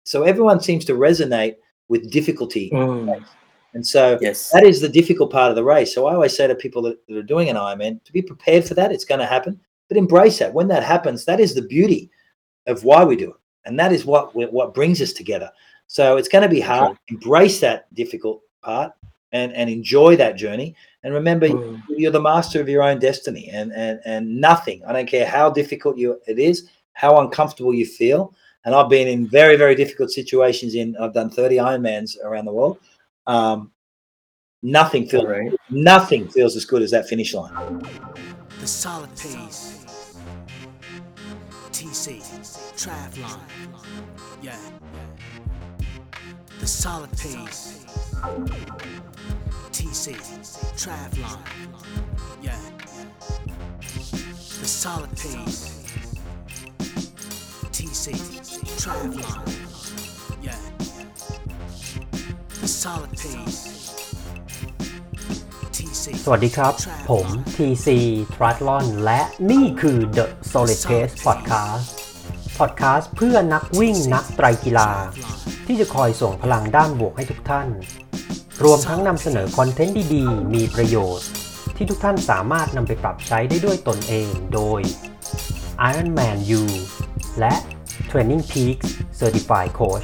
So everyone seems to resonate with difficulty. And so Yes. that is the difficult part of the race. So I always say to people that are doing an Ironman to be prepared for that. It's going to happen, but embrace that. When that happens, that is the beauty of why we do it. And that is what brings us together. So it's going to be hard. Embrace that difficult part and enjoy that journey. And remember, you're the master of your own destiny, and nothing, I don't care how difficult it is, how uncomfortable you feel. And I've been in very, very difficult situations. I've done 30 Ironmans around the world. Nothing feels as good as that finish line. The solid pace. TC Triathlon. Yeah. The solid pace. TC Triathlon. Yeah. The solid pace. TC Triathlon. Yeah. The solid pace. สวัสดีครับผม TC Triathlon และนี่คือ The Solid Pace Podcast เพื่อนักวิ่งนักไตรกีฬาที่จะคอยส่งพลังด้านบวกให้ทุกท่านรวมทั้งนำเสนอคอนเทนต์ดีๆมีประโยชน์ที่ทุกท่านสามารถนำไปปรับใช้ได้ด้วยตนเองโดย Ironman U และ Training Peaks Certified Coach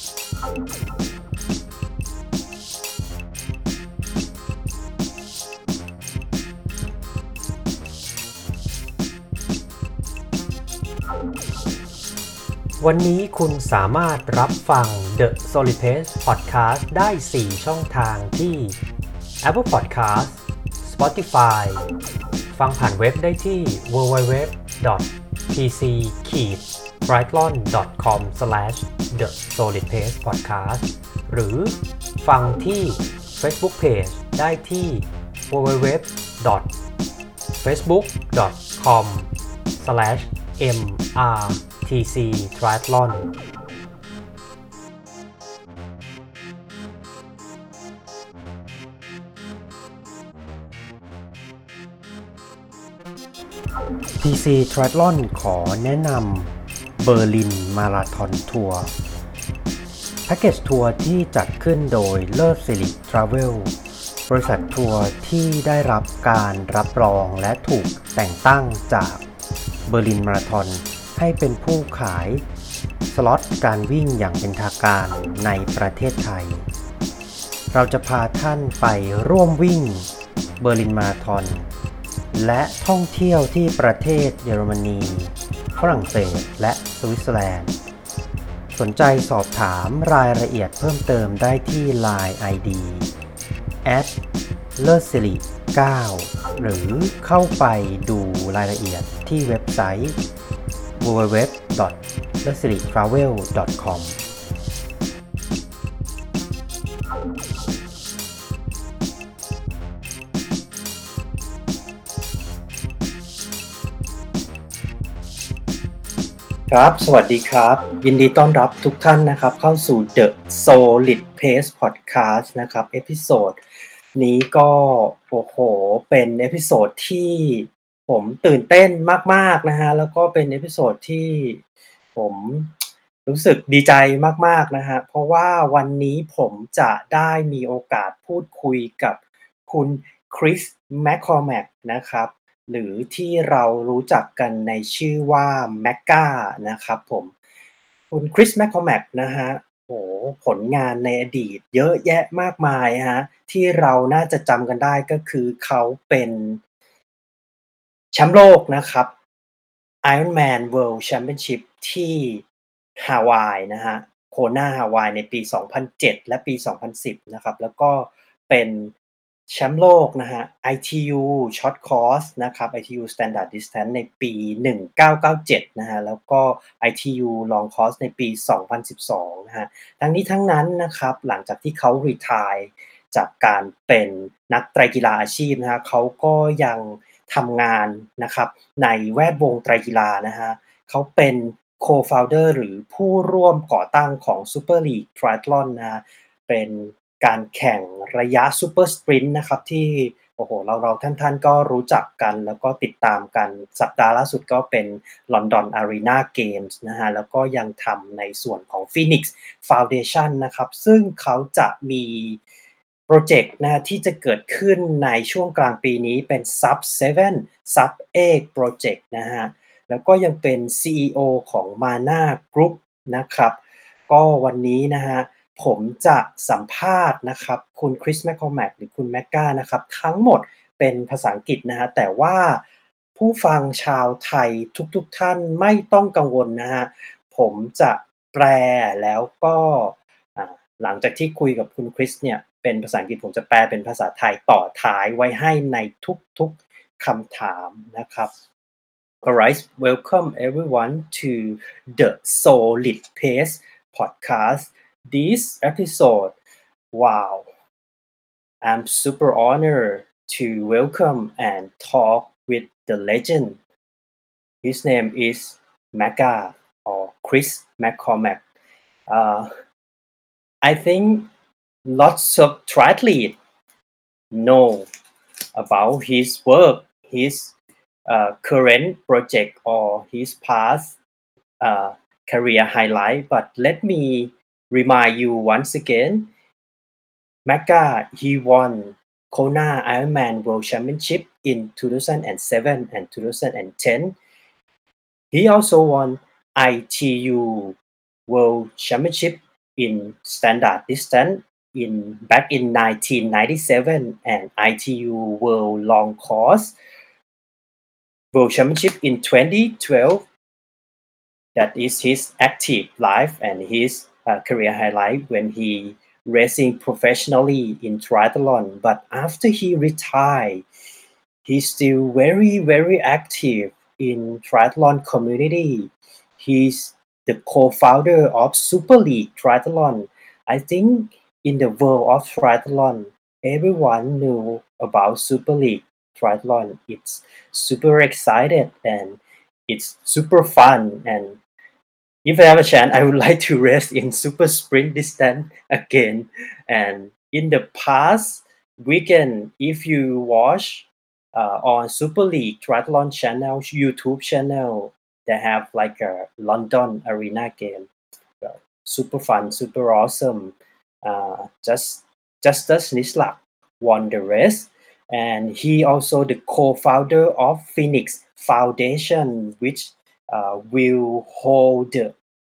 วันนี้คุณสามารถรับฟัง The Solid Pace Podcast ได้ 4 ช่องทางที่ Apple Podcast Spotify ฟังผ่านเว็บได้ที่ www.tc-triathlon.com/thesolidpacepodcast หรือฟังที่ Facebook Page ได้ที่ www.facebook.com/mr TC Triathlon TC Triathlon ขอแนะนำเบอร์ลินมาราธอนทัวร์แพ็กเกจทัวร์ที่จัดขึ้นโดยเลิศสิริทราเวลบริษัททัวร์ที่ได้รับการรับรองและถูกแต่งตั้งจากเบอร์ลินมาราธอนให้เป็นผู้ขายสล็อตการวิ่งอย่างเป็นทางการในประเทศไทยเราจะพาท่านไปร่วมวิ่งเบอร์ลินมาราธอนและท่องเที่ยวที่ประเทศเยอรมนีฝรั่งเศสและสวิตเซอร์แลนด์สนใจสอบถามรายละเอียดเพิ่มเติมได้ที่ LINE ID @lersiri9 หรือเข้าไปดูรายละเอียดที่เว็บไซต์ www.lersiritravel.com ครับสวัสดีครับยินดีต้อนรับทุกท่านนะครับเข้าสู่ The Solid Pace Podcast นะครับเอพิโซดนี้ก็โอ้โหเป็นเอพิโซดที่ผมตื่นเต้นมากๆนะฮะแล้วก็เป็นเอพิโซดที่ผมรู้สึกดีใจมากๆนะฮะเพราะว่าวันนี้ผมจะได้มีโอกาสพูดคุยกับคุณคริสแมคคอร์แมกนะครับหรือที่เรารู้จักกันในชื่อว่าแมกก้านะครับผมคุณคริสแมคคอร์แมกนะฮะโอ้ผลงานในอดีตเยอะแยะมากมายฮะที่เราน่าจะจำกันได้ก็คือเขาเป็นแชมป์โลกนะครับ Ironman World Championship ที่ฮาวายนะฮะโคนาฮาวายในปี 2007 และปี 2010 นะครับแล้วก็เป็นแชมป์โลกนะฮะ ITU Short Course นะครับ ITU Standard Distance ในปี 1997 นะฮะแล้วก็ ITU Long Course ในปี 2012 นะฮะทั้งนี้ทั้งนั้นนะครับหลังจากที่เขา retire จากการเป็นนักไตรกีฬาอาชีพนะฮะเขาก็ยังทำงานนะครับในแวดวงไตรกีฬานะฮะเขาเป็น co-founder หรือผู้ร่วมก่อตั้งของ Super League Triathlon นะฮะเป็นการแข่งระยะ Super Sprint นะครับที่โอ้โหเราท่านก็รู้จักกันแล้วก็ติดตามกันสัปดาห์ล่าสุดก็เป็น London Arena Games นะฮะแล้วก็ยังทำในส่วนของ Phoenix Foundation นะครับซึ่งเขาจะมีโปรเจกต์นะที่จะเกิดขึ้นในช่วงกลางปีนี้เป็น Sub 7 Sub 8 Project นะฮะแล้วก็ยังเป็น CEO ของ Mana Group นะครับก็วันนี้นะฮะผมจะสัมภาษณ์นะครับคุณคริสแมคคอลแมกหรือคุณแมกกานะครับทั้งหมดเป็นภาษาอังกฤษนะฮะแต่ว่าผู้ฟังชาวไทยทุกท่านไม่ต้องกังวลนะฮะผมจะแปลแล้วก็หลังจากที่คุยกับคุณคริสเนี่ยเป็นภาษาอังกฤษผมจะแปลเป็นภาษาไทยต่อท้ายไว้ให้ในทุกๆคำถามนะครับ Alright, welcome everyone to the Solid Pace podcast. This episode, wow, I'm super honored to welcome and talk with the legend. His name is Macca or Chris McCormack. I think lots of triathletes know about his work, his current project or his past career highlight. But let me remind you once again, Macca, he won Kona Ironman World Championship in 2007 and 2010. He also won ITU World Championship in standard distance back in 1997 and ITU World Long Course World Championship in 2012. That is his active life and his career highlight when he racing professionally in triathlon. But after he retired, he's still very active in triathlon community. He's the co-founder of Super League Triathlon. I think in the world of triathlon, everyone knew about Super League Triathlon. It's super excited and it's super fun. And if I have a chance, I would like to race in super sprint distance again. And in the past weekend, if you watch on Super League Triathlon channel, YouTube channel, they have like a London Arena game. Super fun, super awesome. Justus Nislak won the race, and he also the co-founder of Phoenix Foundation, which will hold.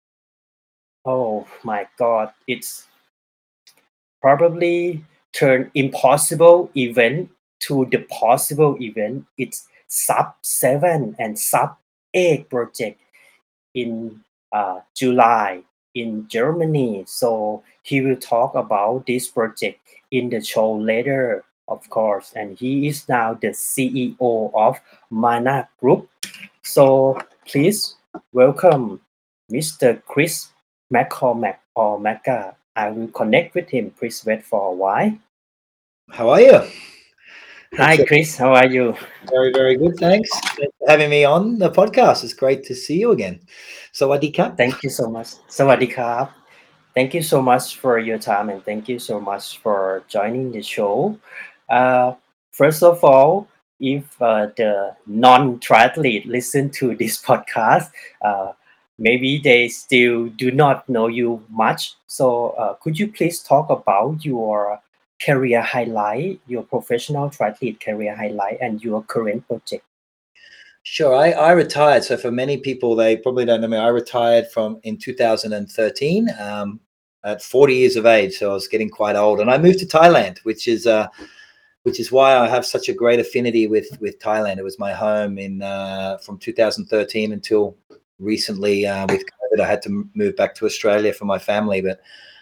Oh my God! It's probably turn impossible event to the possible event. It's Sub 7 and Sub 8 project in July in Germany. So he will talk about this project in the show later, of course. And he is now the CEO of Mana Group. So please welcome Mr. Chris McCormack or Macca. I will connect with him. Please wait for a while. How are you? Hi, Chris. How are you? Very good. Thanks for having me on the podcast. It's great to see you again. Sawadee ka. Thank you so much. Sawadee krap. Thank you so much for your time and thank you so much for joining the show. First of all, if the non-triathlete listen to this podcast, maybe they still do not know you much. So could you please talk about your career highlight, your professional triathlete career highlight and your current project? Sure. I retired. So for many people, they probably don't know me. I retired in 2013 at 40 years of age. So I was getting quite old, and I moved to Thailand, which is why I have such a great affinity with Thailand. It was my home from 2013 until recently with COVID. I had to move back to Australia for my family, but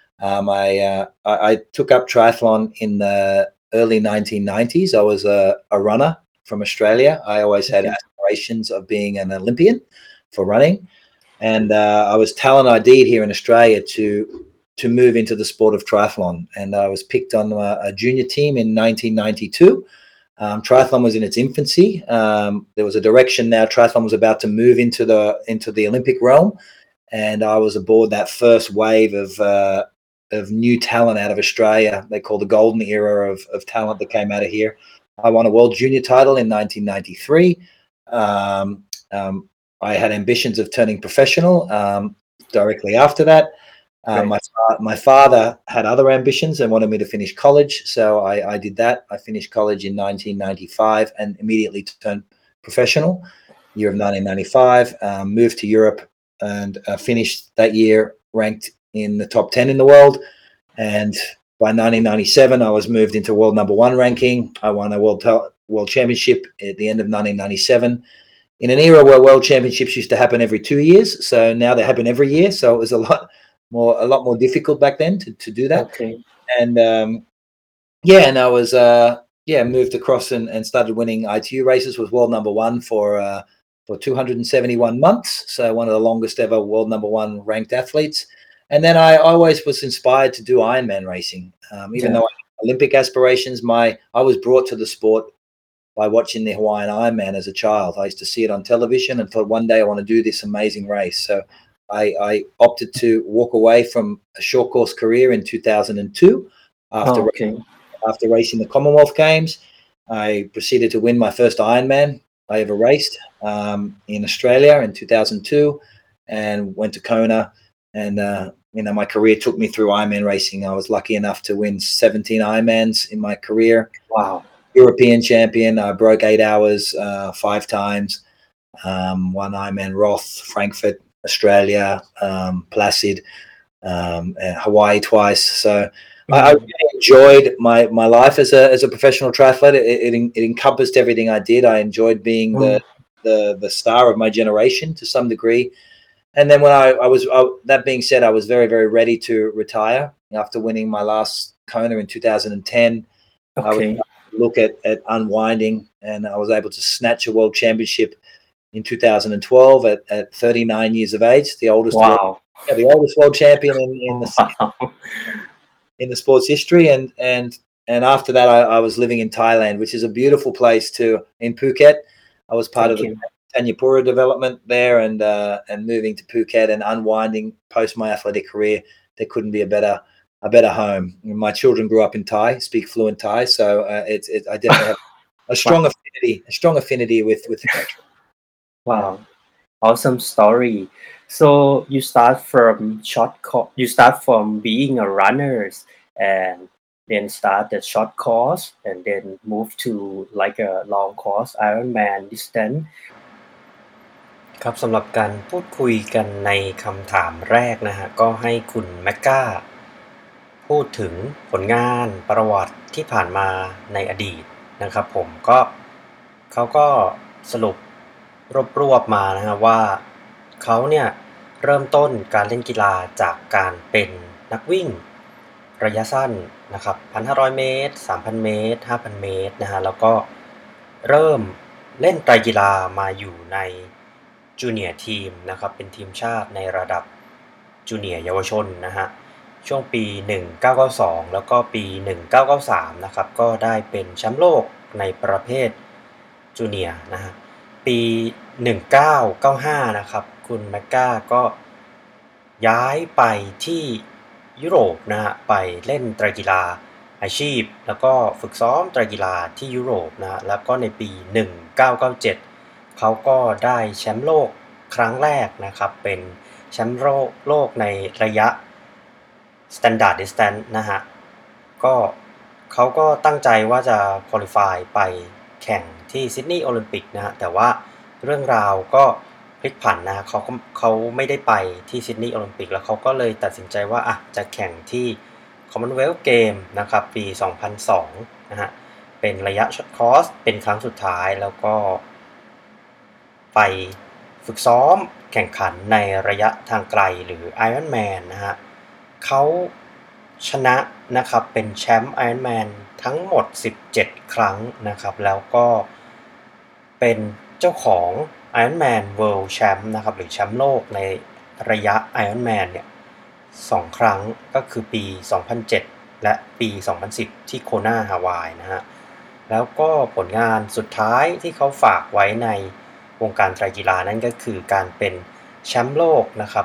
I took up triathlon in the early 1990s. I was a runner from Australia. I always had aspirations of being an Olympian for running, and I was talent ID'd here in Australia to move into the sport of triathlon, and I was picked on a junior team in 1992. Triathlon was in its infancy. There was a direction now. Triathlon was about to move into the Olympic realm, and I was aboard that first wave of new talent out of Australia. They call the golden era of talent that came out of here. I won a world junior title in 1993. I had ambitions of turning professional directly after that. My father had other ambitions and wanted me to finish college, so I did that. I finished college in 1995 and immediately turned professional. Year of 1995, moved to Europe and finished that year ranked in the top 10 in the world. And by 1997, I was moved into world number one ranking. I won a world championship at the end of 1997. In an era where world championships used to happen every 2 years, so now they happen every year. So it was a lot more difficult back then to do that. Okay. And and I was moved across and started winning ITU races. Was world number one for 271 months, so one of the longest ever world number one ranked athletes. And then I always was inspired to do Ironman racing, even though I had Olympic aspirations. I was brought to the sport by watching the Hawaiian Ironman as a child. I used to see it on television and thought one day I want to do this amazing race. So I opted to walk away from a short course career in 2002 after racing the Commonwealth Games. I proceeded to win my first Ironman I ever raced in Australia in 2002, and went to Kona. And my career took me through Ironman racing. I was lucky enough to win 17 Ironmans in my career. Wow. European champion. I broke 8 hours 5 times. Won Ironman Roth, Frankfurt, Australia, Placid, Hawaii twice. So I really enjoyed my life as a professional triathlete. It encompassed everything I did. I enjoyed being the star of my generation to some degree. And then when that being said, I was very, very ready to retire after winning my last Kona in 2010. I would look at unwinding, and I was able to snatch a world championship in 2012 at 39 years of age, the oldest world champion in the sports history. And after that, I was living in Thailand, which is a beautiful place in Phuket. I was part of the Tanyapura development there, and moving to Phuket and unwinding post my athletic career. There couldn't be a better home. My children grew up in Thai, speak fluent Thai, so I definitely have a strong affinity with the country. Wow, awesome story. So you start from being a runner, and then start the short course, and then move to like a long course Ironman distance. ครับสำหรับการพูดคุยกันในคำถามแรกนะฮะก็ให้คุณแมกกาพูดถึงผลงานประวัติที่ผ่านมาในอดีตนะครับผมเขาก็สรุปรวบมานะฮะว่าเขาเนี่ยเริ่มต้นการเล่นกีฬาจากการเป็นนักวิ่งระยะสั้นนะครับ 1,500 เมตร 3,000 เมตร 5,000 เมตรนะฮะแล้วก็เริ่มเล่นไตรกีฬามาอยู่ในจูเนียร์ทีมนะครับเป็นทีมชาติในระดับจูเนียร์เยาวชนนะฮะช่วงปี1992แล้วก็ปี1993นะครับก็ได้เป็นแชมป์โลกในประเภทจูเนียร์นะฮะปี1995นะครับคุณแมกกาก็ย้ายไปที่ยุโรปนะฮะไปเล่นไตรกีฬาอาชีพแล้วก็ฝึกซ้อมไตรกีฬาที่ยุโรปนะฮะแล้วก็ในปี1997เขาก็ได้แชมป์โลกครั้งแรกนะครับเป็นแชมป์โลกในระยะ Standard Distance นะฮะก็เขาก็ตั้งใจว่าจะ qualify ไปแข่งที่ซิดนีย์โอลิมปิกนะฮะแต่ว่าเรื่องราวก็พลิกผันนะเขาไม่ได้ไปที่ซิดนีย์โอลิมปิกแล้วเขาก็เลยตัดสินใจว่าจะแข่งที่ Commonwealth Game นะครับปี 2002 นะฮะเป็นระยะช็อตคอร์สเป็นครั้งสุดท้ายแล้วก็ไปฝึกซ้อมแข่งขันในระยะทางไกลหรือ Ironman นะฮะเขาชนะนะครับเป็นแชมป์ Ironman ทั้งหมด17ครั้งนะครับแล้วก็เป็นเจ้าของ Ironman World Champ นะครับหรือแชมป์โลกในระยะ Ironman เนี่ย2ครั้งก็คือปี2007และปี2010ที่โคนาฮาวายนะฮะแล้วก็ผลงานสุดท้ายที่เขาฝากไว้ในวงการไตรกีฬานั่นก็คือการเป็นแชมป์โลกนะครับ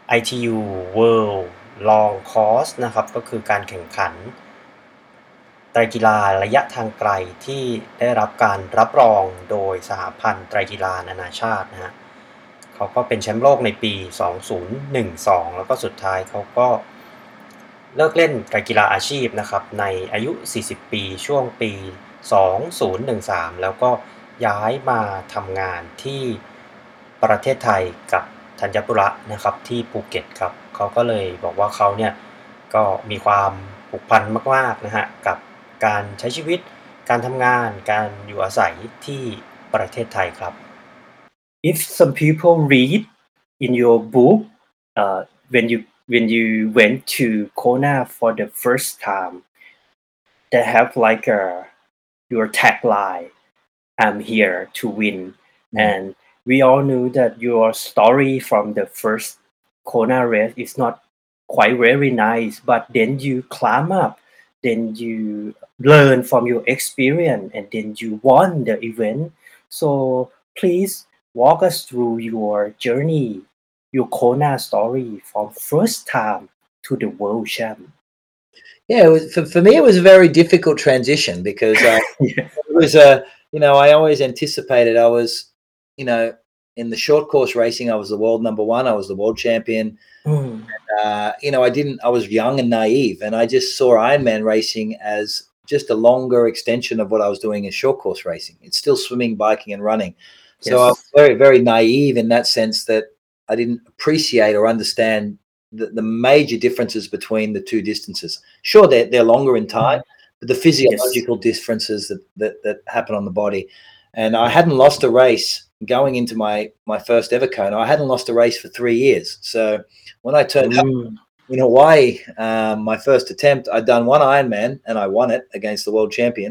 ITU World Long Course นะครับก็คือการแข่งขันไตรกีฬาระยะทางไกลที่ได้รับการรับรองโดยสหพันธ์ไตรกีฬานานาชาตินะฮะเขาก็เป็นแชมป์โลกในปี 2012 แล้วก็สุดท้ายเขาก็เลิกเล่นไตรกีฬาอาชีพนะครับในอายุ 40 ปีช่วงปี 2013 แล้วก็ย้ายมาทำงานที่ประเทศไทยกับธัญบุระนะครับที่ภูเก็ตครับเขาก็เลยบอกว่าเขาเนี่ยก็มีความผูกพันมากๆนะฮะกับการใช้ชีวิตการทำงานการอยู่อาศัยที่ประเทศไทยครับ If some people read in your book when you went to Kona for the first time they have like your tagline I'm here to win and we all knew that your story from the first Kona race is not quite very nice but then you climb up then you learn from your experience and then you won the event so please walk us through your journey your Kona story from first time to the world champ Yeah, it was, for me, it was a very difficult transition because yeah. it was I always anticipated I was, in the short course racing, I was the world number one. I was the world champion. I was young and naive, and I just saw Ironman racing as just a longer extension of what I was doing in short course racing. It's still swimming, biking, and running. So I was very, very naive in that sense that I didn't appreciate or understand the major differences between the two distances. Sure, they're longer in time, but the physiological differences that happen on the body. And I hadn't lost a race going into my first ever Kona. I hadn't lost a race for 3 years. So when I turned up in Hawaii, my first attempt, I'd done one Ironman and I won it against the world champion.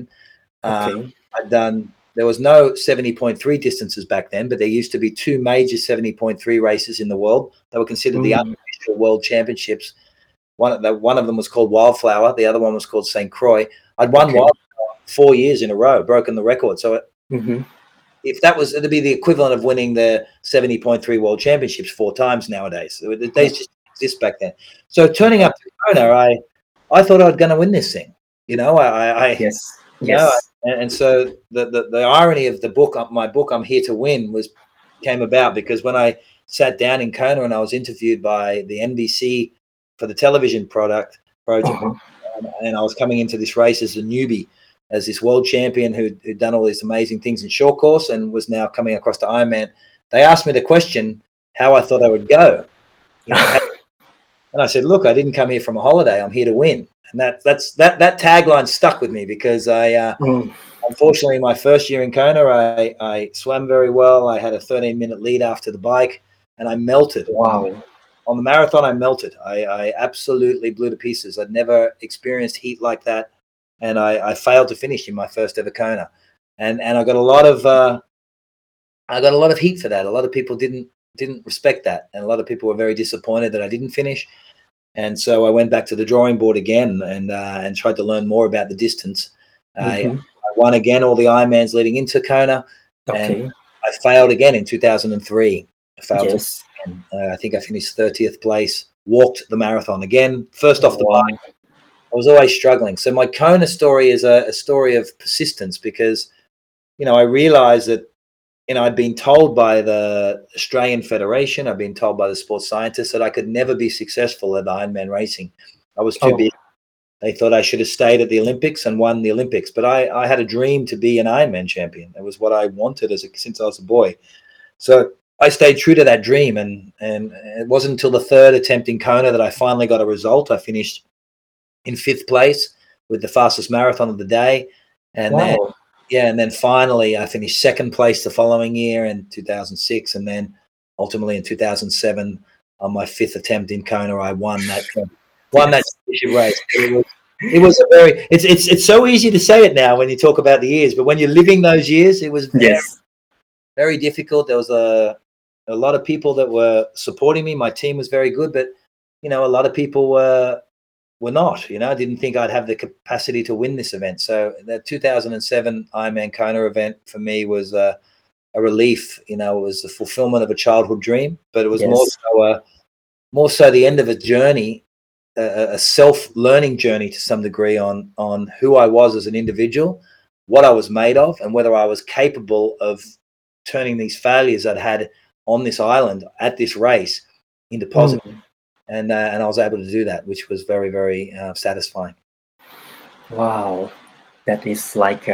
There was no 70.3 distances back then, but there used to be two major 70.3 races in the world. They were considered the unofficial world championships. One of them was called Wildflower. The other one was called St. Croix. I'd won Wildflower 4 years in a row, broken the record. So if that was, it'd be the equivalent of winning the 70.3 world championships 4 times nowadays. They just exist back then. So turning up to Kona, I thought I was going to win this thing. And so the irony of my book, I'm Here to Win, came about because when I sat down in Kona and I was interviewed by the NBC for the television project, and I was coming into this race as a newbie, as this world champion who'd done all these amazing things in short course and was now coming across to Ironman. They asked me the question how I thought I would go. And I said, look, I didn't come here from a holiday. I'm here to win. And that tagline stuck with me because unfortunately, my first year in Kona, I swam very well. I had a 13-minute lead after the bike, and I melted. Wow. On the marathon, I melted. I absolutely blew to pieces. I'd never experienced heat like that, and I failed to finish in my first ever Kona. And I got a lot of heat for that. A lot of people didn't respect that, and a lot of people were very disappointed that I didn't finish. And so I went back to the drawing board again and tried to learn more about the distance. I won again all the Ironmans leading into Kona, and I failed again in 2003. I failed. I think I finished 30th place. Walked the marathon again, first off the bike. I was always struggling. So my Kona story is a story of persistence because, I realized that, I'd been told by the Australian Federation, I'd been told by the sports scientists that I could never be successful at Ironman racing. I was too big. They thought I should have stayed at the Olympics and won the Olympics. But I had a dream to be an Ironman champion. That was what I wanted since I was a boy. So I stayed true to that dream. And it wasn't until the third attempt in Kona that I finally got a result. I finished in 5th place with the fastest marathon of the day. And then finally I finished 2nd place the following year in 2006. And then ultimately in 2007, on my 5th attempt in Kona, I won that championship race. It was a very, it's so easy to say it now when you talk about the years, but when you're living those years, it was very difficult. There was a lot of people that were supporting me. My team was very good, but, a lot of people were not, I didn't think I'd have the capacity to win this event. So the 2007 Ironman Kona event for me was a relief. It was the fulfillment of a childhood dream, but it was more so the end of a journey a self-learning journey to some degree on who I was as an individual, what I was made of, and whether I was capable of turning these failures I'd had on this island at this race into positive. And I was able to do that, which was very, very satisfying. Wow, that is like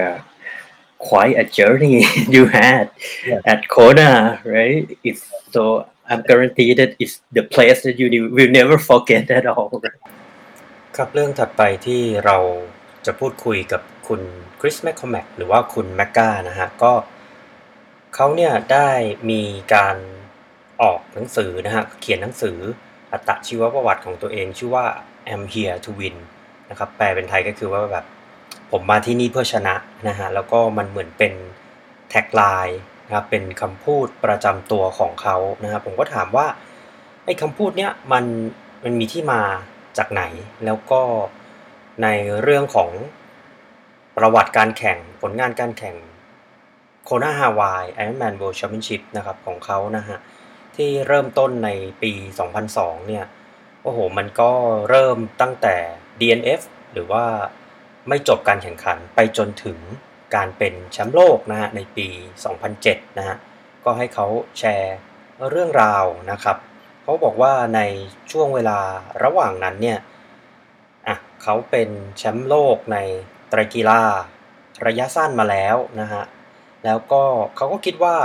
quite a journey you had at Kona, right? It's so I'm guaranteed that it's the place that you will never forget at all. ครับเรื่องถัดไปที่เราจะพูดคุยกับคุณคริสแมคคอมแมกหรือว่าคุณแมกกานะฮะก็เขาเนี่ยได้มีการออกหนังสือนะฮะเขียนหนังสืออัตชีวประวัติของตัวเองชื่อว่า I'm here to win นะครับแปลเป็นไทยก็คือว่าแบบผมมาที่นี่เพื่อชนะนะฮะแล้วก็มันเหมือนเป็นแท็กไลน์นะครับเป็นคำพูดประจำตัวของเขานะครับผมก็ถามว่าไอ้คำพูดเนี้ยมันมีที่มาจากไหนแล้วก็ในเรื่องของประวัติการแข่งผลงานการแข่งโคนาฮาวาย Ironman World Championship นะครับของเขานะฮะที่เริ่มต้นในปี 2002 เนี่ยโอ้โหมันก็เริ่มตั้งแต่ DNF หรือว่าไม่จบการแข่งขันไปจนถึงการเป็นแชมป์โลกนะฮะในปี 2007 นะฮะก็ให้เขาแชร์เรื่องราวนะครับเขาบอกว่าในช่วงเวลาระหว่างนั้นเนี่ยเขาเป็นแชมป์โลกในไตรกีฬาระยะสั้นมาแล้วนะฮะแล้วก็เขาก็คิดว่า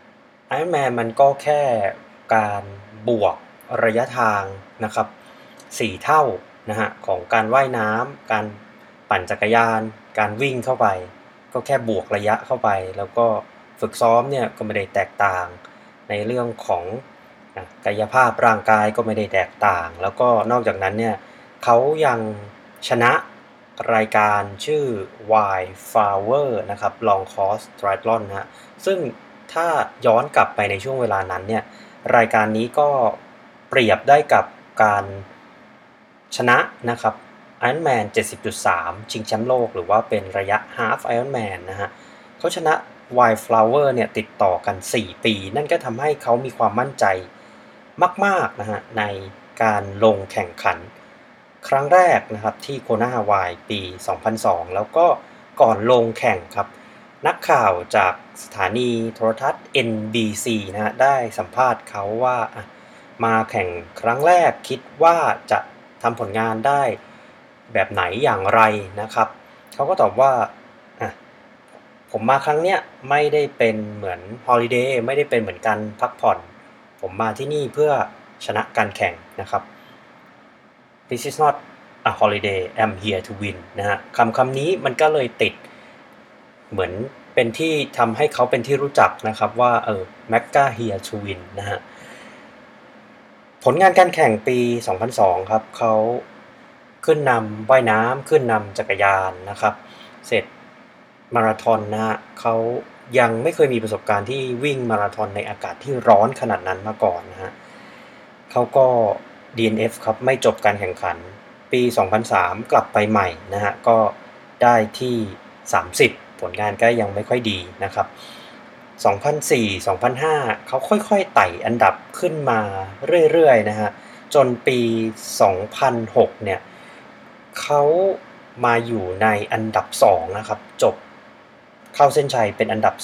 Ironman มันก็แค่การบวกระยะทางนะครับ4เท่านะฮะของการว่ายน้ำการปั่นจักรยานการวิ่งเข้าไปก็แค่บวกระยะเข้าไปแล้วก็ฝึกซ้อมเนี่ยก็ไม่ได้แตกต่างในเรื่องของกายภาพร่างกายก็ไม่ได้แตกต่างแล้วก็นอกจากนั้นเนี่ยเขายังชนะรายการชื่อ Wild Flower นะครับ Long Course Triathlon นะฮะซึ่งถ้าย้อนกลับไปในช่วงเวลานั้นเนี่ยรายการนี้ก็เปรียบได้กับการชนะนะครับ Ironman 70.3 ชิงแชมป์โลกหรือว่าเป็นระยะ Half Ironman นะฮะเขาชนะ Wild Flower เนี่ยติดต่อกัน4ปีนั่นก็ทำให้เขามีความมั่นใจมากๆนะฮะในการลงแข่งขันครั้งแรกนะครับที่โคนาฮาวายปี 2002 แล้วก็ก่อนลงแข่งครับนักข่าวจากสถานีโทรทัศน์ NBC นะฮะได้สัมภาษณ์เขาว่ามาแข่งครั้งแรกคิดว่าจะทำผลงานได้แบบไหนอย่างไรนะครับเขาก็ตอบว่าผมมาครั้งเนี้ยไม่ได้เป็นเหมือนฮอลิเดย์ไม่ได้เป็นเหมือนการพักผ่อนผมมาที่นี่เพื่อชนะการแข่งนะครับ This is not a holiday I'm here to win นะฮะคำนี้มันก็เลยติดเหมือนเป็นที่ทำให้เขาเป็นที่รู้จักนะครับว่าMagga here to win นะฮะผลงานการแข่งปี 2002 ครับเขาขึ้นนำว่ายน้ำขึ้นนำจักรยานนะครับเสร็จมาราธอนนะฮะเขายังไม่เคยมีประสบการณ์ที่วิ่งมาราธอนในอากาศที่ร้อนขนาดนั้นมาก่อนนะฮะเขาก็ DNF ครับไม่จบการแข่งขันปี 2003 กลับไปใหม่นะฮะก็ได้ที่ 30ผลงานก็ยังไม่ค่อยดีนะครับ 2004 2005 เขาค่อยๆไต่อันดับขึ้นมาเรื่อยๆนะฮะจนปี 2006 เนี่ยเขามาอยู่ในอันดับ2นะครับจบเข้าเส้นชัยเป็นอันดับ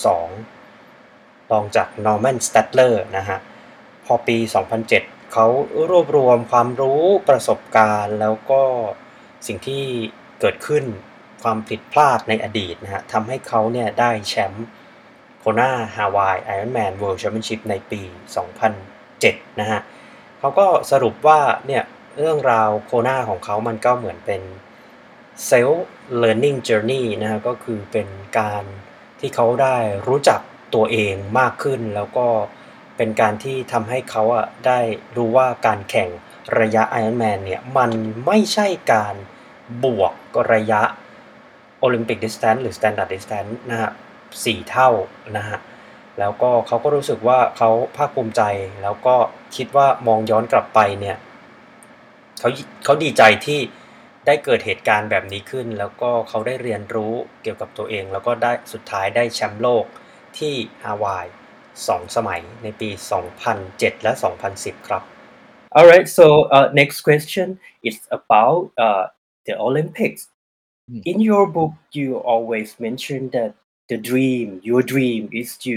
2รองจาก Norman Stadler นะฮะพอปี 2007 เขารวบรวมความรู้ประสบการณ์แล้วก็สิ่งที่เกิดขึ้นความผิดพลาดในอดีตนะฮะทำให้เขาเนี่ยได้แชมป์โคนาฮาวาย Ironman World Championship ในปี 2007 นะฮะเขาก็สรุปว่าเนี่ยเรื่องราวโคนาของเขามันก็เหมือนเป็น self learning journey นะฮะก็คือเป็นการที่เขาได้รู้จักตัวเองมากขึ้นแล้วก็เป็นการที่ทำให้เขาได้รู้ว่าการแข่งระยะ Ironman เนี่ยมันไม่ใช่การบวกระยะ Olympic Distance หรือ Standard Distance นะฮะ4เท่านะฮะแล้วก็เขาก็รู้สึกว่าเขาภาคภูมิใจแล้วก็คิดว่ามองย้อนกลับไปเนี่ยเขาดีใจที่ได้เกิดเหตุการณ์แบบนี้ขึ้นแล้วก็เขาได้เรียนรู้เกี่ยวกับตัวเองแล้วก็ได้สุดท้ายได้แชมป์โลกที่ฮาวาย2 สมัยในปี 2007 และ 2010 ครับ All right. So next question is about the Olympics. In your book, you always mention that your dream is to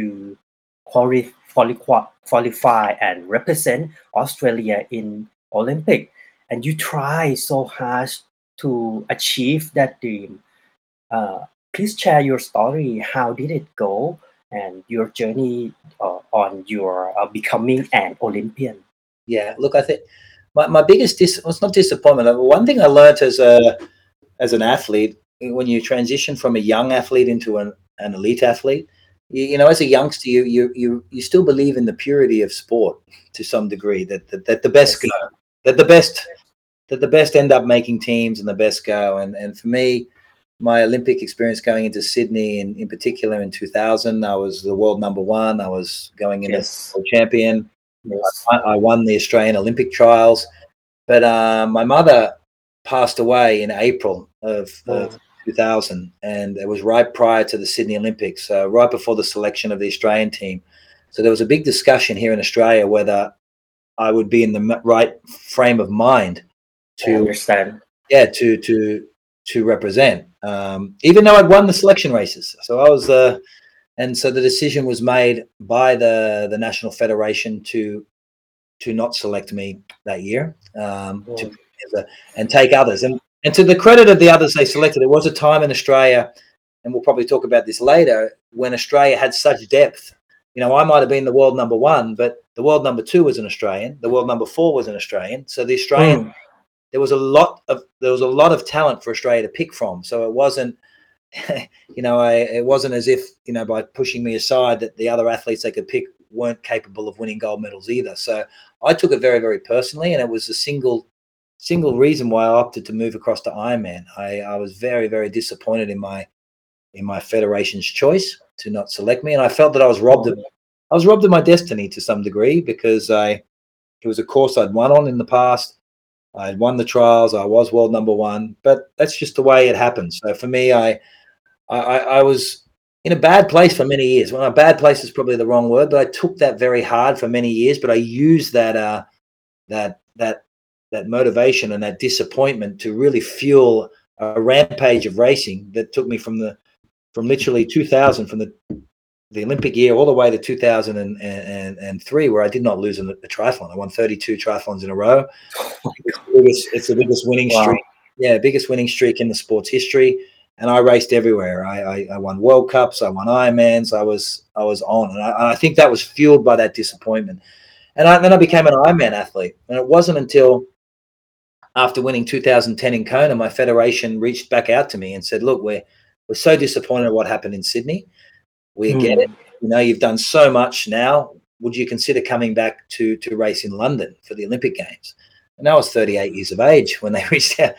qualify and represent Australia in Olympic, and you try so hard to achieve that dream. Please share your story. How did it go, and your journey on your becoming an Olympian? Yeah, look, I think my biggest it's not disappointment. One thing I learned as an athlete, when you transition from a young athlete into an elite athlete, you know, as a youngster, you still believe in the purity of sport to some degree. That the best Yes. go, that the best end up making teams and the best go. And for me, my Olympic experience going into Sydney, in particular in 2000, I was the world number one. I was going in as Yes. world champion. Yes. I won the Australian Olympic trials, but my mother passed away in April of 2000, and it was right prior to the Sydney Olympics, right before the selection of the Australian team. So there was a big discussion here in Australia whether I would be in the right frame of mind I understand. to represent, even though I'd won the selection races. So I was and so the decision was made by the National Federation to not select me that year, and take others. And to the credit of the others they selected, there was a time in Australia, and we'll probably talk about this later, when Australia had such depth. You know, I might have been the world number one, but the world number two was an Australian. The world number four was an Australian. So the Australian, there was a lot of talent for Australia to pick from. So it wasn't, you know, it wasn't as if, you know, by pushing me aside that the other athletes they could pick weren't capable of winning gold medals either. So I took it very, very personally, and it was a single reason why I opted to move across to Ironman. I was very, very disappointed in my federation's choice to not select me, and I felt that I was robbed of my destiny to some degree, because it was a course I'd won on in the past. I had won the trials. I was world number one, but that's just the way it happens. So for me, I was in a bad place for many years. Well, a bad place is probably the wrong word, but I took that very hard for many years. But I used that motivation and that disappointment to really fuel a rampage of racing that took me from literally 2000, from the Olympic year all the way to 2003, where I did not lose a triathlon. I won 32 triathlons in a row. It's the biggest winning streak. Yeah, biggest winning streak in the sport's history. And I raced everywhere. I won World Cups. I won Ironmans. I was on, and I think that was fueled by that disappointment. And then I became an Ironman athlete. And it wasn't until after winning 2010 in Kona, my federation reached back out to me and said, "Look, we're so disappointed at what happened in Sydney. We get it. You know, you've done so much now. Would you consider coming back to race in London for the Olympic Games?" And I was 38 years of age when they reached out.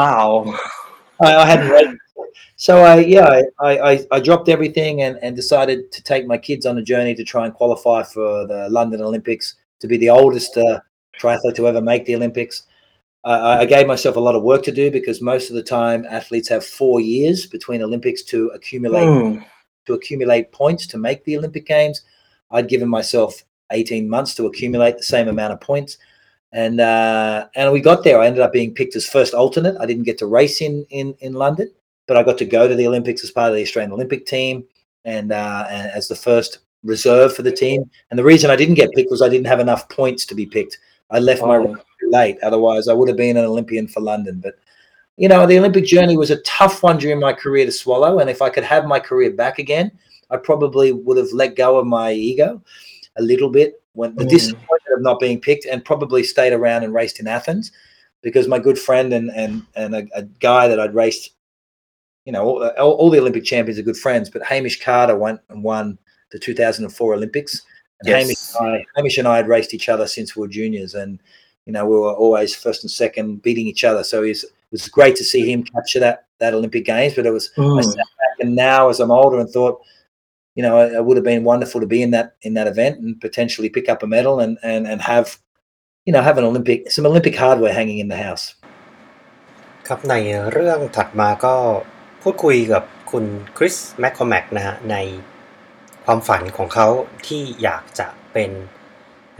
I hadn't raced. So I dropped everything and decided to take my kids on a journey to try and qualify for the London Olympics, to be the oldest triathlete to ever make the Olympics. I gave myself a lot of work to do, because most of the time athletes have 4 years between Olympics to accumulate points to make the Olympic Games. I'd given myself 18 months to accumulate the same amount of points. And we got there. I ended up being picked as first alternate. I didn't get to race in London, but I got to go to the Olympics as part of the Australian Olympic team, and as the first reserve for the team. And the reason I didn't get picked was I didn't have enough points to be picked. I left my race too late. Otherwise, I would have been an Olympian for London. But, you know, the Olympic journey was a tough one during my career to swallow. And if I could have my career back again, I probably would have let go of my ego a little bit, when the disappointment of not being picked, and probably stayed around and raced in Athens, because my good friend and a guy that I'd raced, you know, all the Olympic champions are good friends, but Hamish Carter won the 2004 Olympics. And Hamish and I had raced each other since we were juniors, and, you know, we were always first and second, beating each other. So it was great to see him capture that Olympic Games. But it was, I sat back, and now as I'm older, and thought, you know, it would have been wonderful to be in that event and potentially pick up a medal and have, you know, have some Olympic hardware hanging in the house. ครับในเรื่องถัดมาก็พูดคุยกับคุณคริสแมคคอแมกนะฮะในความฝันของเขาที่อยากจะเป็นนัก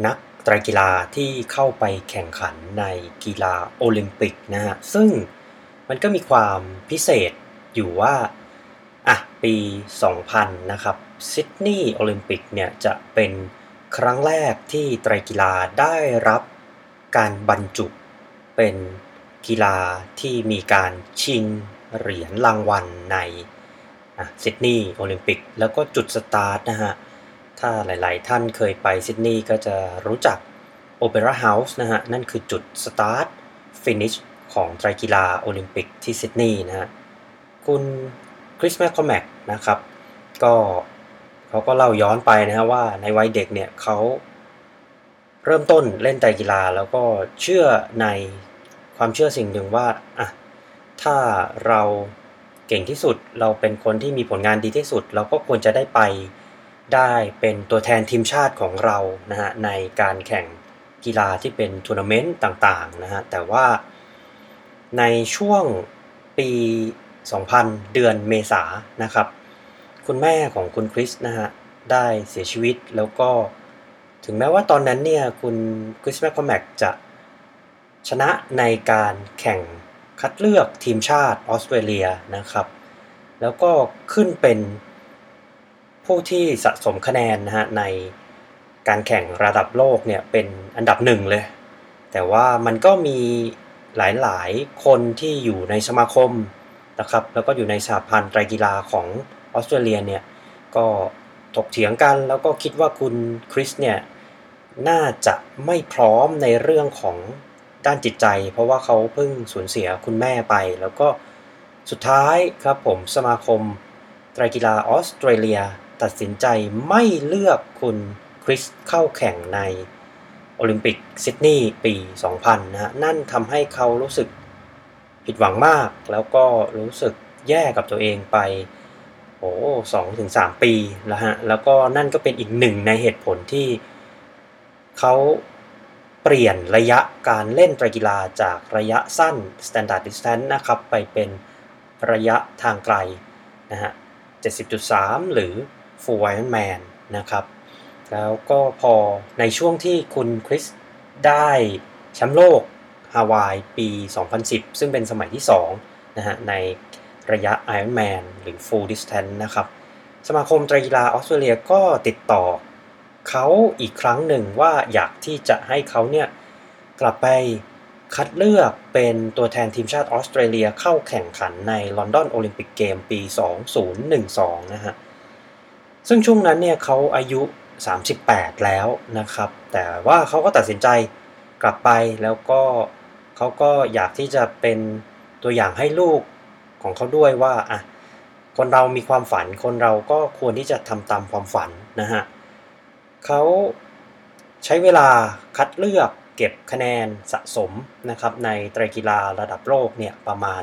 ไตรกีฬาที่เข้าไปแข่งขันในกีฬาโอลิมปิกนะฮะซึ่งมันก็มีความพิเศษอยู่ว่าปี 2000 นะครับซิดนีย์โอลิมปิกเนี่ยจะเป็นครั้งแรกที่ไตรกีฬาได้รับการบรรจุเป็นกีฬาที่มีการชิงเหรียญรางวัลในซิดนีย์โอลิมปิกแล้วก็จุดสตาร์ทนะฮะถ้าหลายๆท่านเคยไปซิดนีย์ก็จะรู้จักโอเปร่าเฮาส์นะฮะนั่นคือจุดสตาร์ทฟินิชของไตรกีฬาโอลิมปิกที่ซิดนีย์นะฮะคุณคริสแมคคอแมกนะครับก็เขาก็เล่าย้อนไปนะฮะว่าในวัยเด็กเนี่ยเขาเริ่มต้นเล่นไตรกีฬาแล้วก็เชื่อในความเชื่อสิ่งหนึ่งว่าถ้าเราเก่งที่สุดเราเป็นคนที่มีผลงานดีที่สุดเราก็ควรจะได้ไปได้เป็นตัวแทนทีมชาติของเรานะฮะในการแข่งกีฬาที่เป็นทัวร์นาเมนต์ต่างๆนะฮะแต่ว่าในช่วงปี 2000 เดือนเมษายนนะครับคุณแม่ของคุณคริสนะฮะได้เสียชีวิตแล้วก็ถึงแม้ว่าตอนนั้นเนี่ยคุณคริสแมคคอแมกจะชนะในการแข่งคัดเลือกทีมชาติออสเตรเลียนะครับแล้วก็ขึ้นเป็นผู้ที่สะสมคะแนนนะฮะในการแข่งระดับโลกเนี่ยเป็นอันดับหนึ่งเลยแต่ว่ามันก็มีหลายๆคนที่อยู่ในสมาคมนะครับแล้วก็อยู่ในสหพันธ์ไตรกีฬาของออสเตรเลียเนี่ยก็ถกเถียงกันแล้วก็คิดว่าคุณคริสเนี่ยน่าจะไม่พร้อมในเรื่องของด้านจิตใจเพราะว่าเขาเพิ่งสูญเสียคุณแม่ไปแล้วก็สุดท้ายครับผมสมาคมไตรกีฬาออสเตรเลียตัดสินใจไม่เลือกคุณคริสเข้าแข่งในโอลิมปิกซิดนีย์ปี 2000 นะฮะนั่นทำให้เขารู้สึกผิดหวังมากแล้วก็รู้สึกแย่กับตัวเองไป2-3 ปีแล้วฮะแล้วก็นั่นก็เป็นอีกหนึ่งในเหตุผลที่เขาเปลี่ยนระยะการเล่นไตรกีฬาจากระยะสั้น Standard Distance นะครับไปเป็นระยะทางไกลนะฮะ 70.3 หรือ Full Ironman นะครับแล้วก็พอในช่วงที่คุณคริสได้แชมป์โลกฮาวายปี 2010 ซึ่งเป็นสมัยที่2นะฮะในระยะ Ironman หรือ Full Distance นะครับสมาคมไตรกีฬาออสเตรเลียก็ติดต่อเขาอีกครั้งหนึ่งว่าอยากที่จะให้เขาเนี่ยกลับไปคัดเลือกเป็นตัวแทนทีมชาติออสเตรเลียเข้าแข่งขันในลอนดอนโอลิมปิกเกมปี 2012 นะฮะซึ่งช่วงนั้นเนี่ยเขาอายุ 38 แล้วนะครับแต่ว่าเขาก็ตัดสินใจกลับไปแล้วก็เขาก็อยากที่จะเป็นตัวอย่างให้ลูกของเขาด้วยว่าคนเรามีความฝันคนเราก็ควรที่จะทำตามความฝันนะฮะเขาใช้เวลาคัดเลือกเก็บคะแนนสะสมนะครับในไตรกีฬาระดับโลกเนี่ยประมาณ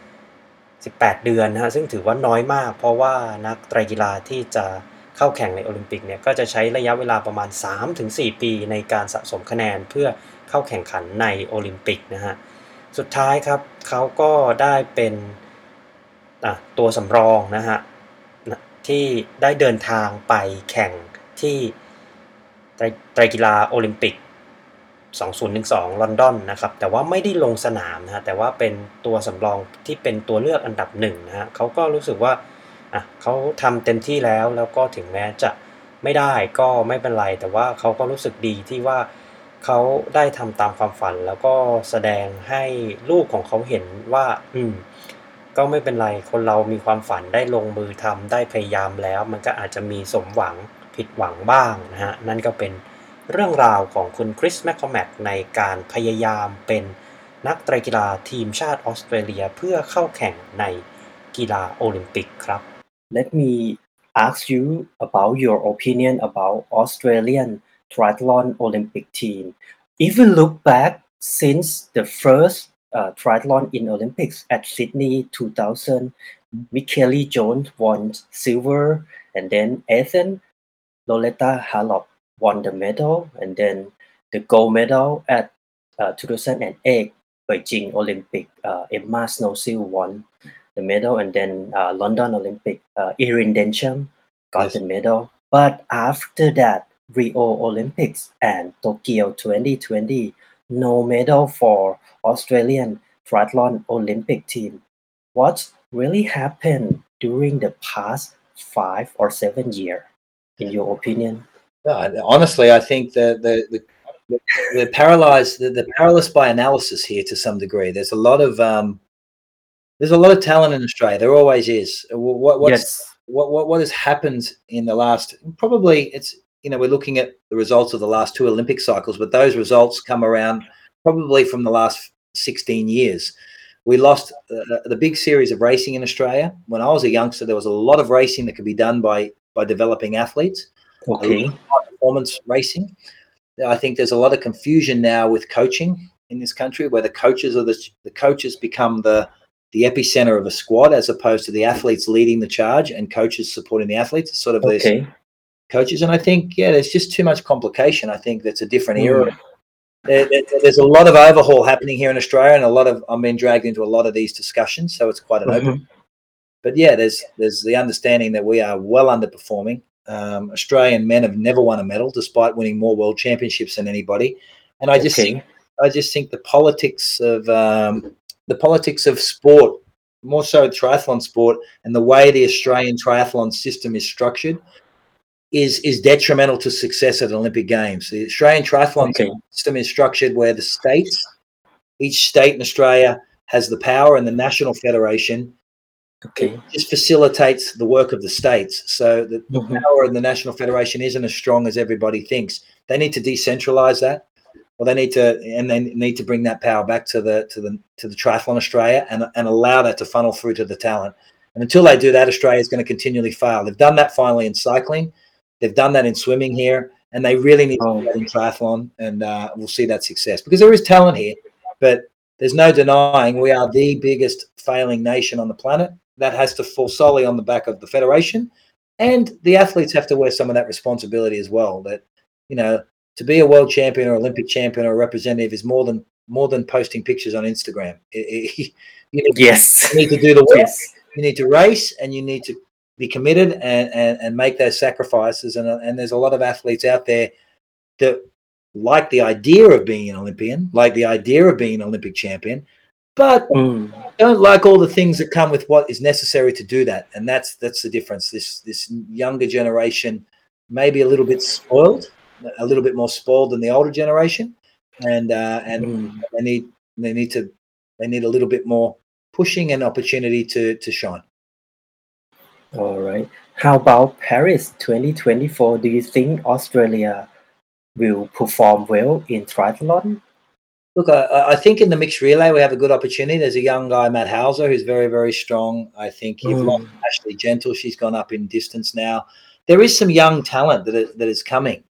18 เดือนนะฮะซึ่งถือว่าน้อยมากเพราะว่านักไตรกีฬาที่จะเข้าแข่งในโอลิมปิกเนี่ยก็จะใช้ระยะเวลาประมาณ 3-4 ปีในการสะสมคะแนนเพื่อเข้าแข่งขันในโอลิมปิกนะฮะสุดท้ายครับเขาก็ได้เป็นตัวสำรองนะฮะที่ได้เดินทางไปแข่งที่ไตรกีฬาโอลิมปิก 2012 ลอนดอนนะครับแต่ว่าไม่ได้ลงสนามนะฮะแต่ว่าเป็นตัวสำรองที่เป็นตัวเลือกอันดับหนึ่งนะฮะเขาก็รู้สึกว่าเขาทำเต็มที่แล้วก็ถึงแม้จะไม่ได้ก็ไม่เป็นไรแต่ว่าเขาก็รู้สึกดีที่ว่าเขาได้ทำตามความฝันแล้วก็แสดงให้ลูกของเขาเห็นว่าก็ไม่เป็นไรคนเรามีความฝันได้ลงมือทำได้พยายามแล้วมันก็อาจจะมีสมหวังผิดหวังบ้างนะฮะนั่นก็เป็นเรื่องราวของคุณคริสแมคคอแมกในการพยายามเป็นนักไตรกีฬาทีมชาติออสเตรเลียเพื่อเข้าแข่งในกีฬาโอลิมปิกครับ Let me ask you about your opinion about Australian triathlon Olympic team. If we look back since the first triathlon in Olympics at Sydney 2000, Michaeli Jones won silver, and then Athens, Loretta Harlop won the medal, and then the gold medal at 2008 Beijing Olympic. Emma Snowsill won the medal, and then London Olympic, Erin Densham got the medal. But after that, Rio Olympics and Tokyo 2020, no medal for Australian triathlon Olympic team. What really happened during the past 5 or 7 years, in your opinion? Honestly, I think the paralyzed, the paralyzed by analysis here to some degree. There's a lot of talent in Australia. There always is. What has happened in the last? Probably it's we're looking at the results of the last 2 Olympic cycles, but those results come around probably from the last 16 years. We lost the big series of racing in Australia. When I was a youngster, there was a lot of racing that could be done by developing athletes. Okay. Performance racing. I think there's a lot of confusion now with coaching in this country, where the coaches become the epicenter of a squad, as opposed to the athletes leading the charge and coaches supporting the athletes. It's sort of these coaches, and I think there's just too much complication. I think that's a different era. There's a lot of overhaul happening here in Australia, and I'm being dragged into a lot of these discussions, so it's quite an open. But there's the understanding that we are well underperforming. Australian men have never won a medal, despite winning more world championships than anybody. And I just think the politics of sport, more so triathlon sport, and the way the Australian triathlon system is structured, is detrimental to success at Olympic Games. The Australian triathlon system is structured where each state in Australia has the power, and the national federation just facilitates the work of the states. So the power in the national federation isn't as strong as everybody thinks. They need to decentralize that, or they need to bring that power back to the Triathlon Australia and allow that to funnel through to the talent. And until they do that, Australia is going to continually fail. They've done that finally in cycling. They've done that in swimming here, and they really need to do that in triathlon, and we'll see that success, because there is talent here, but there's no denying we are the biggest failing nation on the planet. That has to fall solely on the back of the federation, and the athletes have to wear some of that responsibility as well. That, to be a world champion or Olympic champion or a representative is more than posting pictures on Instagram. You need to do the work. You need to race, and you need to be committed and make those sacrifices. And there's a lot of athletes out there that like the idea of being an Olympian, like the idea of being an Olympic champion, but don't like all the things that come with what is necessary to do that. And that's the difference. This younger generation may be a little bit spoiled, a little bit more spoiled than the older generation, and they need a little bit more pushing and opportunity to shine. All right. How about Paris 2024? Do you think Australia will perform well in triathlon? Look, I think in the mixed relay we have a good opportunity. There's a young guy, Matt Hauser, who's very, very strong. I think you've lost Ashley Gentle. She's gone up in distance now. There is some young talent that is coming.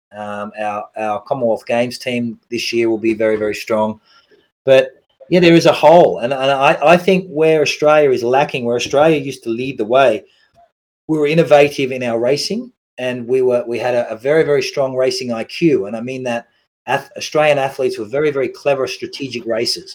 Our Commonwealth Games team this year will be very, very strong. But there is a hole, and I think where Australia is lacking, where Australia used to lead the way, we were innovative in our racing, and we had a very, very strong racing IQ, and I mean that Australian athletes were very, very clever strategic racers.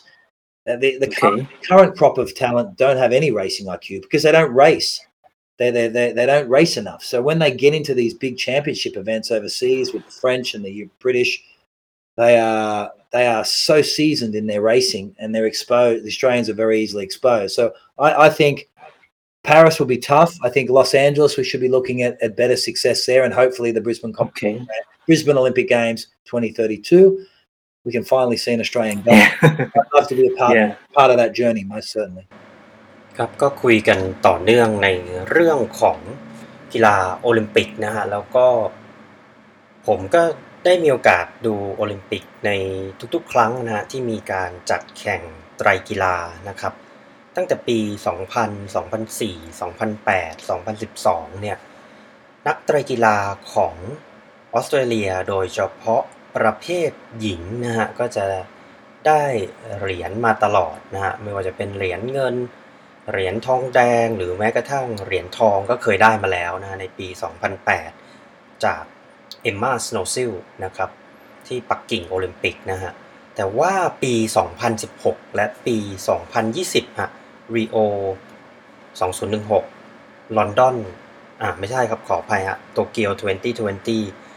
The current crop of talent don't have any racing IQ because they don't race. They don't race enough. So when they get into these big championship events overseas with the French and the British, they are so seasoned in their racing, and they're exposed. The Australians are very easily exposed. So I think Paris will be tough. I think Los Angeles, we should be looking at better success there, and hopefully the Brisbane Brisbane Olympic Games 2032, we can finally see an Australian goal. I'd love to be a part of that journey, most certainly. ครับก็คุยกันต่อเนื่องในเรื่องของกีฬาโอลิมปิกนะฮะแล้วก็ผมก็ได้มีโอกาสดูโอลิมปิกในทุกๆครั้งนะฮะที่มีการจัดแข่งไตรกีฬานะครับตั้งแต่ปี 2000 2004 2008 2012 เนี่ยนักไตรกีฬาของออสเตรเลียโดยเฉพาะประเภทหญิงนะฮะก็จะได้เหรียญมาตลอดนะฮะไม่ว่าจะเป็นเหรียญเงินเหรียญทองแดงหรือแม้กระทั่งเหรียญทองก็เคยได้มาแล้วนะในปี 2008 จากเอมม่าสโนซิลนะครับที่ปักกิ่งโอลิมปิกนะฮะแต่ว่าปี 2016 และปี 2020 ฮะริโอ 2016 ลอนดอนไม่ใช่ครับขออภัยฮะโตเกียว 2020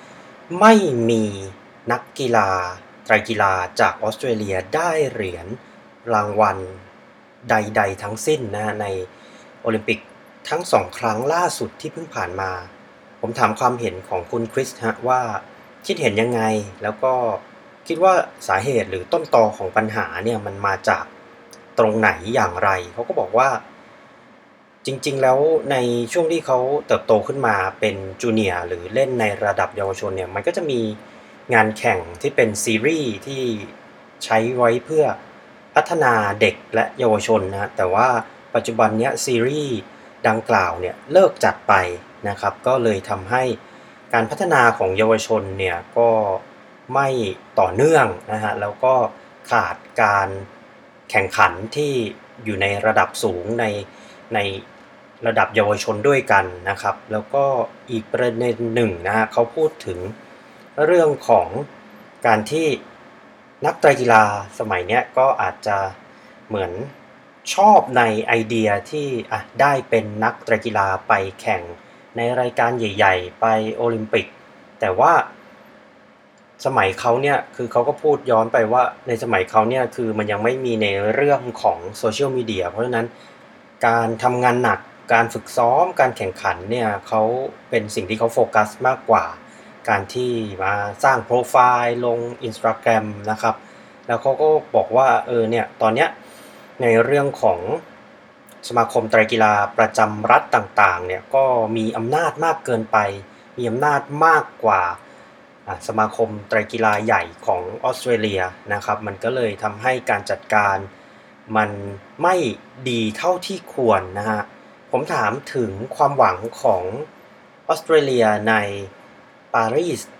ไม่มีนักกีฬาไตรกีฬาจากออสเตรเลียได้เหรียญรางวัลใดๆทั้งสิ้นนะฮะในโอลิมปิกทั้ง2ครั้งล่าสุดที่เพิ่งผ่านมาผมถามความเห็นของคุณคริสฮะว่าคิดเห็นยังไงแล้วก็คิดว่าสาเหตุหรือต้นตอของปัญหาเนี่ยมันมาจากตรงไหนอย่างไรเขาก็บอกว่าจริงๆแล้วในช่วงที่เขาเติบโตขึ้นมาเป็นจูเนียร์หรือเล่นในระดับเยาวชนเนี่ยมันก็จะมีงานแข่งที่เป็นซีรีส์ที่ใช้ไว้เพื่อพัฒนาเด็กและเยาวชนนะแต่ว่าปัจจุบันเนี้ยซีรีส์ดังกล่าวเนี่ยเลิกจัดไปนะครับก็เลยทำให้การพัฒนาของเยาวชนเนี่ยก็ไม่ต่อเนื่องนะฮะแล้วก็ขาดการแข่งขันที่อยู่ในระดับสูงในระดับเยาวชนด้วยกันนะครับแล้วก็อีกประเด็นหนึ่งนะฮะเขาพูดถึงเรื่องของการที่นักไตรกีฬาสมัยเนี้ยก็อาจจะเหมือนชอบในไอเดียที่ได้เป็นนักไตรกีฬาไปแข่งในรายการใหญ่ๆไปโอลิมปิกแต่ว่าสมัยเขาเนี่ยคือเขาก็พูดย้อนไปว่าในสมัยเขาเนี่ยคือมันยังไม่มีในเรื่องของโซเชียลมีเดียเพราะฉะนั้นการทำงานหนักการฝึกซ้อมการแข่งขันเนี่ยเขาเป็นสิ่งที่เขาโฟกัสมากกว่าการที่มาสร้างโปรไฟล์ลง Instagram นะครับแล้วเขาก็บอกว่าเนี่ยตอนเนี้ยในเรื่องของสมาคมไตรกีฬาประจำรัฐต่างๆเนี่ยก็มีอำนาจมากเกินไปมีอำนาจมากกว่าสมาคมไตรกีฬาใหญ่ของออสเตรเลียนะครับมันก็เลยทำให้การจัดการมันไม่ดีเท่าที่ควรนะฮะผมถามถึงความหวังของออสเตรเลียในปารีส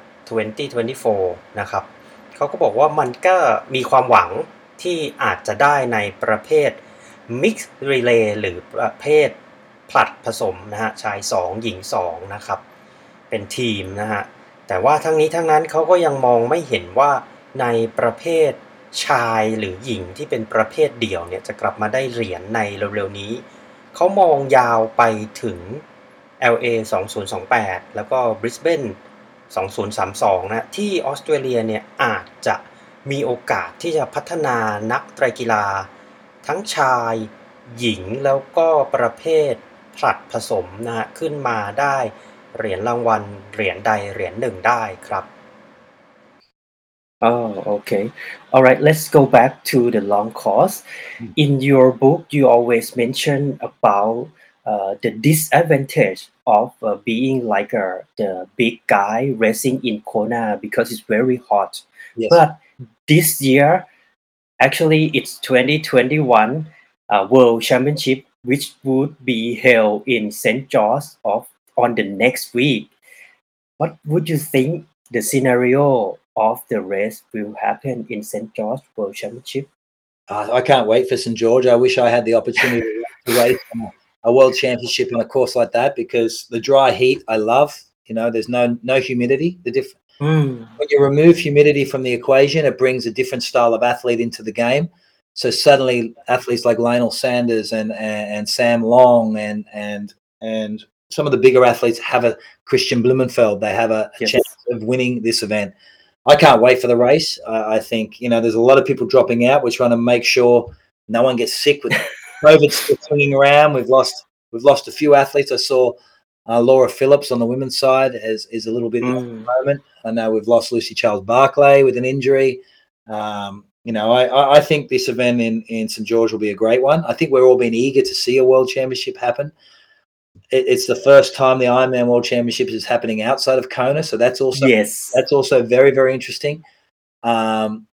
2024นะครับเขาก็บอกว่ามันก็มีความหวังที่อาจจะได้ในประเภท Mixed Relay หรือประเภทผลัดผสมนะฮะชาย2หญิง2นะครับเป็นทีมนะฮะแต่ว่าทั้งนี้ทั้งนั้นเขาก็ยังมองไม่เห็นว่าในประเภทชายหรือหญิงที่เป็นประเภทเดี่ยวเนี่ยจะกลับมาได้เหรียญในเร็วๆนี้เขามองยาวไปถึง LA 2028แล้วก็ Brisbane 2032นะที่ออสเตรเลียเนี่ยอาจจะมีโอกาสที่จะพัฒนานักไตรกีฬาทั้งชายหญิงแล้วก็ประเภทผลัดผสมนะฮะขึ้นมาได้เหรียญรางวัลเหรียญใดเหรียญหนึ่งได้ครับ Oh, okay. All right, let's go back to the long course. In your book, you always mention about the disadvantage of being like the big guy racing in Kona because it's very hot. Yes. But this year, actually, it's 2021 World Championship, which would be held in St. George on the next week. What would you think the scenario of the race will happen in St. George World Championship? I can't wait for St. George. I wish I had the opportunity to race a world championship on a course like that because the dry heat I love. There's no humidity. When you remove humidity from the equation, it brings a different style of athlete into the game. So suddenly athletes like Lionel Sanders and Sam Long and some of the bigger athletes have a Christian Blumenfeld. They have a chance of winning this event. I can't wait for the race. I think, there's a lot of people dropping out. We're trying to make sure no one gets sick with COVID still swinging around. We've lost a few athletes. I saw Laura Phillips on the women's side is a little bit at the moment. I know we've lost Lucy Charles-Barclay with an injury. I think this event in St. George will be a great one. I think we're all been eager to see a world championship happen. It's the first time the Ironman World Championships is happening outside of Kona, so that's also very, very interesting. I'm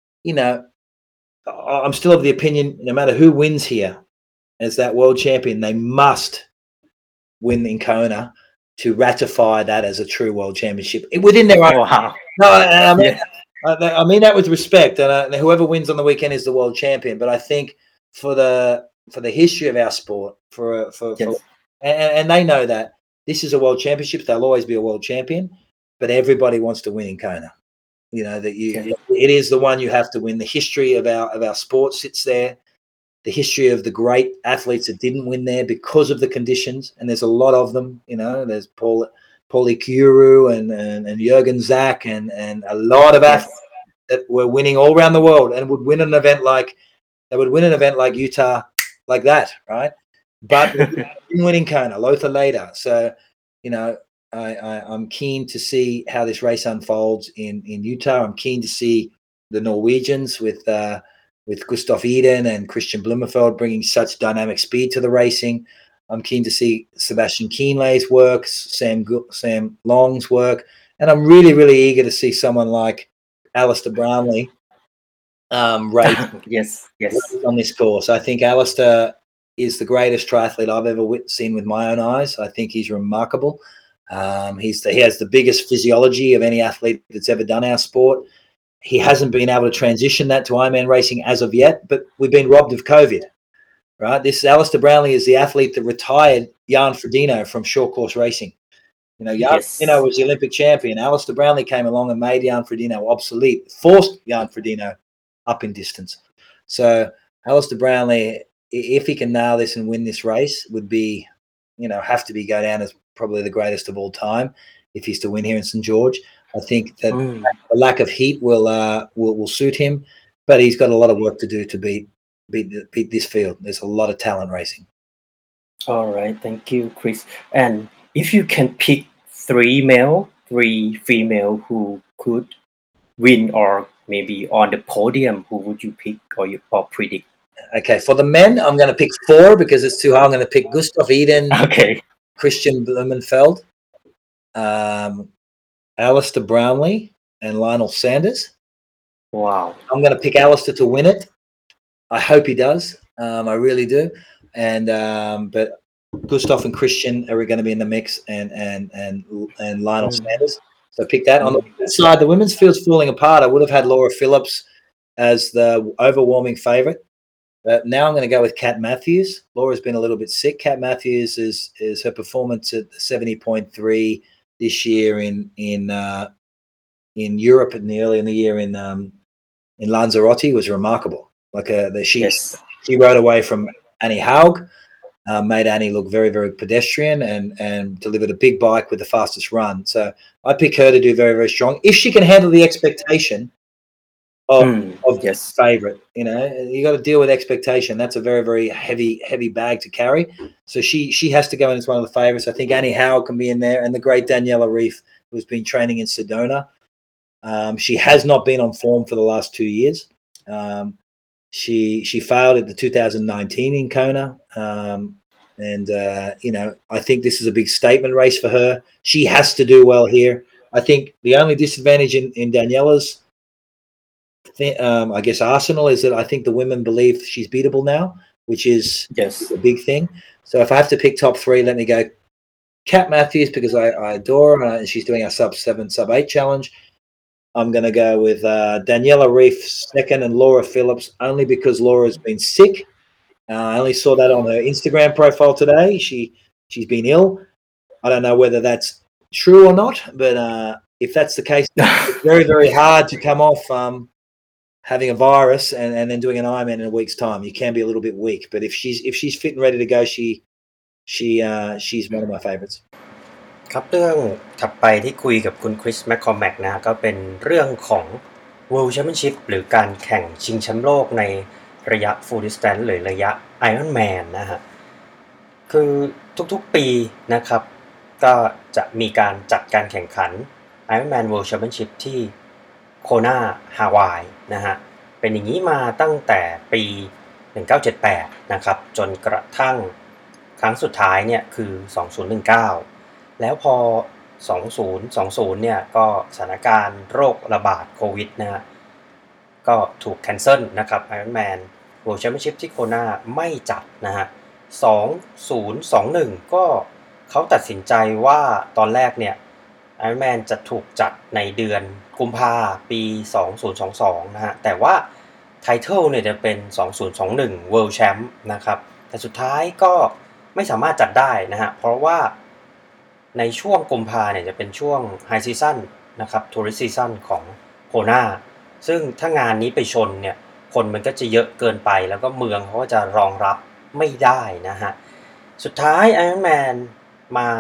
still of the opinion, no matter who wins here as that world champion, they must win in Kona to ratify that as a true world championship within their own. Wow. No, I mean that with respect, and whoever wins on the weekend is the world champion. But I think for the history of our sport, and they know that this is a world championship, they'll always be a world champion, but everybody wants to win in Kona. It is the one you have to win. The history of our sport sits there. The history of the great athletes that didn't win there because of the conditions, and there's a lot of them. There's Paulie Kuru and Jürgen Zach and a lot of athletes that were winning all around the world and would win an event like Utah like that, right? But winning Kona, Lothar later. So, I'm keen to see how this race unfolds in Utah. I'm keen to see the Norwegians with Gustav Iden and Christian Blumenfeld bringing such dynamic speed to the racing. I'm keen to see Sebastian Kienle's work, Sam Long's work, and I'm really, really eager to see someone like Alistair Brownlee race yes on this course. I think Alistair is the greatest triathlete I've ever seen with my own eyes. I think he's remarkable. He has the biggest physiology of any athlete that's ever done our sport. He hasn't been able to transition that to Ironman racing as of yet, but we've been robbed of COVID, right? This Alistair Brownlee is the athlete that retired Jan Frodeno from short course racing. Jan Frodeno was the Olympic champion. Alistair Brownlee came along and made Jan Frodeno obsolete, forced Jan Frodeno up in distance. So Alistair Brownlee, if he can nail this and win this race, would be, have to go down as probably the greatest of all time if he's to win here in St. George. I think that the lack of heat will suit him, but he's got a lot of work to do to beat this field. There's a lot of talent racing. All right, thank you, Chris. And if you can pick 3 male, 3 female who could win or maybe on the podium, who would you pick or predict? Okay, for the men, I'm going to pick 4 because it's too hard. I'm going to pick Gustav Iden, Christian Blumenfeld, Alistair Brownlee, and Lionel Sanders. Wow. I'm going to pick Alistair to win it. I hope he does. I really do. And but Gustav and Christian are going to be in the mix, and Lionel Sanders. So pick that. On the women's side, the women's field's falling apart. I would have had Laura Phillips as the overwhelming favourite. But now I'm going to go with Kat Matthews. Laura's been a little bit sick. Kat Matthews is her performance at 70.3 this year in Europe early in the year in Lanzarote was remarkable. She rode away from Annie Haug, made Annie look very, very pedestrian and delivered a big bike with the fastest run. So I pick her to do very, very strong. If she can handle the expectation of favorite, you got to deal with expectation. That's a very, very heavy bag to carry. So she has to go in as one of the favorites. I think Annie Howe can be in there, and the great Daniela Reef, who's been training in Sedona. She has not been on form for the last 2 years. She failed at the 2019 in Kona. I think this is a big statement race for her. She has to do well here. I think the only disadvantage in Daniela's arsenal is that I think the women believe she's beatable now, which is a big thing. So if I have to pick top 3, let me go Kat Matthews because I adore her and she's doing our sub-7, sub-8 challenge. I'm going to go with Daniela Reef second and Laura Phillips only because Laura's been sick. I only saw that on her Instagram profile today. She's been ill. I don't know whether that's true or not, but if that's the case, it's very, very hard to come off having a virus and then doing an Ironman in a week's time. You can be a little bit weak, but if she's fit and ready to go, she's one of my favorites. ครับเรื่องถัดไปที่คุยกับคุณคริสแมคคอมแมกนะก็เป็นเรื่องของ World Championship หรือการแข่งชิงแชมป์โลกในระยะ Full Distance หรือระยะ Ironman นะฮะคือทุกๆปีนะครับก็จะมีการจัดการแข่งขัน Ironman World Championship ที่โคนาฮาวายนะฮะเป็นอย่างนี้มาตั้งแต่ปี1978นะครับจนกระทั่งครั้งสุดท้ายเนี่ยคือ2019แล้วพอ2020เนี่ยก็สถานการณ์โรคระบาดโควิดนะฮะก็ถูกแคนเซิลนะครับ Ironman World Championship ที่โคนาไม่จัดนะฮะ2021ก็เขาตัดสินใจว่าตอนแรกเนี่ย Ironman จะถูกจัดในเดือนกุมภาพันธ์ปี2022นะฮะแต่ว่าไทเทิลเนี่ยจะเป็น2021 World Champ นะครับแต่สุดท้ายก็ไม่สามารถจัดได้นะฮะเพราะว่าในช่วงกุมภาพันธ์เนี่ยจะเป็นช่วง High Season นะครับ Tourist Season ของโคนาซึ่งถ้างานนี้ไปชนเนี่ยคนมันก็จะเยอะเกินไปแล้วก็เมืองเขาก็จะรองรับไม่ได้นะฮะสุดท้าย Ironman มา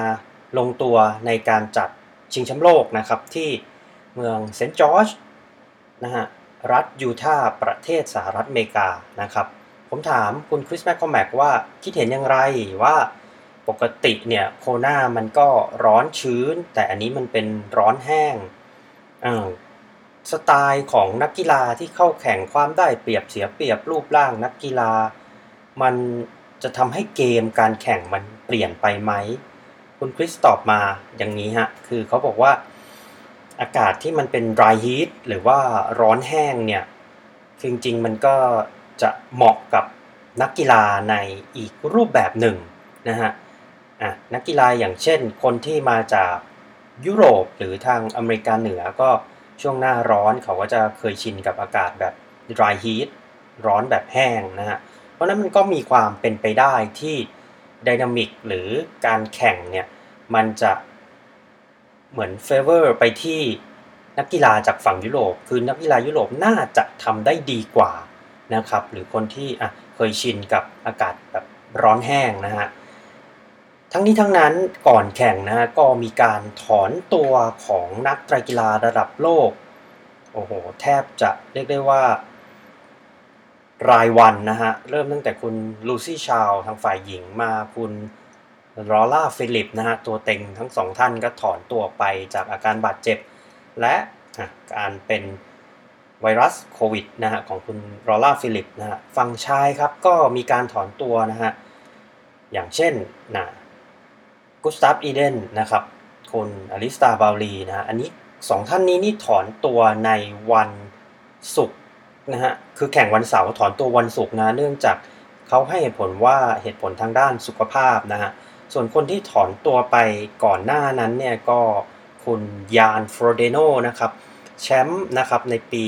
ลงตัวในการจัดชิงแชมป์โลกนะครับที่เมืองเซนต์จอร์จนะฮะรัฐยูทาห์ประเทศสหรัฐอเมริกานะครับผมถามคุณคริสแมคคอมแมกว่าคิดเห็นอย่างไรว่าปกติเนี่ยโคนามันก็ร้อนชื้นแต่อันนี้มันเป็นร้อนแห้งสไตล์ของนักกีฬาที่เข้าแข่งความได้เปรียบเสียเปรียบรูปร่างนักกีฬามันจะทำให้เกมการแข่งมันเปลี่ยนไปไหมคุณคริสตอบมาอย่างนี้ฮะคือเขาบอกว่าอากาศที่มันเป็น dry heat หรือว่าร้อนแห้งเนี่ยจริงๆมันก็จะเหมาะกับนักกีฬาในอีกรูปแบบหนึ่งนะฮะนักกีฬาอย่างเช่นคนที่มาจากยุโรปหรือทางอเมริกาเหนือก็ช่วงหน้าร้อนเขาก็จะเคยชินกับอากาศแบบ dry heat ร้อนแบบแห้งนะฮะเพราะนั้นมันก็มีความเป็นไปได้ที่ไดนามิกหรือการแข่งเนี่ยมันจะเหมือนเฟเวอร์ไปที่นักกีฬาจากฝั่งยุโรปคือนักกีฬายุโรปน่าจะทำได้ดีกว่านะครับหรือคนที่เคยชินกับอากาศแบบร้อนแห้งนะฮะทั้งนี้ทั้งนั้นก่อนแข่งนะฮะก็มีการถอนตัวของนักไตรกีฬาระดับโลกโอ้โหแทบจะเรียกได้ว่ารายวันนะฮะเริ่มตั้งแต่คุณลูซี่ชาวทางฝ่ายหญิงมาคุณลอร่าฟิลิปนะฮะตัวเต็งทั้งสองท่านก็ถอนตัวไปจากอาการบาดเจ็บและการเป็นไวรัสโควิดนะฮะของคุณลอร่าฟิลิปนะฮะฝั่งชายครับก็มีการถอนตัวนะฮะอย่างเช่นกุสตาฟอีเดนนะครับคุณอลิสตาบาลีนะฮะอันนี้สองท่านนี้นี่ถอนตัวในวันศุกร์นะฮะคือแข่งวันเสาร์ถอนตัววันศุกร์นะเนื่องจากเขาให้เหตุผลว่าเหตุผลทางด้านสุขภาพนะฮะส่วนคนที่ถอนตัวไปก่อนหน้านั้นเนี่ยก็คุณยานฟรอเดโนนะครับแชมป์นะครับในปี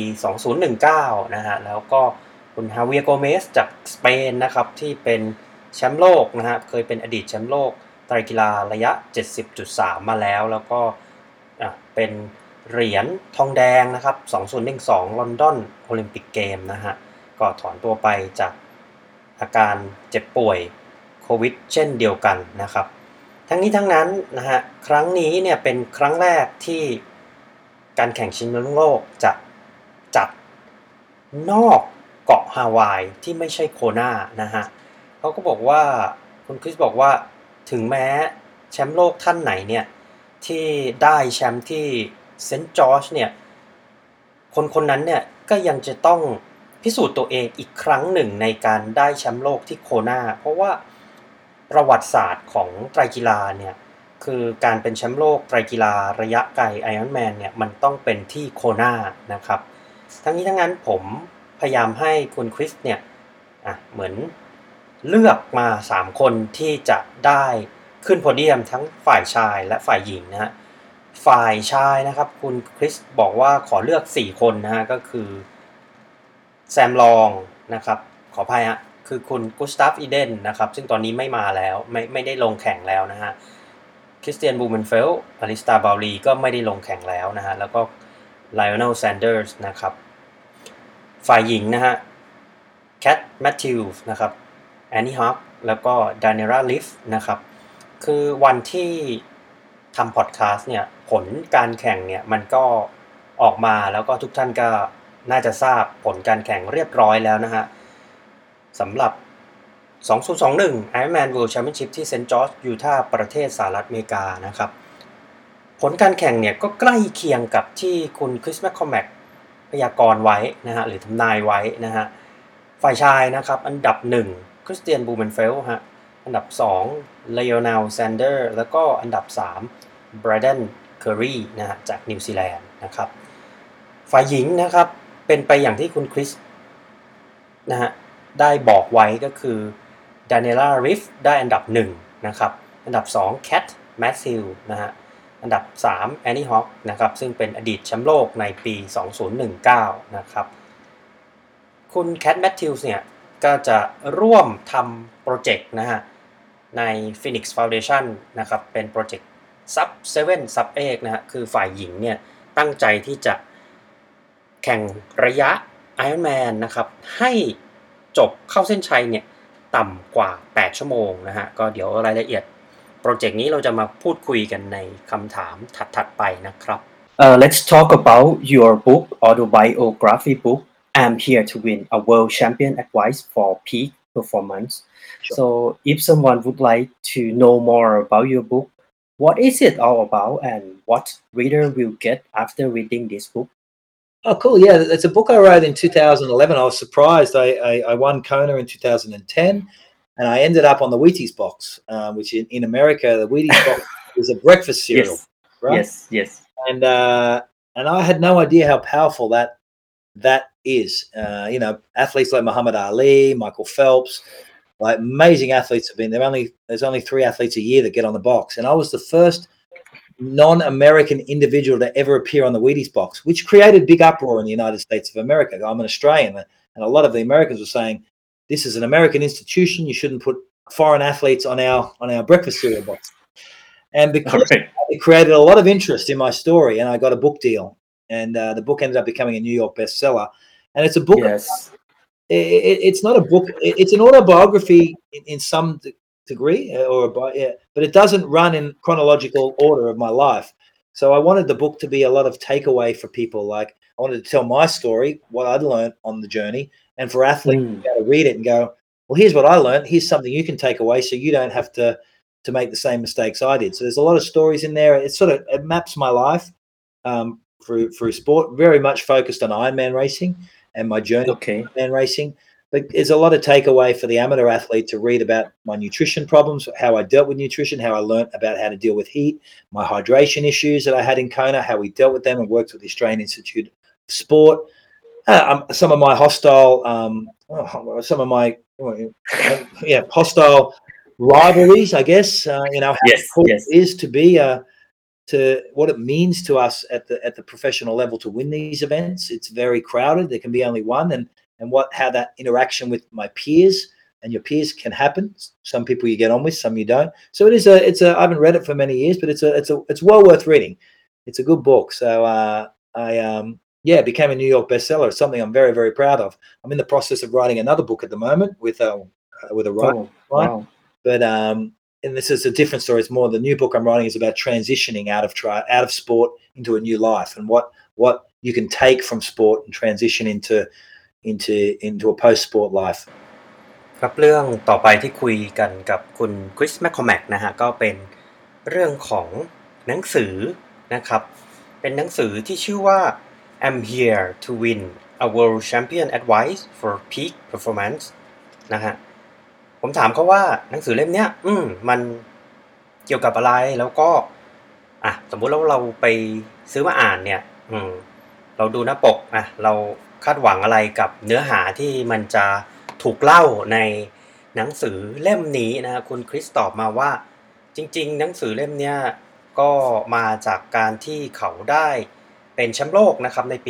2019 นะฮะแล้วก็คุณฮาเวียโกเมสจากสเปนนะครับที่เป็นแชมป์โลกนะฮะเคยเป็นอดีตแชมป์โลกไตรกีฬาระยะ 70.3 มาแล้วก็เป็นเหรียญทองแดงนะครับ 2012 ลอนดอนโอลิมปิกเกมนะฮะก็ถอนตัวไปจากอาการเจ็บป่วยโควิดเช่นเดียวกันนะครับทั้งนี้ทั้งนั้นนะฮะครั้งนี้เนี่ยเป็นครั้งแรกที่การแข่งชิงแชมป์โลกจะจัดนอกเกาะฮาวายที่ไม่ใช่โคนานะฮะเขาก็บอกว่าคุณคริสบอกว่าถึงแม้แชมป์โลกท่านไหนเนี่ยที่ได้แชมป์ที่เซนต์จอร์จเนี่ยคนนั้นเนี่ยก็ยังจะต้องพิสูจน์ตัวเองอีกครั้งหนึ่งในการได้แชมป์โลกที่โคนาเพราะว่าประวัติศาสตร์ของไตรกีฬาเนี่ยคือการเป็นแชมป์โลกไตรกีฬาระยะไกลไอรอนแมนเนี่ยมันต้องเป็นที่โคนานะครับทั้งนี้ทั้งนั้นผมพยายามให้คุณคริสเนี่ยเหมือนเลือกมา3คนที่จะได้ขึ้นโพเดียมทั้งฝ่ายชายและฝ่ายหญิงนะฮะฝ่ายชายนะครับคุณคริสบอกว่าขอเลือก4คนนะฮะก็คือแซมลองนะครับขออภัยฮะคือคุณกุสตาฟอีเดนนะครับซึ่งตอนนี้ไม่มาแล้วไม่ได้ลงแข่งแล้วนะฮะคริสเตียนบูเมนเฟลอลิสตาบาลีก็ไม่ได้ลงแข่งแล้วนะฮะแล้วก็ไลออนเนลแซนเดอร์สนะครับฝ่ายหญิงนะฮะแคทแมทธิวส์นะครับแอนนี่ฮอคแล้วก็ดานิราลิฟนะครับคือวันที่ทำพอดแคสต์เนี่ยผลการแข่งเนี่ยมันก็ออกมาแล้วก็ทุกท่านก็น่าจะทราบผลการแข่งเรียบร้อยแล้วนะฮะสำหรับ 2021 Ironman World Championship ที่เซนต์จอร์จยูทาห์ประเทศสหรัฐอเมริกานะครับผลการแข่งเนี่ยก็ใกล้เคียงกับที่คุณคริสแมคคอมแมกพยากรณ์ไว้นะฮะหรือทำนายไว้นะฮะฝ่ายชายนะครับอันดับ1คริสเตียนบูเมนเฟลฮะอันดับ2เลโอเนลแซนเดอร์แล้วก็อันดับ3ไบรเดนเคอรีนะฮะจากนิวซีแลนด์นะครับฝ่ายหญิงนะครับเป็นไปอย่างที่คุณคริสนะฮะได้บอกไว้ก็คือดานิล่าริฟได้อันดับ1นะครับอันดับ2แคทแมทธิวนะฮะอันดับ3แอนนี่ฮอคนะครับซึ่งเป็นอดีตแชมป์โลกในปี 2019 นะครับคุณแคทแมทธิวส์เนี่ยก็จะร่วมทำโปรเจกต์นะฮะใน Phoenix Foundation นะครับเป็นโปรเจกต์ Sub 7 Sub 8นะฮะคือฝ่ายหญิงเนี่ยตั้งใจที่จะแข่งระยะ Ironman นะครับให้จบเข้าเส้นชัยเนี่ยต่ำกว่า8ชั่วโมงนะฮะก็เดี๋ยวรายละเอียดโปรเจกต์นี้เราจะมาพูดคุยกันในคำถามถัดๆไปนะครับ Let's talk about your book, autobiography book. I'm here to win a world champion advice for peak performance. Sure. So, if someone would like to know more about your book, what is it all about, and what reader will get after reading this book? Oh, cool. Yeah, it's a book I wrote in 2011. I was surprised. I won Kona in 2010, and I ended up on the Wheaties box, which in America, the Wheaties box is a breakfast cereal, Yes, right? yes. And I had no idea how powerful that is. Athletes like Muhammad Ali, Michael Phelps, like amazing athletes have been there. There's only 3 athletes a year that get on the box, and I was the first non-American individual to ever appear on the Wheaties box, which created big uproar in the United States of America. I'm an Australian, and a lot of the Americans were saying, "This is an American institution. You shouldn't put foreign athletes on our breakfast cereal box." And because Alright. it created a lot of interest in my story, and I got a book deal, and the book ended up becoming a New York bestseller. And it's a book. Yes. It's not a book. It's an autobiography in some degree, but it doesn't run in chronological order of my life. So I wanted the book to be a lot of takeaway for people. Like I wanted to tell my story, what I'd learned on the journey, and for athletes to be able to read it and go, "Well, here's what I learned. Here's something you can take away, so you don't have to make the same mistakes I did." So there's a lot of stories in there. It maps my life through sport, very much focused on Ironman racing and my journey Okay. in Ironman racing. But there's a lot of takeaway for the amateur athlete to read about my nutrition problems, how I dealt with nutrition, how I learned about how to deal with heat, my hydration issues that I had in Kona, how we dealt with them and worked with the Australian Institute of Sport. Some of my hostile hostile rivalries, I guess. How Yes, important yes. it is to be to what it means to us at the professional level to win these events. It's very crowded. There can be only one, and how that interaction with my peers and your peers can happen. Some people you get on with, some you don't. So I haven't read it for many years, but it's well worth reading. It's a good book. So it became a New York bestseller. It's something I'm very, very proud of. I'm in the process of writing another book at the moment with a writer. Oh, wow. But and this is a different story. It's more the new book I'm writing is about transitioning out of sport into a new life, and what you can take from sport and transition into a post-sport life. ครับเรื่องต่อไปที่คุยกันกับคุณคริสแมคคอแมกนะฮะก็เป็นเรื่องของหนังสือนะครับเป็นหนังสือที่ชื่อว่า I'm Here to Win a World Champion Advice for Peak Performance นะฮะผมถามเขาว่าหนังสือเล่มเนี้ยมันเกี่ยวกับอะไรแล้วก็สมมุติเราไปซื้อมาอ่านเนี่ยเราดูหน้าปกเราคาดหวังอะไรกับเนื้อหาที่มันจะถูกเล่าในหนังสือเล่มนี้นะคุณคริสตอบมาว่าจริงๆหนังสือเล่มเนี้ยก็มาจากการที่เขาได้เป็นแชมป์โลกนะครับในปี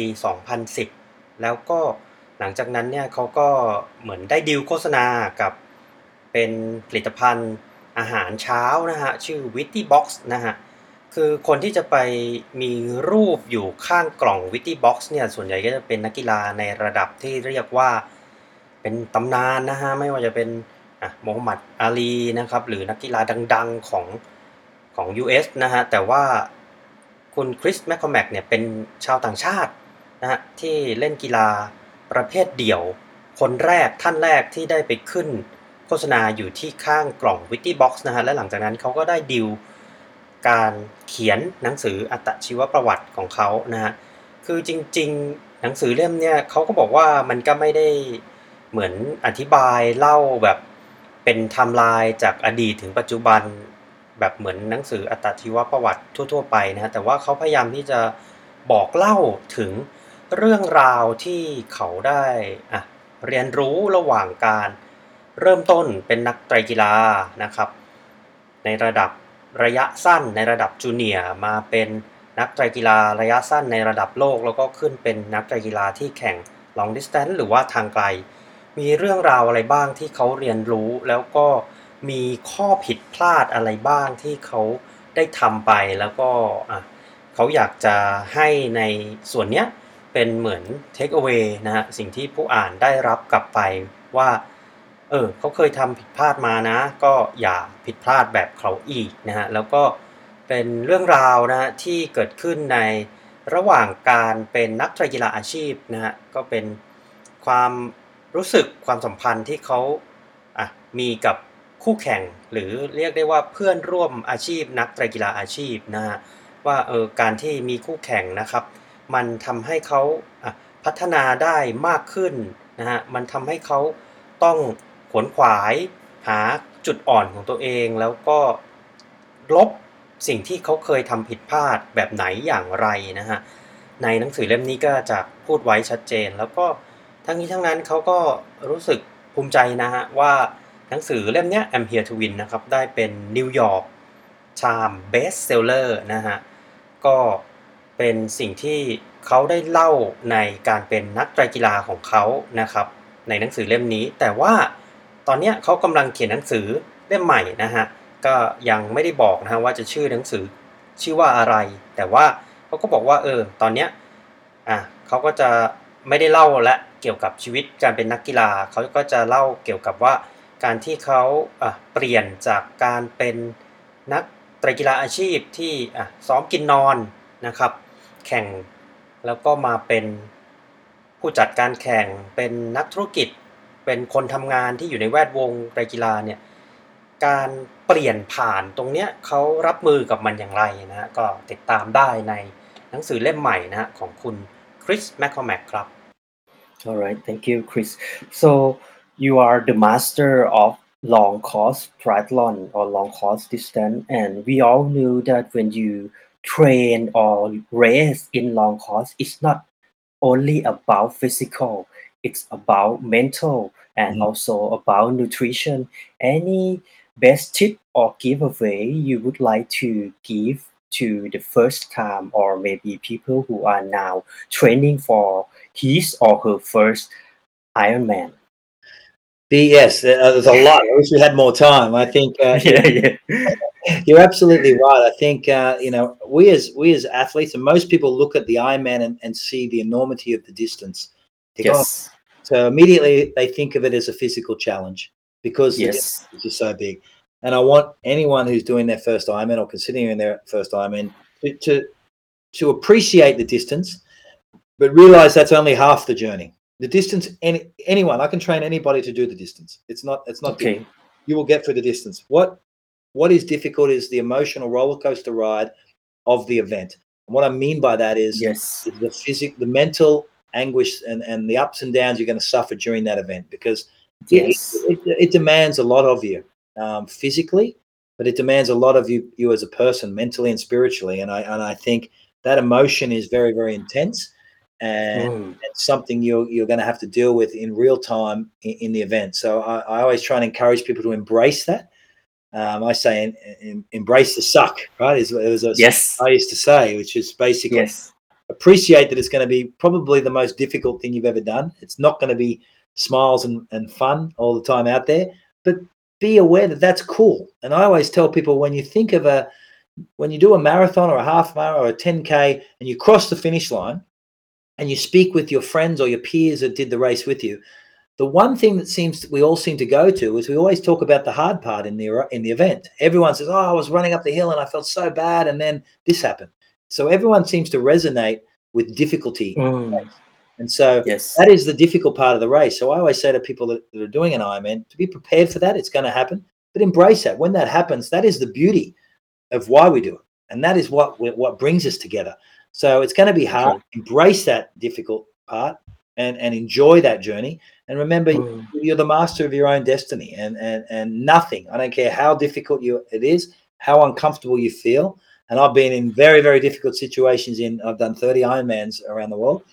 2010 แล้วก็หลังจากนั้นเนี่ยเขาก็เหมือนได้ดีลโฆษณากับเป็นผลิตภัณฑ์อาหารเช้านะฮะชื่อ Witty Box นะฮะคือคนที่จะไปมีรูปอยู่ข้างกล่อง Witty Box เนี่ยส่วนใหญ่ก็จะเป็นนักกีฬาในระดับที่เรียกว่าเป็นตำนานนะฮะไม่ว่าจะเป็นโมฮัมหมัดอาลีนะครับหรือนักกีฬาดังๆของ US นะฮะแต่ว่าคุณคริสแมคคอแมกเนี่ยเป็นชาวต่างชาตินะฮะที่เล่นกีฬาประเภทเดี่ยวท่านแรกที่ได้ไปขึ้นโฆษณาอยู่ที่ข้างกล่อง Witty Box นะฮะและหลังจากนั้นเขาก็ได้ดีลการเขียนหนังสืออัตชีวประวัติของเขานะฮะคือจริงๆหนังสือเล่มเนี่ยเขาก็บอกว่ามันก็ไม่ได้เหมือนอธิบายเล่าแบบเป็นไทม์ไลน์จากอดีตถึงปัจจุบันแบบเหมือนหนังสืออัตชีวประวัติทั่วๆไปนะฮะแต่ว่าเขาพยายามที่จะบอกเล่าถึงเรื่องราวที่เขาได้เรียนรู้ระหว่างการเริ่มต้นเป็นนักไตรกีฬานะครับในระดับระยะสั้นในระดับจูเนียร์มาเป็นนักไตรกีฬาระยะสั้นในระดับโลกแล้วก็ขึ้นเป็นนักไตรกีฬาที่แข่ง long distance หรือว่าทางไกลมีเรื่องราวอะไรบ้างที่เขาเรียนรู้แล้วก็มีข้อผิดพลาดอะไรบ้างที่เขาได้ทำไปแล้วก็เขาอยากจะให้ในส่วนเนี้ยเป็นเหมือน take away นะฮะสิ่งที่ผู้อ่านได้รับกลับไปว่าเขาเคยทำผิดพลาดมานะก็อย่าผิดพลาดแบบเขาอีกนะฮะแล้วก็เป็นเรื่องราวนะฮะที่เกิดขึ้นในระหว่างการเป็นนักไตรกีฬาอาชีพนะฮะก็เป็นความรู้สึกความสัมพันธ์ที่เขามีกับคู่แข่งหรือเรียกได้ว่าเพื่อนร่วมอาชีพนักไตรกีฬาอาชีพนะฮะว่าการที่มีคู่แข่งนะครับมันทำให้เขาพัฒนาได้มากขึ้นนะฮะมันทำให้เขาต้องขวนขวายหาจุดอ่อนของตัวเองแล้วก็ลบสิ่งที่เขาเคยทำผิดพลาดแบบไหนอย่างไรนะฮะในหนังสือเล่มนี้ก็จะพูดไว้ชัดเจนแล้วก็ทั้งนี้ทั้งนั้นเขาก็รู้สึกภูมิใจนะฮะว่าหนังสือเล่มนี้ I'm Here to Win นะครับได้เป็น New York Times Bestseller นะฮะก็เป็นสิ่งที่เขาได้เล่าในการเป็นนักไตรกีฬาของเขานะครับในหนังสือเล่มนี้แต่ว่าตอนนี้เขากำลังเขียนหนังสือเล่มใหม่นะฮะก็ยังไม่ได้บอกนะฮะว่าจะชื่อหนังสือชื่อว่าอะไรแต่ว่าเขาก็บอกว่าตอนเนี้ยเขาก็จะไม่ได้เล่าและเกี่ยวกับชีวิตการเป็นนักกีฬาเขาก็จะเล่าเกี่ยวกับว่าการที่เขาเปลี่ยนจากการเป็นนักไตรกีฬาอาชีพที่ซ้อมกินนอนนะครับแข่งแล้วก็มาเป็นผู้จัดการแข่งเป็นนักธุรกิจเป็นคนทำงานที่อยู่ในแวดวงไตรกีฬาเนี่ยการเปลี่ยนผ่านตรงเนี้ยเขารับมือกับมันอย่างไรนะฮะก็ติดตามได้ในหนังสือเล่มใหม่นะฮะของคุณคริสแมคคอแมกครับ Alright, thank you, Chris. So you are the master of long course triathlon or long course distance, and we all knew that when you train or race in long course, it's not only about physical, it's about mental and also about nutrition. Any best tip or giveaway you would like to give to the first time or maybe people who are now training for his or her first Ironman? Yes, there's a lot. I wish we had more time. I think Yeah. you're absolutely right. I think we as athletes, and most people look at the Ironman and see the enormity of the distance. They go, Yes. so immediately they think of it as a physical challenge because the Yes. distance is so big. And I want anyone who's doing their first Ironman or considering their first Ironman to appreciate the distance, but realize that's only half the journey. The distance, anyone, I can train anybody to do the distance. It's not Okay. difficult. You will get through the distance. What is difficult is the emotional roller coaster ride of the event. And what I mean by that is Yes. the mental anguish and the ups and downs you're going to suffer during that event, because Yes. it demands a lot of you physically, but it demands a lot of you as a person, mentally and spiritually. And I think that emotion is very, very intense. And it's something you're going to have to deal with in real time in the event. So I always try and encourage people to embrace that. I say embrace the suck, right? It was Yes. I used to say, which is basically Yes. appreciate that it's going to be probably the most difficult thing you've ever done. It's not going to be smiles and fun all the time out there, but be aware that that's cool. And I always tell people, when you think of when you do a marathon or a half marathon or a 10K and you cross the finish line, and you speak with your friends or your peers that did the race with you, the one thing that we all seem to go to is we always talk about the hard part in the event. Everyone says, "Oh, I was running up the hill and I felt so bad, and then this happened." So everyone seems to resonate with difficulty, and so Yes. that is the difficult part of the race. So I always say to people that are doing an Ironman to be prepared for that. It's going to happen, but embrace that. When that happens, that is the beauty of why we do it, and that is what brings us together. So it's going to be hard. Okay. Embrace that difficult part and enjoy that journey. And remember, you're the master of your own destiny, and nothing, I don't care how difficult it is, how uncomfortable you feel. And I've been in very, very difficult situations I've done 30 Ironmans around the world.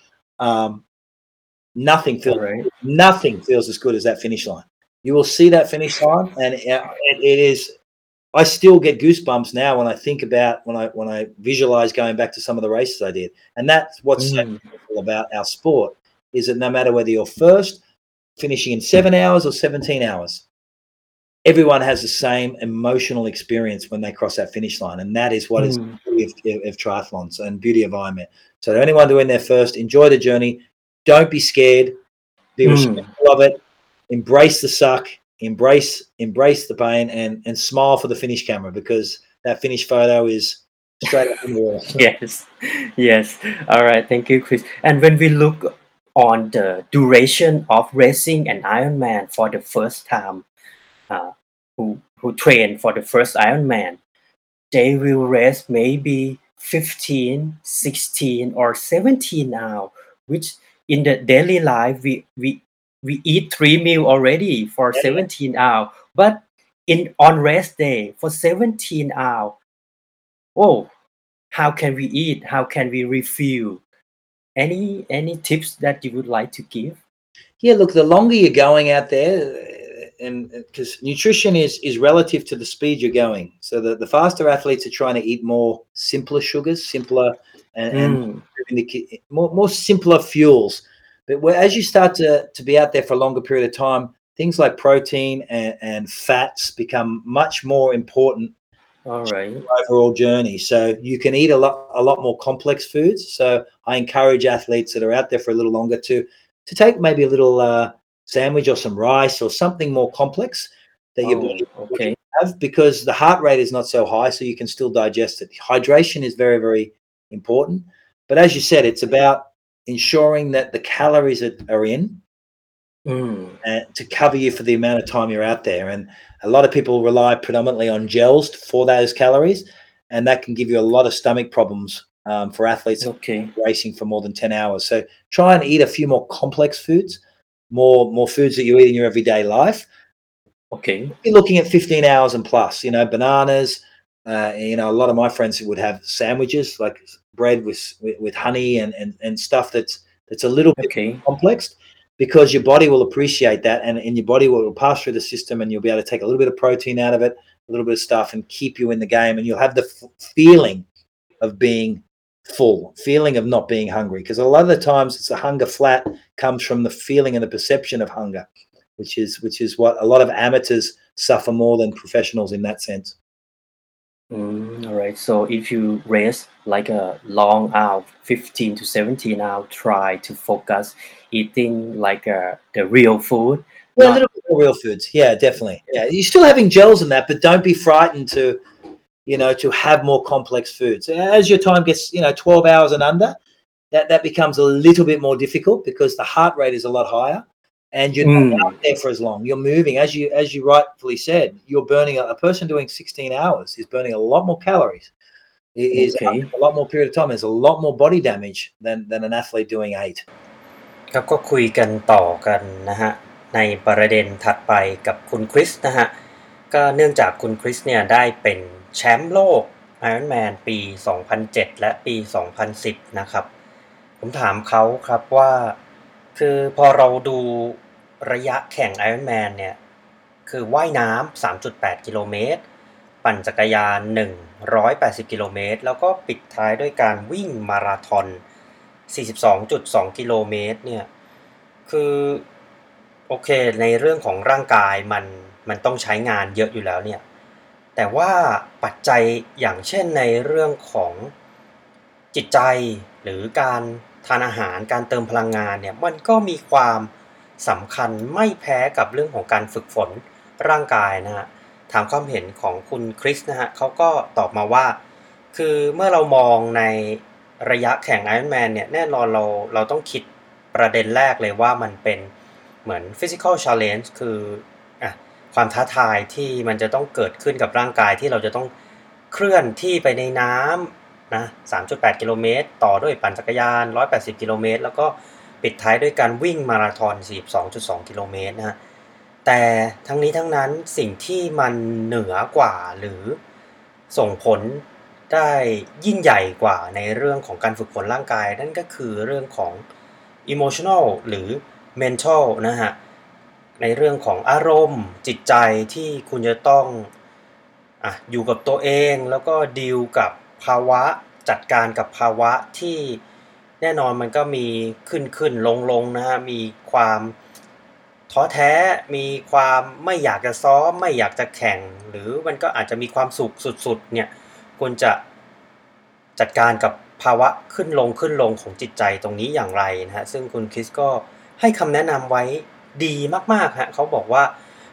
Nothing feels as good as that finish line. You will see that finish line, and it is, I still get goosebumps now when I think about when I visualize going back to some of the races I did. And that's what's so beautiful about our sport, is that no matter whether you're first, finishing in 7 hours or 17 hours, everyone has the same emotional experience when they cross that finish line. And that is what is the beauty of triathlons and beauty of Ironman. So to anyone doing their first, enjoy the journey. Don't be scared. Be respectful of it. Embrace the suck. embrace the pain and smile for the finish camera, because that finish photo is straight up in the wall. Yes. All right. Thank you, Chris. And when we look on the duration of racing an Ironman for the first time, who train for the first Ironman, they will race maybe 15, 16, or 17 hours, which in the daily life we eat 3 meal already for 17 hours, but on race day for 17 hours, how can we eat? How can we refuel? Any tips that you would like to give? Yeah, look, the longer you're going out there, and because nutrition is relative to the speed you're going, so the faster athletes are trying to eat more simpler sugars, simpler and more simpler fuels. But as you start to be out there for a longer period of time, things like protein and fats become much more important. All right. Overall journey. So you can eat a lot more complex foods. So I encourage athletes that are out there for a little longer to take maybe a little sandwich or some rice or something more complex that your body can have, because the heart rate is not so high, so you can still digest it. Hydration is very, very important. But as you said, it's about ensuring that the calories are in to cover you for the amount of time you're out there. And a lot of people rely predominantly on gels for those calories, and that can give you a lot of stomach problems for athletes racing for more than 10 hours. So try and eat a few more complex foods, more foods that you eat in your everyday life. Okay. You're looking at 15 hours and plus, bananas. A lot of my friends would have sandwiches, like bread with honey and stuff that's a little bit complex, because your body will appreciate that, and your body will pass through the system, and you'll be able to take a little bit of protein out of it, a little bit of stuff, and keep you in the game, and you'll have the feeling of being full, feeling of not being hungry, because a lot of the times it's a hunger flat comes from the feeling and the perception of hunger, which is what a lot of amateurs suffer more than professionals in that sense. All right. So if you race like a long hour, 15 to 17 hours, try to focus eating like the real food. Yeah, a little bit more real foods. Yeah, definitely. Yeah, you're still having gels and that, but don't be frightened to have more complex foods. As your time gets, 12 hours and under, that becomes a little bit more difficult, because the heart rate is a lot higher, and you're not out there for as long. You're moving, as you rightfully said. You're burning a person doing 16 hours is burning a lot more calories. It is a lot more period of time. There's a lot more body damage than an athlete doing 8. ครับก็คุยกันต่อกันนะฮะในประเด็นถัดไปกับคุณคริสนะฮะก็เนื่องจากคุณคริสเนี่ยได้เป็นแชมป์โลก Ironman ปี 2007 และปี 2010 นะครับผมถามเขาครับว่าคือพอเราดูระยะแข่ง Ironman เนี่ยคือว่ายน้ำ 3.8 กิโลเมตรปั่นจักรยาน 180 กิโลเมตรแล้วก็ปิดท้ายด้วยการวิ่งมาราธอน 42.2 กิโลเมตรเนี่ยคือโอเคในเรื่องของร่างกายมันต้องใช้งานเยอะอยู่แล้วเนี่ยแต่ว่าปัจจัยอย่างเช่นในเรื่องของจิตใจหรือการทานอาหารการเติมพลังงานเนี่ยมันก็มีความสำคัญไม่แพ้กับเรื่องของการฝึกฝนร่างกายนะฮะถามความเห็นของคุณคริสนะฮะเขาก็ตอบมาว่าคือเมื่อเรามองในระยะแข่ง Ironman เนี่ยแน่นอนเราต้องคิดประเด็นแรกเลยว่ามันเป็นเหมือน physical challenge คือความท้าทายที่มันจะต้องเกิดขึ้นกับร่างกายที่เราจะต้องเคลื่อนที่ไปในน้ำนะ 3.8 กิโลเมตรต่อด้วยปั่นจักรยาน 180 กิโลเมตรแล้วก็ปิดท้ายด้วยการวิ่งมาราธอน 42.2 กิโลเมตรนะฮะแต่ทั้งนี้ทั้งนั้นสิ่งที่มันเหนือกว่าหรือส่งผลได้ยิ่งใหญ่กว่าในเรื่องของการฝึกฝนร่างกายนั่นก็คือเรื่องของ emotional หรือ mental นะฮะในเรื่องของอารมณ์จิตใจที่คุณจะต้องอยู่กับตัวเองแล้วก็ดีลกับภาวะจัดการกับภาวะที่แน่นอนมันก็มีขึ้นลงนะฮะมีความท้อแท้มีความไม่อยากจะซ้อมไม่อยากจะแข่งหรือมันก็อาจจะมีความสุขสุดๆเนี่ยควรจะจัดการกับภาวะขึ้นลงของจิตใจตรงนี้อย่างไรนะฮะซึ่งคุณคริสก็ให้คำแนะนำไว้ดีมากๆฮะเขาบอกว่า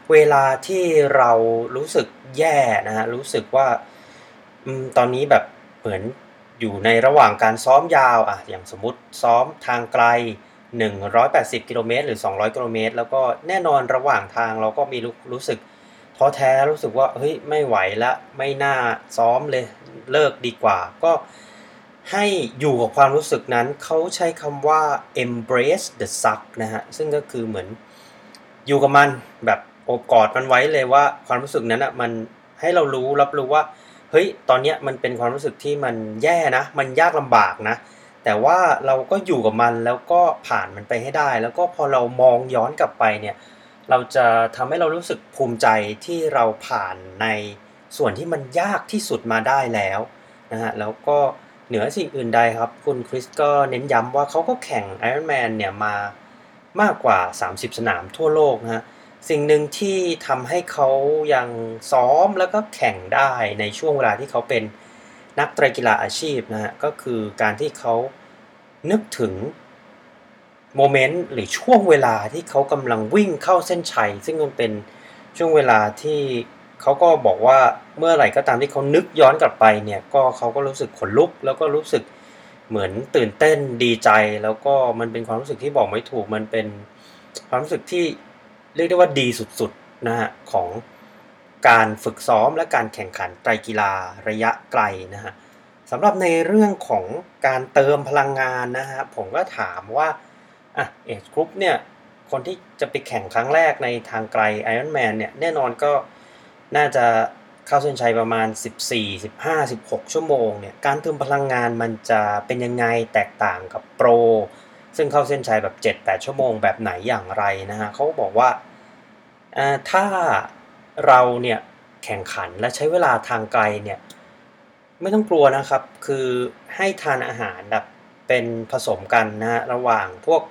เวลาที่เรารู้สึกแย่นะฮะรู้สึกว่าตอนนี้แบบเหมือนอยู่ในระหว่างการซ้อมยาวอย่างสมมุติซ้อมทางไกล180กิโลเมตรหรือ200กิโลเมตรแล้วก็แน่นอนระหว่างทางเราก็มีรู้สึกท้อแท้รู้สึกว่าเฮ้ยไม่ไหวแล้วไม่น่าซ้อมเลยเลิกดีกว่าก็ให้อยู่กับความรู้สึกนั้นเขาใช้คำว่า embrace the suck นะฮะซึ่งก็คือเหมือนอยู่กับมันแบบโอบกอดมันไว้เลยว่าความรู้สึกนั้นน่ะมันให้เรารับรู้ว่าเฮ้ยตอนเนี้ยมันเป็นความรู้สึกที่มันแย่นะมันยากลำบากนะแต่ว่าเราก็อยู่กับมันแล้วก็ผ่านมันไปให้ได้แล้วก็พอเรามองย้อนกลับไปเนี่ยเราจะทำให้เรารู้สึกภูมิใจที่เราผ่านในส่วนที่มันยากที่สุดมาได้แล้วนะฮะแล้วก็เหนือสิ่งอื่นใดครับคุณคริสก็เน้นย้ำว่าเขาก็แข่ง Ironman เนี่ยมามากกว่า30สนามทั่วโลกนะฮะสิ่งหนึ่งที่ทำให้เขายังซ้อมแล้วก็แข่งได้ในช่วงเวลาที่เขาเป็นนักไตรกีฬาอาชีพนะฮะก็คือการที่เขานึกถึงโมเมนต์หรือช่วงเวลาที่เขากำลังวิ่งเข้าเส้นชัยซึ่งมันเป็นช่วงเวลาที่เขาก็บอกว่าเมื่อไหร่ก็ตามที่เขานึกย้อนกลับไปเนี่ยก็เขาก็รู้สึกขนลุกแล้วก็รู้สึกเหมือนตื่นเต้นดีใจแล้วก็มันเป็นความรู้สึกที่บอกไม่ถูกมันเป็นความรู้สึกที่เรียกได้ว่าดีสุดๆนะฮะของการฝึกซ้อมและการแข่งขันไตรกีฬาระยะไกลนะฮะสำหรับในเรื่องของการเติมพลังงานนะฮะผมก็ถามว่าเอจกรุ๊ปเนี่ยคนที่จะไปแข่งครั้งแรกในทางไกล Ironman เนี่ยแน่นอนก็น่าจะเข้าเส้นชัยประมาณ14 15 16ชั่วโมงเนี่ยการเติมพลังงานมันจะเป็นยังไงแตกต่างกับโปรซึ่งเข้าเส้นชัยแบบ 7-8 ชั่วโมงแบบไหนอย่างไรนะฮะเขาบอกว่าถ้าเราเนี่ยแข่งขันและใช้เวลาทางไกลเนี่ยไม่ต้องกลัวนะครับคือให้ทานอาหารแบบเป็นผสมกันนะฮะระหว่างพวก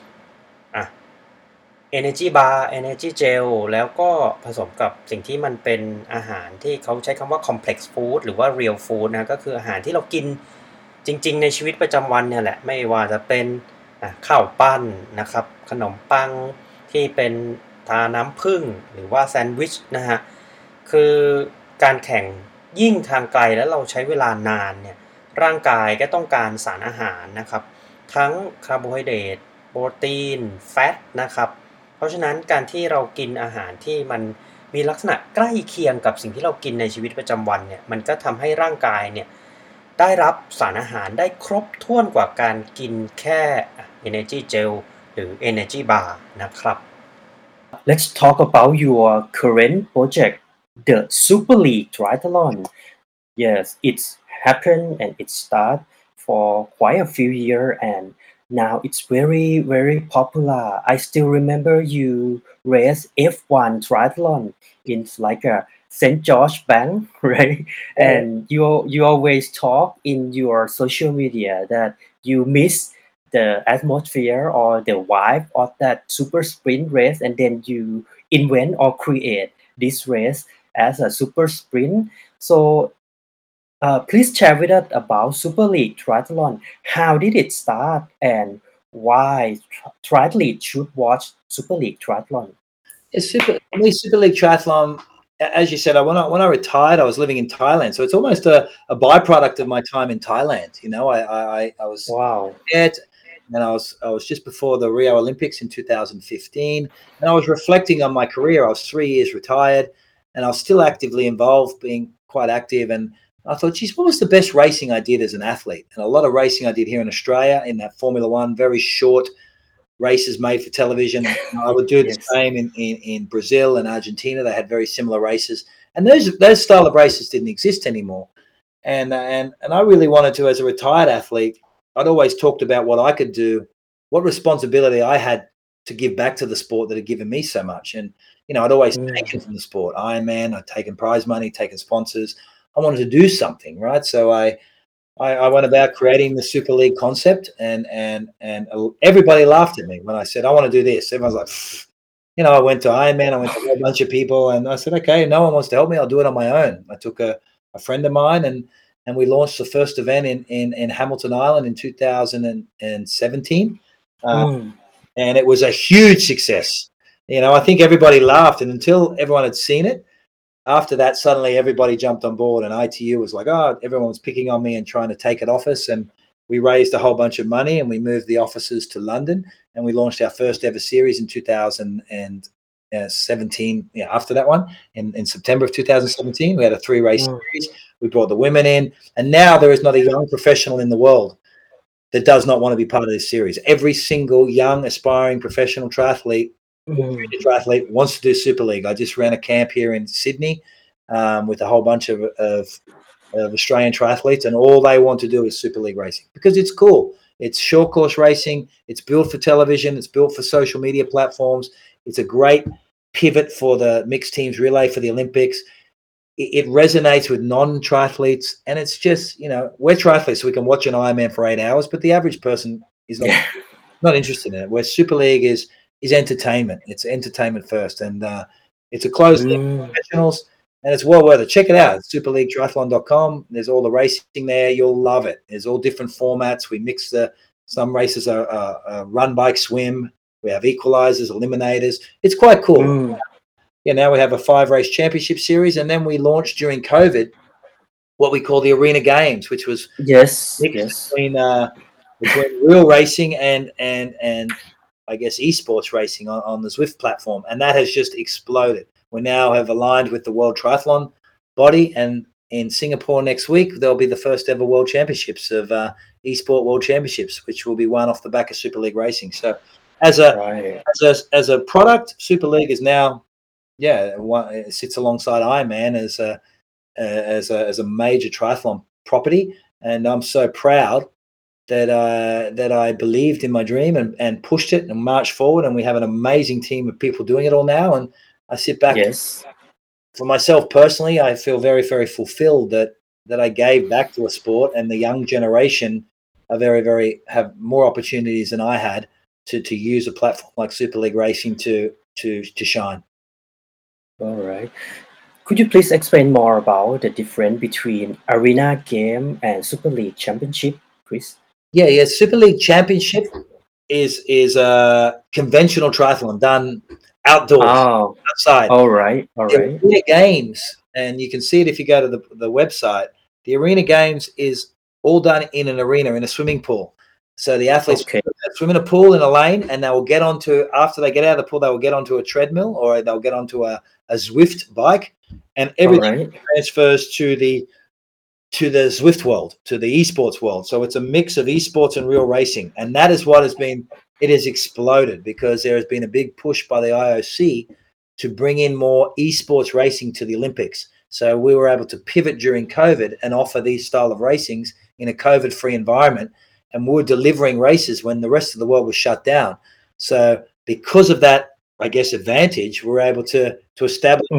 Energy Bar Energy Gel แล้วก็ผสมกับสิ่งที่มันเป็นอาหารที่เขาใช้คำว่า Complex Food หรือว่า Real Food นะก็คืออาหารที่เรากินจริงๆในชีวิตประจำวันเนี่ยแหละไม่ว่าจะเป็นข้าวปั้นนะครับขนมปังที่เป็นทาน้ำผึ้งหรือว่าแซนด์วิชนะฮะคือการแข่งยิ่งทางไกลแล้วเราใช้เวลานานเนี่ยร่างกายก็ต้องการสารอาหารนะครับทั้งคาร์โบไฮเดรตโปรตีนแฟตนะครับเพราะฉะนั้นการที่เรากินอาหารที่มันมีลักษณะใกล้เคียงกับสิ่งที่เรากินในชีวิตประจำวันเนี่ยมันก็ทำให้ร่างกายเนี่ยได้รับสารอาหารได้ครบถ้วนกว่าการกินแค่ Energy Gel หรือ Energy Bar นะครับ Let's talk about your current project, the Super League Triathlon. Yes, it's happened and it started for quite a few years and now it's very, very popular. I still remember you race F1 triathlon in like a St. George Bank, right? And you always talk in your social media that you miss the atmosphere or the vibe of that super sprint race and then you invent or create this race as a super sprint. So please share with us about Super League Triathlon. How did it start and why triathletes should watch Super League Triathlon? Super League Triathlon, as you said, when I retired, I was living in Thailand, so it's almost a byproduct of my time in Thailand. You know, I was there, and I was just before the Rio Olympics in 2015, and I was reflecting on my career. I was 3 years retired, and I was still actively involved, being quite active. And I thought, geez, what was the best racing I did as an athlete? And a lot of racing I did here in Australia in that Formula One, very short races made for television. I would do the same in Brazil and Argentina. They had very similar races, and those style of races didn't exist anymore. And I really wanted to, as a retired athlete, I'd always talked about what I could do, what responsibility I had to give back to the sport that had given me so much. And you know, I'd always taken from the sport. Ironman, I'd taken prize money, taken sponsors. I wanted to do something, right? So I went about creating the Super League concept, and everybody laughed at me when I said I want to do this. Everyone's like, you know, I went to Ironman, I went to a whole bunch of people, and I said, okay, no one wants to help me, I'll do it on my own. I took a friend of mine, and we launched the first event in Hamilton Island in 2017, and it was a huge success. I think everybody laughed, and until everyone had seen it, after that, suddenly everybody jumped on board, and ITU was like, oh, everyone was picking on me and trying to take it off us. And we raised a whole bunch of money, and we moved the offices to London, and we launched our first ever series in 2017. Yeah, after that one, in September of 2017, we had a 3-race series. We brought the women in, and now there is not a young professional in the world that does not want to be part of this series. Every single young aspiring professional triathlete wants to do Super League. I just ran a camp here in Sydney with a whole bunch of Australian triathletes, and all they want to do is Super League racing because it's cool. It's short course racing. It's built for television. It's built for social media platforms. It's a great pivot for the mixed teams relay for the Olympics. It resonates with non-triathletes, and it's just, we're triathletes, so we can watch an Ironman for 8 hours, but the average person is not interested in it. Where Super League is entertainment. It's entertainment first, and it's a closed league for professionals, and it's well worth it. Check it out. It's superleaguetriathlon.com. There's all the racing there. You'll love it. There's all different formats. We mix some races are run, bike, swim. We have equalizers, eliminators. It's quite cool. Now we have a 5-race championship series, and then we launched during COVID what we call the Arena Games, which was between real racing and I guess esports racing on the Zwift platform, and that has just exploded. We now have aligned with the World Triathlon body, and in Singapore next week there'll be the first ever World Championships of eSport World Championships, which will be won off the back of Super League racing. So as a product, Super League is now it sits alongside Ironman as a major triathlon property, and I'm so proud that I believed in my dream and pushed it and marched forward, and we have an amazing team of people doing it all now. And I sit back. For myself personally, I feel very, very fulfilled that I gave back to a sport, and the young generation are very, very have more opportunities than I had to use a platform like Super League Racing to shine. All right. Could you please explain more about the difference between Arena Game and Super League Championship, Chris? Yeah. Super League Championship is a conventional triathlon done outdoors, outside. All right. The Arena Games, and you can see it if you go to the website. The Arena Games is all done in an arena, in a swimming pool. So the athletes swim in a pool in a lane, and they will get onto, after they get out of the pool, they will get onto a treadmill, or they'll get onto a Zwift bike, and everything transfers to the Zwift world, to the esports world. So it's a mix of esports and real racing, and that is what it has exploded, because there has been a big push by the IOC to bring in more esports racing to the Olympics. So we were able to pivot during COVID and offer these style of racings in a COVID-free environment, and we were delivering races when the rest of the world was shut down. So because of that, I guess, advantage, we're able to establish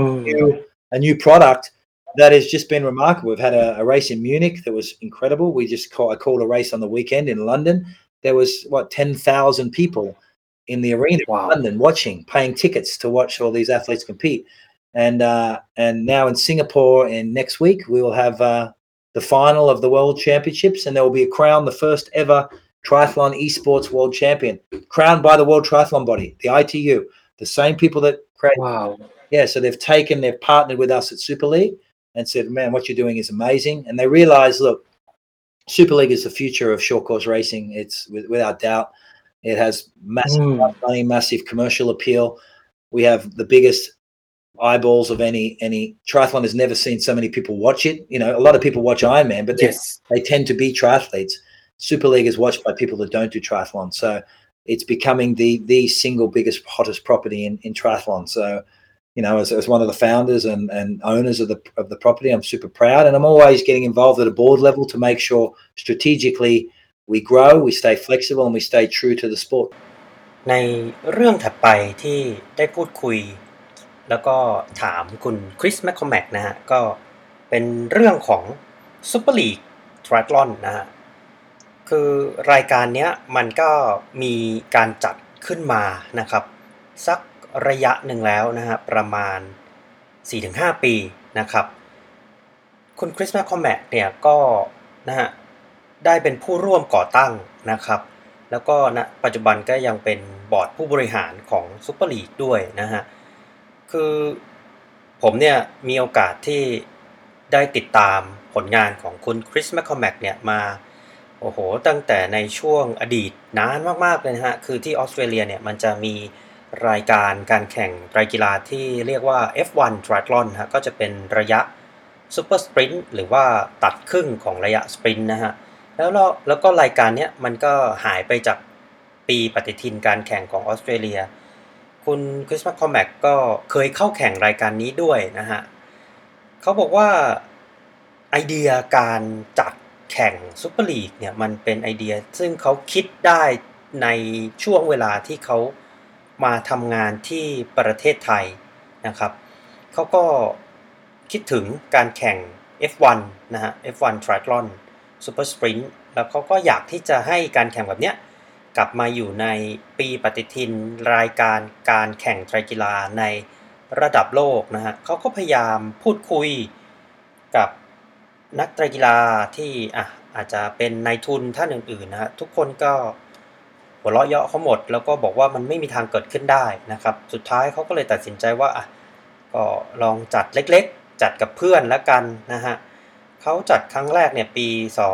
a new product that has just been remarkable. We've had a race in Munich that was incredible. I called a race on the weekend in London. There was 10,000 people in the arena in London watching, paying tickets to watch all these athletes compete. And now in Singapore, and next week we will have the final of the World Championships, and there will be crowned the first ever triathlon esports world champion, crowned by the World Triathlon body, the ITU, the same people that created. Yeah, so they've partnered with us at Super League and said, man, what you're doing is amazing. And they realize, look, Super League is the future of short course racing. It's without doubt. It has massive money, massive commercial appeal. We have the biggest eyeballs of any triathlon. Has never seen so many people watch it. A lot of people watch Ironman, but they tend to be triathletes. Super League is watched by people that don't do triathlon. So it's becoming the single biggest, hottest property in triathlon. So, as one of the founders and owners of the property, I'm super proud, and I'm always getting involved at a board level to make sure strategically we grow, we stay flexible, and we stay true to the sport. ในเรื่องถัดไปที่ได้พูดคุยแล้วก็ถามคุณคริสแมคคอมแมกนะฮะก็เป็นเรื่องของ Super League Triathlon นะฮะคือรายการเนี้ยมันก็มีการจัดขึ้นมานะครับสักระยะหนึ่งแล้วนะฮะประมาณ 4-5 ปีนะครับคุณคริสแมคคอมแมกเนี่ยก็นะฮะได้เป็นผู้ร่วมก่อตั้งนะครับแล้วก็ณปัจจุบันก็ยังเป็นบอร์ดผู้บริหารของซุปเปอร์ลีกด้วยนะฮะคือผมเนี่ยมีโอกาสที่ได้ติดตามผลงานของคุณคริสแมคคอมแมกเนี่ยมาโอ้โหตั้งแต่ในช่วงอดีตนานมากๆเลยนะฮะคือที่ออสเตรเลียเนี่ยมันจะมีรายการการแข่งไตรกีฬาที่เรียกว่า F1 Triathlon ฮะก็จะเป็นระยะซูเปอร์สปรินต์หรือว่าตัดครึ่งของระยะสปรินต์นะฮะแล้วก็รายการนี้มันก็หายไปจากปีปฏิทินการแข่งของออสเตรเลียคุณคริสแมคคอมแมกก็เคยเข้าแข่งรายการนี้ด้วยนะฮะเขาบอกว่าไอเดียการจัดแข่งซุปเปอร์ลีกเนี่ยมันเป็นไอเดียซึ่งเขาคิดได้ในช่วงเวลาที่เขามาทำงานที่ประเทศไทยนะครับเขาก็คิดถึงการแข่ง F1 นะฮะ F1 Triathlon Super Sprint แล้วเขาก็อยากที่จะให้การแข่งแบบเนี้ยกลับมาอยู่ในปีปฏิทินรายการการแข่งไตรกีฬาในระดับโลกนะฮะเขาก็พยายามพูดคุยกับนักไตรกีฬาที่อาจจะเป็นนายทุนท่านอื่นๆนะฮะทุกคนก็หัวเราะเยาะเขาหมดแล้วก็บอกว่ามันไม่มีทางเกิดขึ้นได้นะครับสุดท้ายเขาก็เลยตัดสินใจว่าก็ลองจัดเล็กๆจัดกับเพื่อนแล้วกันนะฮะเขาจัดครั้งแรกเนี่ยปี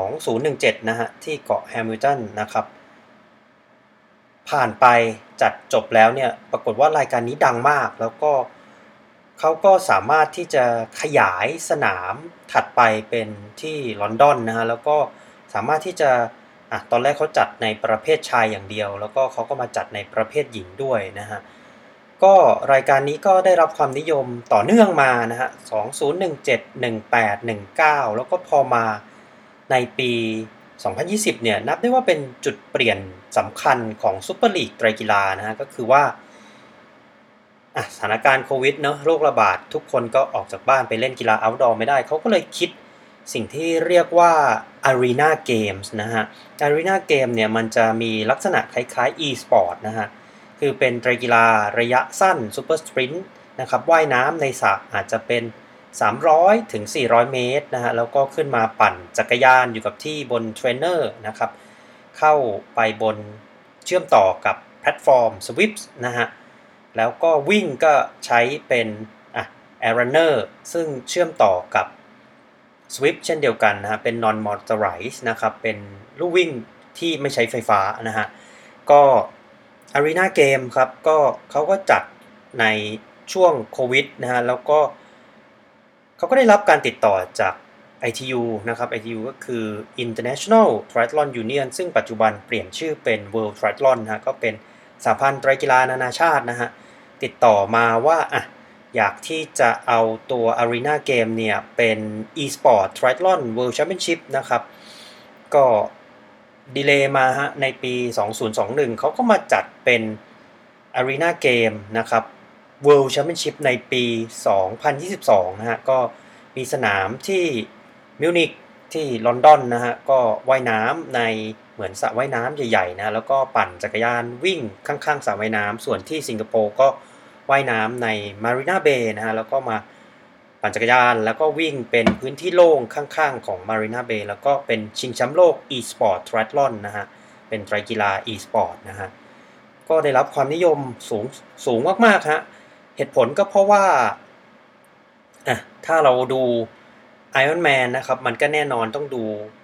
2017นะฮะที่เกาะแฮมิลตันนะครับผ่านไปจัดจบแล้วเนี่ยปรากฏว่ารายการนี้ดังมากแล้วก็เขาก็สามารถที่จะขยายสนามถัดไปเป็นที่ลอนดอนนะฮะแล้วก็สามารถที่จะตอนแรกเขาจัดในประเภทชายอย่างเดียวแล้วก็เขาก็มาจัดในประเภทหญิงด้วยนะฮะก็รายการนี้ก็ได้รับความนิยมต่อเนื่องมานะฮะ2017 18 19แล้วก็พอมาในปี2020เนี่ยนับได้ว่าเป็นจุดเปลี่ยนสำคัญของซุปเปอร์ลีกไตรกีฬานะฮะก็คือว่าสถานการณ์โควิดเนาะโรคระบาดทุกคนก็ออกจากบ้านไปเล่นกีฬาเอาท์ดอร์ไม่ได้เขาก็เลยคิดสิ่งที่เรียกว่า Arena Games นะฮะ Arena Game เนี่ยมันจะมีลักษณะคล้ายๆ e-sport นะฮะคือเป็นไตรกีฬาระยะสั้น Super Sprint นะครับว่ายน้ำในสระอาจจะเป็น300ถึง400เมตรนะฮะแล้วก็ขึ้นมาปั่นจักรยานอยู่กับที่บนเทรนเนอร์นะครับเข้าไปบนเชื่อมต่อกับแพลตฟอร์ม Swift นะฮะแล้วก็วิ่งก็ใช้เป็นAir Runner ซึ่งเชื่อมต่อกับ Swift เช่นเดียวกันนะฮะเป็น non motorized นะครับเป็นลู่วิ่งที่ไม่ใช้ไฟฟ้านะฮะก็ Arena Game ครับก็เขาก็จัดในช่วงโควิดนะฮะแล้วก็เขาก็ได้รับการติดต่อจาก ITU นะครับ ITU ก็คือ International Triathlon Union ซึ่งปัจจุบันเปลี่ยนชื่อเป็น World Triathlon นะฮะก็เป็นสหพันธ์ไตรกีฬานานาชาตินะฮะติดต่อมาว่าอยากที่จะเอาตัว Arena Game เนี่ยเป็น e-sport Triathlon World Championship นะครับก็ดีเลย์มาฮะในปี2021เขาก็มาจัดเป็น Arena Game นะครับ World Championship ในปี2022นะฮะก็มีสนามที่มิวนิกที่ลอนดอนนะฮะก็ว่ายน้ำในเหมือนสระว่ายน้ำใหญ่ๆนะแล้วก็ปั่นจักรยานวิ่งข้างๆสระว่ายน้ำส่วนที่สิงคโปร์ก็ว่ายน้ำใน Marina Bay นะฮะแล้วก็มาปั่นจักรยานแล้วก็วิ่งเป็นพื้นที่โล่งข้างๆของ Marina Bay แล้วก็เป็นชิงแชมป์โลก e-sport triathlon นะฮะเป็นไตรกีฬา e-sport นะฮะก็ได้รับความนิยมสูงมากๆฮะเหตุผลก็เพราะว่าถ้าเราดู Iron Man นะครับมันก็แน่นอนต้องดู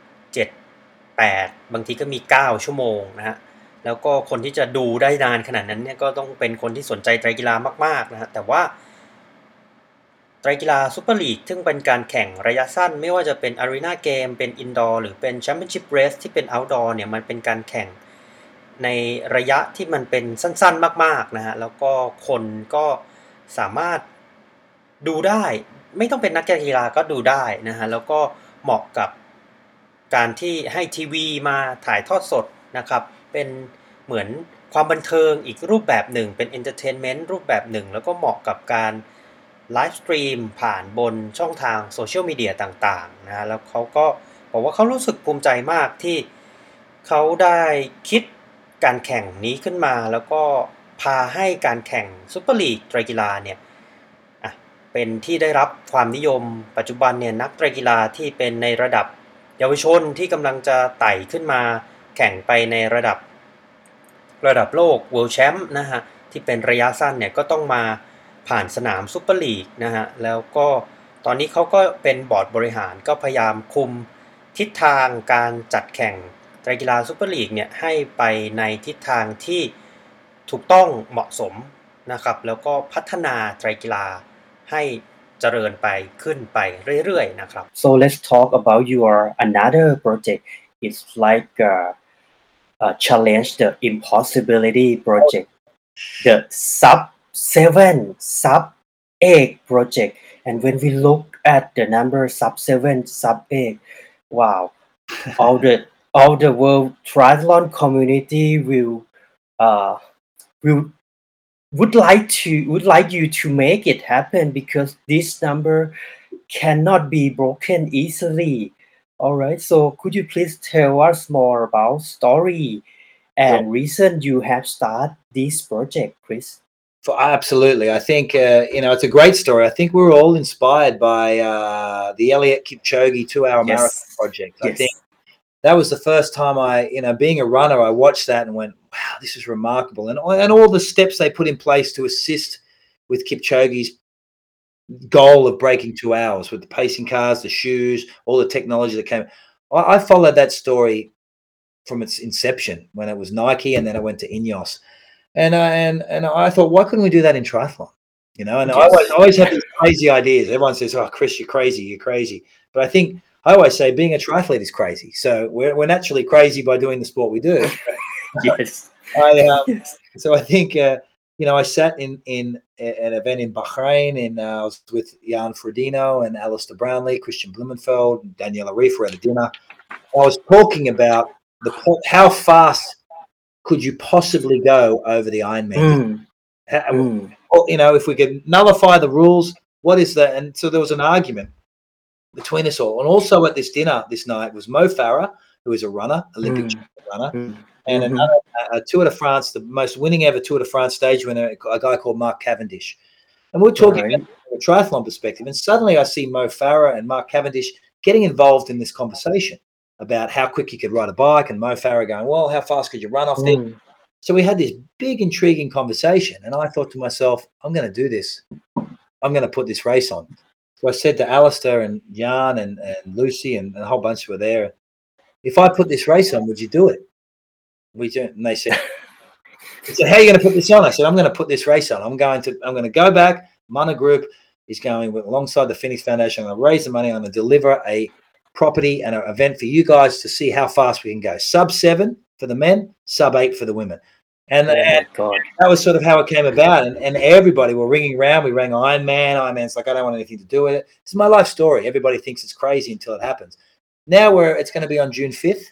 7 8บางทีก็มี9ชั่วโมงนะฮะแล้วก็คนที่จะดูได้นานขนาดนั้นเนี่ยก็ต้องเป็นคนที่สนใจไตรกีฬามากๆนะฮะแต่ว่าไตรกีฬาซุปเปอร์ลีกซึ่งเป็นการแข่งระยะสั้นไม่ว่าจะเป็น Arena Game เป็น Indoor หรือเป็น Championship Race ที่เป็น Outdoor เนี่ยมันเป็นการแข่งในระยะที่มันเป็นสั้นๆมากๆนะฮะแล้วก็คนก็สามารถดูได้ไม่ต้องเป็นนักกีฬาก็ดูได้นะฮะแล้วก็เหมาะกับการที่ให้ทีวีมาถ่ายทอดสดนะครับเป็นเหมือนความบันเทิงอีกรูปแบบหนึ่งเป็นเอนเตอร์เทนเมนต์รูปแบบหนึ่งแล้วก็เหมาะกับการไลฟ์สตรีมผ่านบนช่องทางโซเชียลมีเดียต่างๆนะแล้วเขาก็บอกว่าเขารู้สึกภูมิใจมากที่เขาได้คิดการแข่งนี้ขึ้นมาแล้วก็พาให้การแข่งซุปเปอร์ลีกไตรกีฬาเนี่ยเป็นที่ได้รับความนิยมปัจจุบันเนี่ยนักไตรกีฬาที่เป็นในระดับเยาวชนที่กำลังจะไต่ขึ้นมาแข่งไปในระดับระดับโลก World Champ นะฮะที่เป็นระยะสั้นเนี่ยก็ต้องมาผ่านสนามซุปเปอร์ลีกนะฮะแล้วก็ตอนนี้เขาก็เป็นบอร์ดบริหารก็พยายามคุมทิศทางการจัดแข่งไตรกีฬาซุปเปอร์ลีกเนี่ยให้ไปในทิศทางที่ถูกต้องเหมาะสมนะครับแล้วก็พัฒนาไตรกีฬาให้เจริญไปขึ้นไปเรื่อยๆนะครับ So let's talk about your another project. It's like challenge the impossibility project, the sub 8 project. And when we look at the number sub 7, sub 8, wow, all the world triathlon community would like you to make it happen because this number cannot be broken easily. All right, so could you please tell us more about story and reason you have started this project, Chris? Absolutely. I think, it's a great story. I think we were all inspired by the Elliot Kipchoge 2-hour marathon project. I think that was the first time being a runner, I watched that and went, wow, this is remarkable. And all the steps they put in place to assist with Kipchoge's goal of breaking 2 hours with the pacing cars, the shoes, all the technology that came. I followed that story from its inception when it was Nike and then it went to Ineos. And I thought, why couldn't we do that in triathlon? And I always have these crazy ideas. Everyone says, oh, Chris, you're crazy. But I think I always say being a triathlete is crazy. So we're naturally crazy by doing the sport we do. Yes. So I think, I sat in an event in Bahrain and I was with Jan Frodeno and Alistair Brownlee, Christian Blumenfeld, and Daniela Reef were at a dinner. I was talking about how fast could you possibly go over the Ironman? If we could nullify the rules, what is that? And so there was an argument between us all. And also at this dinner this night was Mo Farah, who is a runner, Olympic runner, and another Tour de France, the most winning ever Tour de France stage winner, a guy called Mark Cavendish. And we're talking about from a triathlon perspective. And suddenly I see Mo Farah and Mark Cavendish getting involved in this conversation about how quick you could ride a bike, and Mo Farah going, well, how fast could you run off there? So we had this big, intriguing conversation. And I thought to myself, I'm going to do this. I'm going to put this race on. So I said to Alistair and Jan and Lucy and a whole bunch were there, if I put this race on, would you do it? And they said, how are you going to put this on? I said, I'm going to put this race on. I'm going to go back. Mana Group is going alongside the Phoenix Foundation. I'm going to raise the money. I'm going to deliver a property and an event for you guys to see how fast we can go. Sub-7 for the men, sub-8 for the women. And that was sort of how it came about. And everybody were ringing around. We rang Ironman. Ironman's like, I don't want anything to do with it. It's my life story. Everybody thinks it's crazy until it happens. Now it's going to be on June 5th.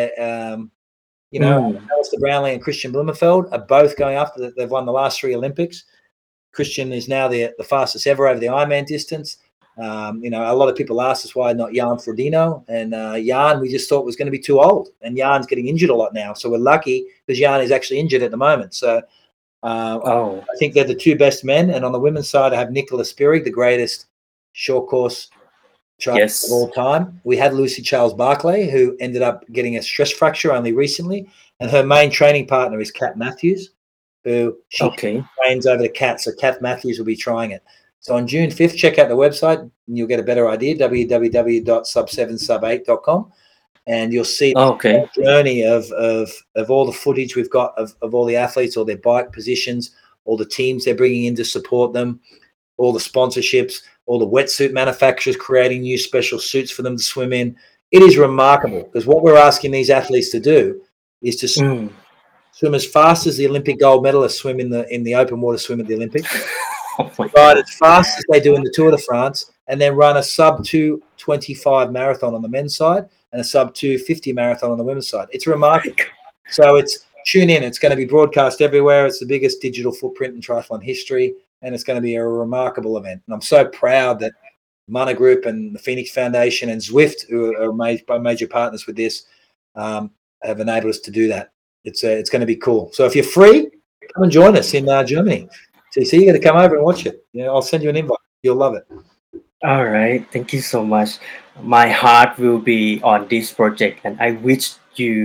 Alistair Brownlee and Christian Blumenfeld are both going after. They've won the last 3 Olympics. Christian is now the fastest ever over the Ironman distance. A lot of people asked us why not Jan Frodeno, and Jan we just thought was going to be too old, and Jan's getting injured a lot now, so we're lucky because Jan is actually injured at the moment. So I think they're the 2 best men. And on the women's side I have Nicola Spirig, the greatest short course triathlete of all time. We had Lucy Charles Barclay, who ended up getting a stress fracture only recently, and her main training partner is Kat Matthews, who trains over the Kat. So Kat Matthews will be trying it. So on June 5th, check out the website and you'll get a better idea, www.sub7sub8.com. And you'll see the journey of all the footage we've got of all the athletes, all their bike positions, all the teams they're bringing in to support them, all the sponsorships, all the wetsuit manufacturers creating new special suits for them to swim in. It is remarkable because what we're asking these athletes to do is to swim as fast as the Olympic gold medalists swim in the open water swim at the Olympics. Ride as fast as they do in the Tour de France, and then run a sub 2:25 marathon on the men's side and a sub 2:50 marathon on the women's side. It's remarkable. So tune in. It's going to be broadcast everywhere. It's the biggest digital footprint in triathlon history, and it's going to be a remarkable event. And I'm so proud that Mana Group and the Phoenix Foundation and Zwift, who are major partners with this, have enabled us to do that. It's going to be cool. So if you're free, come and join us in Germany. So you got to come over and watch it. I'll send you an invite. You'll love it. All right. Thank you so much. My heart will be on this project, and I wish you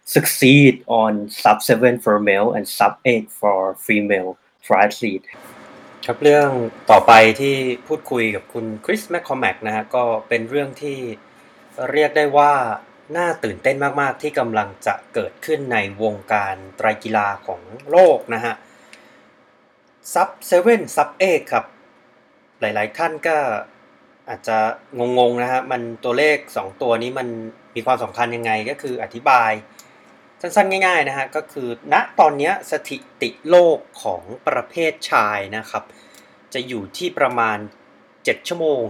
succeed on sub 7 for male and sub 8 for female triathlete ครับเรื่องต่อไปที่พูดคุยกับคุณคริสแมคคอมแมกนะฮะก็เป็นเรื่องที่เรียกได้ว่าน่าตื่นเต้นมากๆที่กำลังจะเกิดขึ้นในวงการไตรกีฬาของโลกนะฮะซับ7ซับ8ครับหลายๆท่านก็อาจจะงงๆนะฮะมันตัวเลข2ตัวนี้มันมีความสำคัญยังไงก็คืออธิบายสั้นๆง่ายๆนะฮะก็คือณตอนนี้สถิติโลกของประเภทชายนะครับจะอยู่ที่ประมาณ7ชั่วโมง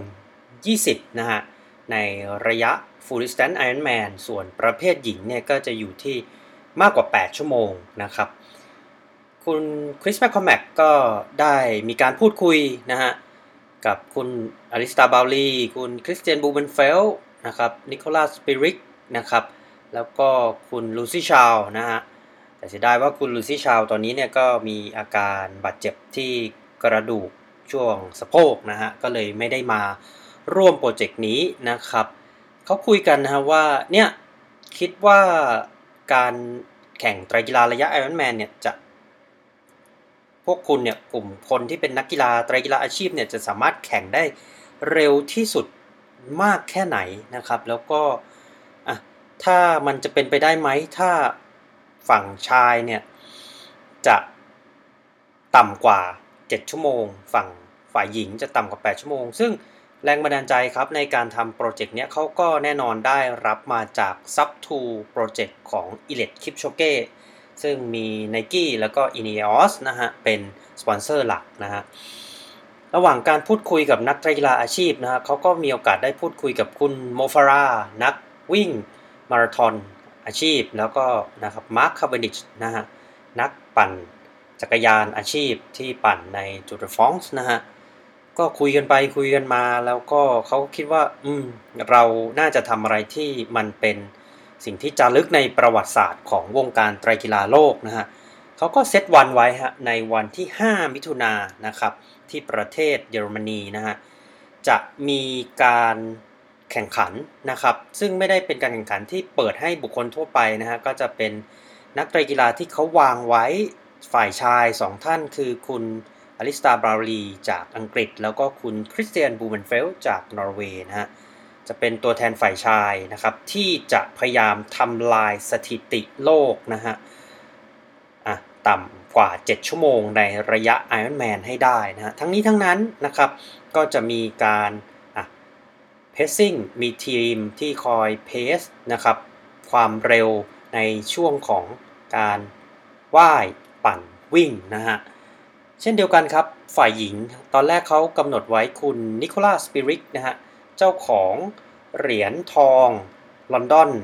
20นะฮะในระยะ Full Distance Ironman ส่วนประเภทหญิงเนี่ยก็จะอยู่ที่มากกว่า8ชั่วโมงนะครับคุณคริสแมคคอมแมกก็ได้มีการพูดคุยนะฮะกับคุณอลิสตาบาวลีคุณคริสเตียนบูเบนเฟลนะครับนิโคลัสสปิริกนะครับแล้วก็คุณลูซี่ชาวนะฮะแต่เสียดายว่าคุณลูซี่ชาวตอนนี้เนี่ยก็มีอาการบาดเจ็บที่กระดูกช่วงสะโพกนะฮะก็เลยไม่ได้มาร่วมโปรเจกต์นี้นะครับเขาคุยกันนะฮะว่าเนี่ยคิดว่าการแข่งไตรกีฬาระยะ Ironman เนี่ยจะพวกคุณเนี่ยกลุ่มคนที่เป็นนักกีฬาไตรกีฬาอาชีพเนี่ยจะสามารถแข่งได้เร็วที่สุดมากแค่ไหนนะครับแล้วก็ถ้ามันจะเป็นไปได้ไหมถ้าฝั่งชายเนี่ยจะต่ำกว่า7ชั่วโมงฝั่งฝ่ายหญิงจะต่ำกว่า8ชั่วโมงซึ่งแรงบันดาลใจครับในการทำโปรเจกต์เนี้ยเขาก็แน่นอนได้รับมาจาก Sub2 โปรเจกต์ของ Eliud Kipchoge ซึ่งมี Nike แล้วก็ Ineos นะฮะเป็นสปอนเซอร์หลักนะฮะระหว่างการพูดคุยกับนักกีฬาอาชีพนะฮะเขาก็มีโอกาสได้พูดคุยกับคุณโมฟารานักวิ่งมาราธอนอาชีพแล้วก็นะครับมาร์คคาร์เวนดิชนะฮะนักปั่นจักรยานอาชีพที่ปั่นในจูร์ฟรองซ์นะฮะก็คุยกันไปคุยกันมาแล้วก็เขาคิดว่าเราน่าจะทำอะไรที่มันเป็นสิ่งที่จารึกในประวัติศาสตร์ของวงการไตรกีฬาโลกนะฮะเขาก็เซตวันไว้ฮะในวันที่5มิถุนายนนะครับที่ประเทศเยอรมนีนะฮะจะมีการแข่งขันนะครับซึ่งไม่ได้เป็นการแข่งขันที่เปิดให้บุคคลทั่วไปนะฮะก็จะเป็นนักไตรกีฬาที่เขาวางไว้ฝ่ายชาย2ท่านคือคุณอลิสตาบราวลีจากอังกฤษแล้วก็คุณคริสเตียนบูเบนเฟลจากนอร์เวย์นะฮะจะเป็นตัวแทนฝ่ายชายนะครับที่จะพยายามทำลายสถิติโลกนะฮะต่ำกว่า7ชั่วโมงในระยะ Ironman ให้ได้นะฮะทั้งนี้ทั้งนั้นนะครับก็จะมีการpacing มีทีมที่คอยเพสนะครับความเร็วในช่วงของการว่ายปั่นวิ่งนะฮะเช่นเดียวกันครับฝ่ายหญิงตอนแรกเขากำหนดไว้คุณนิโคลัสสปิริกนะฮะเจ้าของเหรียญทองลอนดอน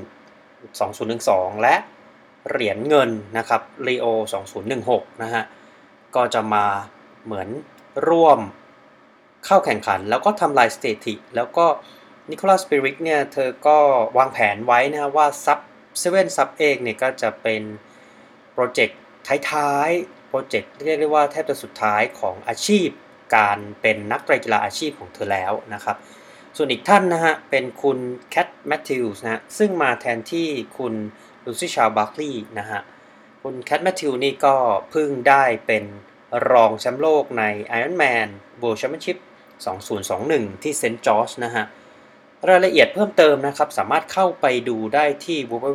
2012และเหรียญเงินนะครับรีโอ2016นะฮะก็จะมาเหมือนร่วมเข้าแข่งขันแล้วก็ทำลายสถิติแล้วก็นิโคลัสสปิริกเนี่ยเธอก็วางแผนไว้นะว่าซับ7ซับ8เนี่ยก็จะเป็นโปรเจกต์ท้ายๆโปรเจกต์เรียกได้ว่าแทบจะสุดท้ายของอาชีพการเป็นนักไตรกีฬาอาชีพของเธอแล้วนะครับส่วนอีกท่านนะฮะเป็นคุณแคทแมทธิวส์นะซึ่งมาแทนที่คุณลูซี่ชาร์บาร์คลีย์นะฮะคุณแคทแมทธิวนี่ก็เพิ่งได้เป็นรองแชมป์โลกใน Ironman World Championship 2021 ที่เซนต์จอร์จนะฮะรายละเอียดเพิ่มเติมนะครับสามารถเข้าไปดูได้ที่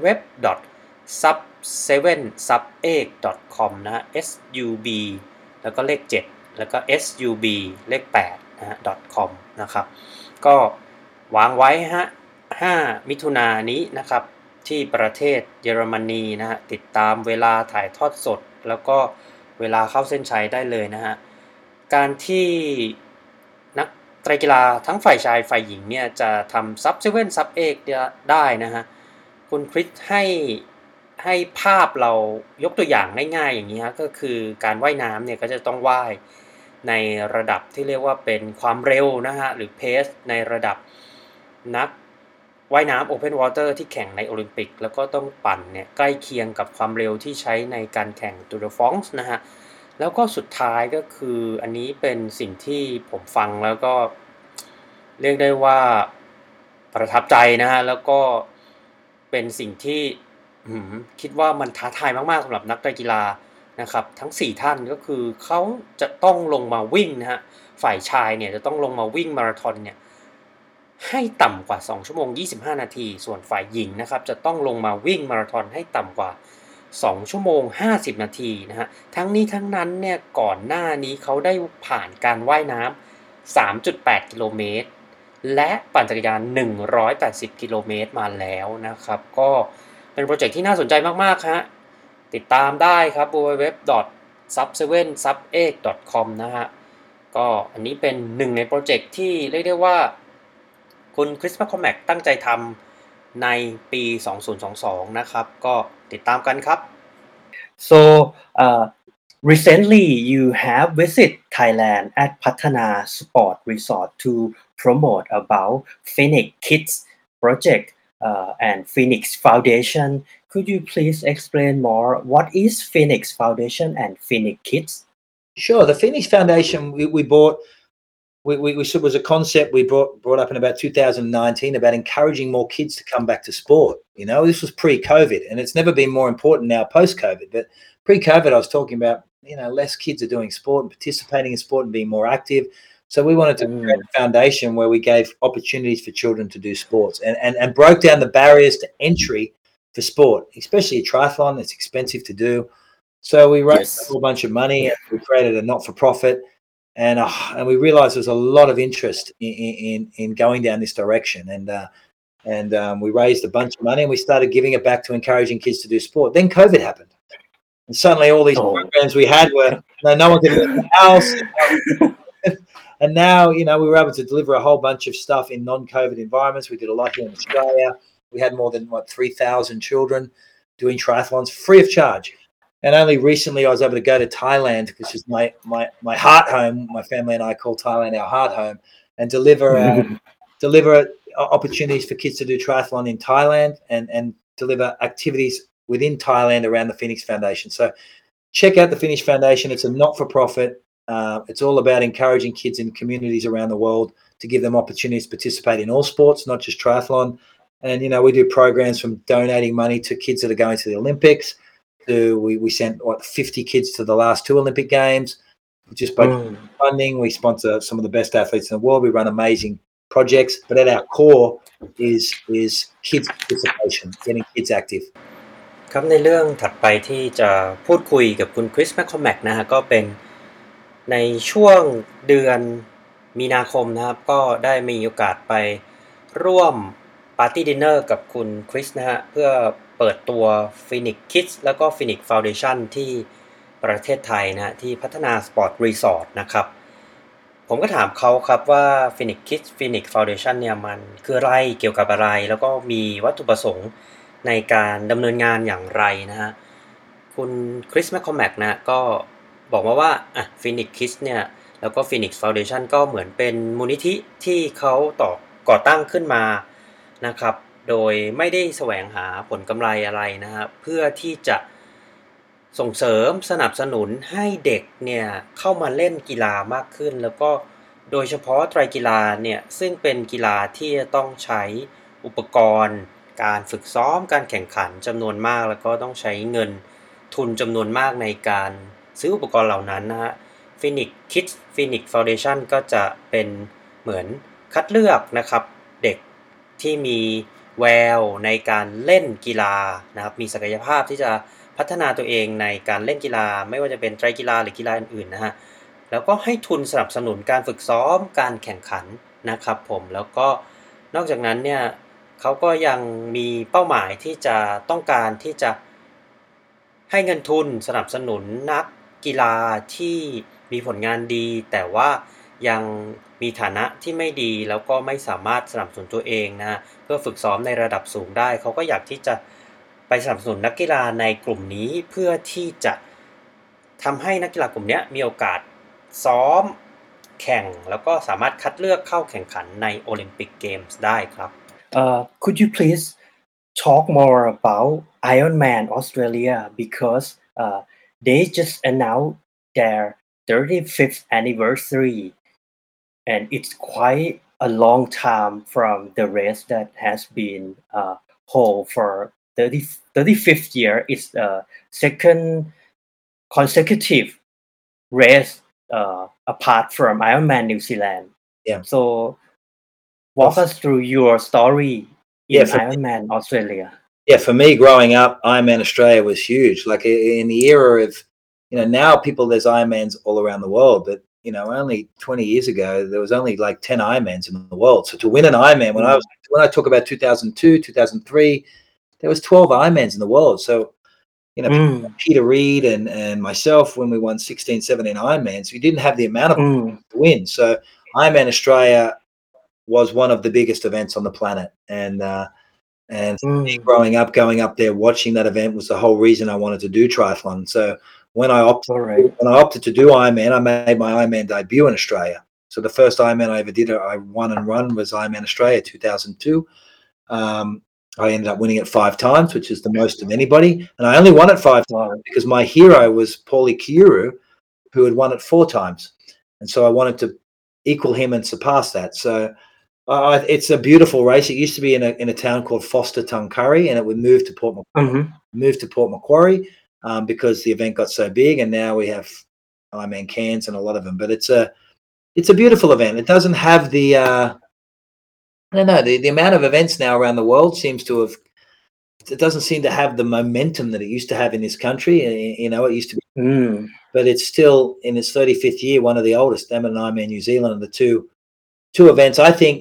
www.sub7sub8.com นะฮะ sub แล้วก็เลข7แล้วก็ sub เลข8นะฮะ .com นะครับก็วางไว้ฮะ5มิถุนายนนี้นะครับที่ประเทศเยอรมนีนะฮะติดตามเวลาถ่ายทอดสดแล้วก็เวลาเข้าเส้นชัยได้เลยนะฮะการที่นักไตรกีฬาทั้งฝ่ายชายฝ่ายหญิงเนี่ยจะทำซับ7ซับ8ได้นะฮะคุณคริสให้ภาพเรายกตัวอย่างง่ายๆอย่างนี้ฮะก็คือการว่ายน้ำเนี่ยก็จะต้องว่ายในระดับที่เรียกว่าเป็นความเร็วนะฮะหรือเพสในระดับนักว่ายน้ำ Open Water ที่แข่งในโอลิมปิกแล้วก็ต้องปั่นเนี่ยใกล้เคียงกับความเร็วที่ใช้ในการแข่ง Tour de France นะฮะแล้วก็สุดท้ายก็คืออันนี้เป็นสิ่งที่ผมฟังแล้วก็เรียกได้ว่าประทับใจนะฮะแล้วก็เป็นสิ่งที่คิดว่ามันท้าทายมากๆสำหรับนักกีฬานะครับทั้ง4ท่านก็คือเขาจะต้องลงมาวิ่งนะฮะฝ่ายชายเนี่ยจะต้องลงมาวิ่งมาราธอนเนี่ยให้ต่ำกว่า2ชั่วโมง25นาทีส่วนฝ่ายหญิงนะครับจะต้องลงมาวิ่งมาราธอนให้ต่ำกว่า2ชั่วโมง50นาทีนะฮะทั้งนี้ทั้งนั้นเนี่ยก่อนหน้านี้เขาได้ผ่านการว่ายน้ำ3.8 กิโลเมตรและปั่นจักรยาน180 กิโลเมตรมาแล้วนะครับก็เป็นโปรเจกต์ที่น่าสนใจมากๆฮะติดตามได้ครับ www.sub7sub8.com นะฮะก็อันนี้เป็นหนึ่งในโปรเจกต์ที่เรียกได้ว่าคุณคริส แมคคอมแมกตั้งใจทำในปี 2022 นะครับก็ติดตามกันครับ So recently you have visited Thailand at Patana Sport Resort to promote about Phoenix Kids project and Phoenix Foundation. Could you please explain more what is Phoenix Foundation and Phoenix Kids? Sure. The Phoenix Foundation we bought. We was a concept we brought up in about 2019 about encouraging more kids to come back to sport. You know, this was pre-COVID, and it's never been more important now post-COVID. But pre-COVID, I was talking about less kids are doing sport and participating in sport and being more active. So we wanted to create a foundation where we gave opportunities for children to do sports and broke down the barriers to entry for sport, especially a triathlon. It's expensive to do. So we raised a whole bunch of money and we created a not-for-profit. And we realized there's a lot of interest in going down this direction, and we raised a bunch of money and we started giving it back to encouraging kids to do sport. Then COVID happened, and suddenly all these programs we had were no one could leave the house, and now we were able to deliver a whole bunch of stuff in non-COVID environments. We did a lot here in Australia. We had more than 3,000 children doing triathlons free of charge. And only recently I was able to go to Thailand, which is my heart home. My family and I call Thailand our heart home, and deliver opportunities for kids to do triathlon in Thailand and deliver activities within Thailand around the Phoenix Foundation. So check out the Phoenix Foundation. It's a not-for-profit. It's all about encouraging kids in communities around the world to give them opportunities to participate in all sports, not just triathlon. And, we do programs from donating money to kids that are going to the Olympics. We sent 50 kids to the last 2 Olympic Games, just by funding. We sponsor some of the best athletes in the world. We run amazing projects, but at our core is kids participation, getting kids active. ครับในเรื่องถัดไปที่จะพูดคุยกับคุณคริส แมคคอมแมกนะฮะก็เป็นในช่วงเดือนมีนาคมนะครับก็ได้มีโอกาสไปร่วมปาร์ตี้ดินเนอร์กับคุณคริสนะฮะเพื่อเปิดตัว Phoenix Kids แล้วก็ Phoenix Foundation ที่ประเทศไทยนะที่พัฒนาสปอร์ตรีสอร์ทนะครับผมก็ถามเขาครับว่า Phoenix Kids Phoenix Foundation เนี่ยมันคืออะไรเกี่ยวกับอะไรแล้วก็มีวัตถุประสงค์ในการดำเนินงานอย่างไรนะฮะคุณคริส แมคคอมแมกนะก็บอกมาว่าPhoenix Kids เนี่ยแล้วก็ Phoenix Foundation ก็เหมือนเป็นมูลนิธิที่เขาก่อตั้งขึ้นมานะครับโดยไม่ได้แสวงหาผลกำไรอะไรนะครับเพื่อที่จะส่งเสริมสนับสนุนให้เด็กเนี่ยเข้ามาเล่นกีฬามากขึ้นแล้วก็โดยเฉพาะไตรกีฬาเนี่ยซึ่งเป็นกีฬาที่จะต้องใช้อุปกรณ์การฝึกซ้อมการแข่งขันจำนวนมากแล้วก็ต้องใช้เงินทุนจำนวนมากในการซื้ออุปกรณ์เหล่านั้นนะฮะ Phoenix Kids Phoenix Foundation ก็จะเป็นเหมือนคัดเลือกนะครับเด็กที่มีแววในการเล่นกีฬานะครับมีศักยภาพที่จะพัฒนาตัวเองในการเล่นกีฬาไม่ว่าจะเป็นไตรกีฬาหรือกีฬาอื่นๆนะฮะแล้วก็ให้ทุนสนับสนุนการฝึกซ้อมการแข่งขันนะครับผมแล้วก็นอกจากนั้นเนี่ยเขาก็ยังมีเป้าหมายที่จะต้องการที่จะให้เงินทุนสนับสนุนนักกีฬาที่มีผลงานดีแต่ว่ายังมีฐานะที่ไม่ดีแล้วก็ไม่สามารถสนับสนุนตัวเองนะเพื่อฝึกซ้อมในระดับสูงได้เขาก็อยากที่จะไปสนับสนุนนักกีฬาในกลุ่มนี้เพื่อที่จะทำให้นักกีฬากลุ่มนี้มีโอกาสซ้อมแข่งแล้วก็สามารถคัดเลือกเข้าแข่งขันในโอลิมปิกเกมส์ได้ครับ Could you please talk more about Ironman Australia because they just announced their 35th anniversary and it's quite a long time from the race that has been hold for 35th year is the second consecutive race apart from Ironman New Zealand. Yeah. So walk us through your story in Yeah, for me- Ironman Australia. Yeah, for me, growing up, Ironman Australia was huge. Like in the era of, now there's Ironmans all around the world, but only 20 years ago there was only like 10 Ironmans in the world. So to win an Ironman, when I talk about 2002, 2003, there was 12 Ironmans in the world. So Peter Reed and myself, when we won 16, 17 Ironmans, we didn't have the amount of to win. So Ironman Australia was one of the biggest events on the planet, and for me, growing up, going up there, watching that event was the whole reason I wanted to do triathlon. So when I opted to do Ironman, I made my Ironman debut in Australia. So the first Ironman I ever did, I won and run, was Ironman Australia 2002. I ended up winning it 5 times, which is the most of anybody, and I only won it 5 times because my hero was Paulie Kiuru, who had won it 4 times, and so I wanted to equal him and surpass that. So it's a beautiful race. It used to be in a town called Foster Tuncurry, and it would move to Port Macquarie because the event got so big, and now we have Ironman Cairns and a lot of them. But it's a beautiful event. It doesn't have the I don't know, the amount of events now around the world it doesn't seem to have the momentum that it used to have in this country. It used to be, but it's still in its 35th year, one of the oldest. Them and Ironman New Zealand are the two events. I think,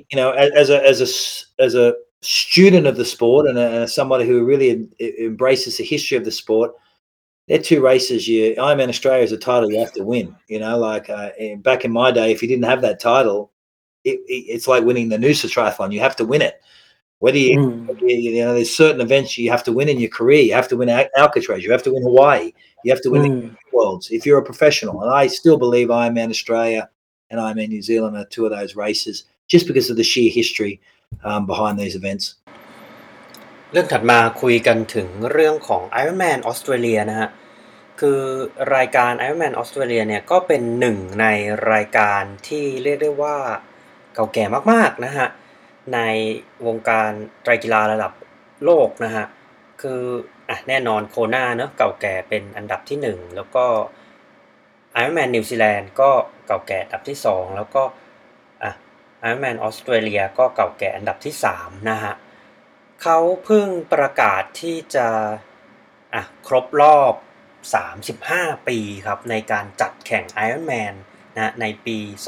as a student of the sport and as somebody who really embraces the history of the sport, they're 2 races. Ironman Australia is a title you have to win. Back in my day, if you didn't have that title, it's like winning the Noosa Triathlon. You have to win it. Whether there's certain events you have to win in your career. You have to win Alcatraz. You have to win Hawaii. You have to win the Worlds if you're a professional. And I still believe Ironman Australia and Ironman New Zealand are 2 of those races, just because of the sheer history behind these events. เรื่องถัดมาคุยกันถึงเรื่องของ Ironman Australia นะฮะคือรายการ Ironman Australia เนี่ยก็เป็นหนึ่งในรายการที่เรียกได้ว่าเก่าแก่มากๆนะฮะในวงการไตรกีฬาระดับโลกนะฮะคือแน่นอนโคนาเนาะเก่าแก่เป็นอันดับที่1แล้วก็ Ironman New Zealand ก็เก่าแก่อันดับที่2แล้วก็Ironman Australia ก็เก่าแก่อันดับที่3นะฮะเขาเพิ่งประกาศที่จะครบรอบ35 ปีครับในการจัดแข่ง Ironman นะในปี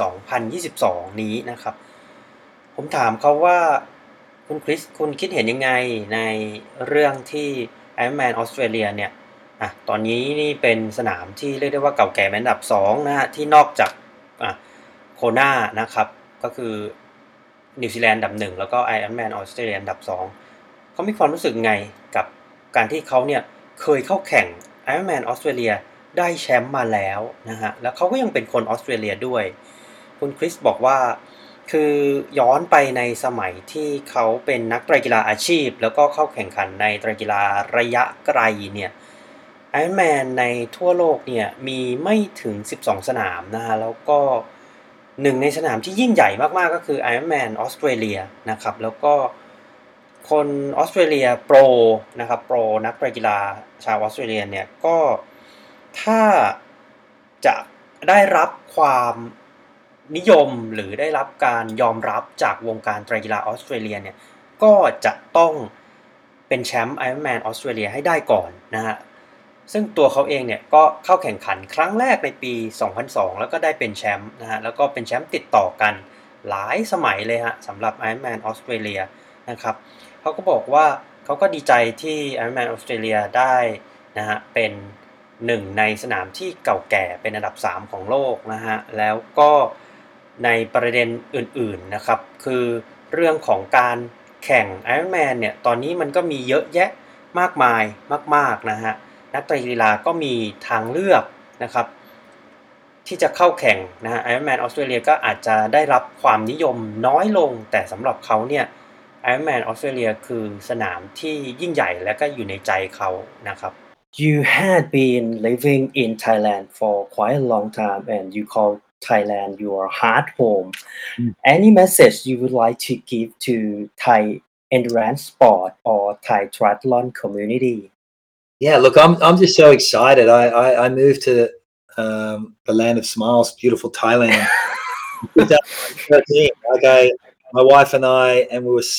2022 นี้นะครับผมถามเขาว่าคุณคริสคุณคิดเห็นยังไงในเรื่องที่ Ironman Australia เนี่ยตอนนี้นี่เป็นสนามที่เรียกได้ว่าเก่าแก่เป็นอันดับ2นะฮะที่นอกจากโคนานะครับก็คือนิวซีแลนด์อันดับ1แล้วก็ Ironman Australia อันดับ2เขามีความรู้สึกไงกับการที่เขาเนี่ยเคยเข้าแข่ง Ironman Australia ได้แชมป์มาแล้วนะฮะแล้วเขาก็ยังเป็นคนออสเตรเลียด้วยคุณคริสบอกว่าคือย้อนไปในสมัยที่เขาเป็นนักไตรกีฬาอาชีพแล้วก็เข้าแข่งขันในไตรกีฬาระยะไกลเนี่ย Ironman ในทั่วโลกเนี่ยมีไม่ถึง12 สนามนะฮะแล้วก็หนึ่งในสนามที่ยิ่งใหญ่มากๆก็คือ Ironman Australia นะครับแล้วก็คนออสเตรเลียโปรนะครับโปรนักไตรกีฬาชาวออสเตรเลียเนี่ยก็ถ้าจะได้รับความนิยมหรือได้รับการยอมรับจากวงการไตรกีฬาออสเตรเลียเนี่ยก็จะต้องเป็นแชมป์ Ironman Australia ให้ได้ก่อนนะฮะซึ่งตัวเขาเองเนี่ยก็เข้าแข่งขันครั้งแรกในปี 2002 แล้วก็ได้เป็นแชมป์นะฮะแล้วก็เป็นแชมป์ติดต่อกันหลายสมัยเลยฮะสำหรับ Ironman Australia นะครับเขาก็บอกว่าเขาก็ดีใจที่ Ironman Australia ได้นะฮะเป็นหนึ่งในสนามที่เก่าแก่เป็นอันดับ3ของโลกนะฮะแล้วก็ในประเด็นอื่นๆนะครับคือเรื่องของการแข่ง Ironman เนี่ยตอนนี้มันก็มีเยอะแยะมากมายมากๆนะฮะนักไตรกีฬาก็มีทางเลือกนะครับที่จะเข้าแข่งนะฮะ Ironman Australia ก็อาจจะได้รับความนิยมน้อยลงแต่สำหรับเขาเนี่ย Ironman Australia คือสนามที่ยิ่งใหญ่และก็อยู่ในใจเขานะครับ You had been living in Thailand for quite a long time and you call Thailand your heart home. Any message you would like to give to Thai endurance sport or Thai triathlon community? Yeah, look, I'm just so excited. I moved to the land of smiles, beautiful Thailand, in 2013. My wife and I, and we were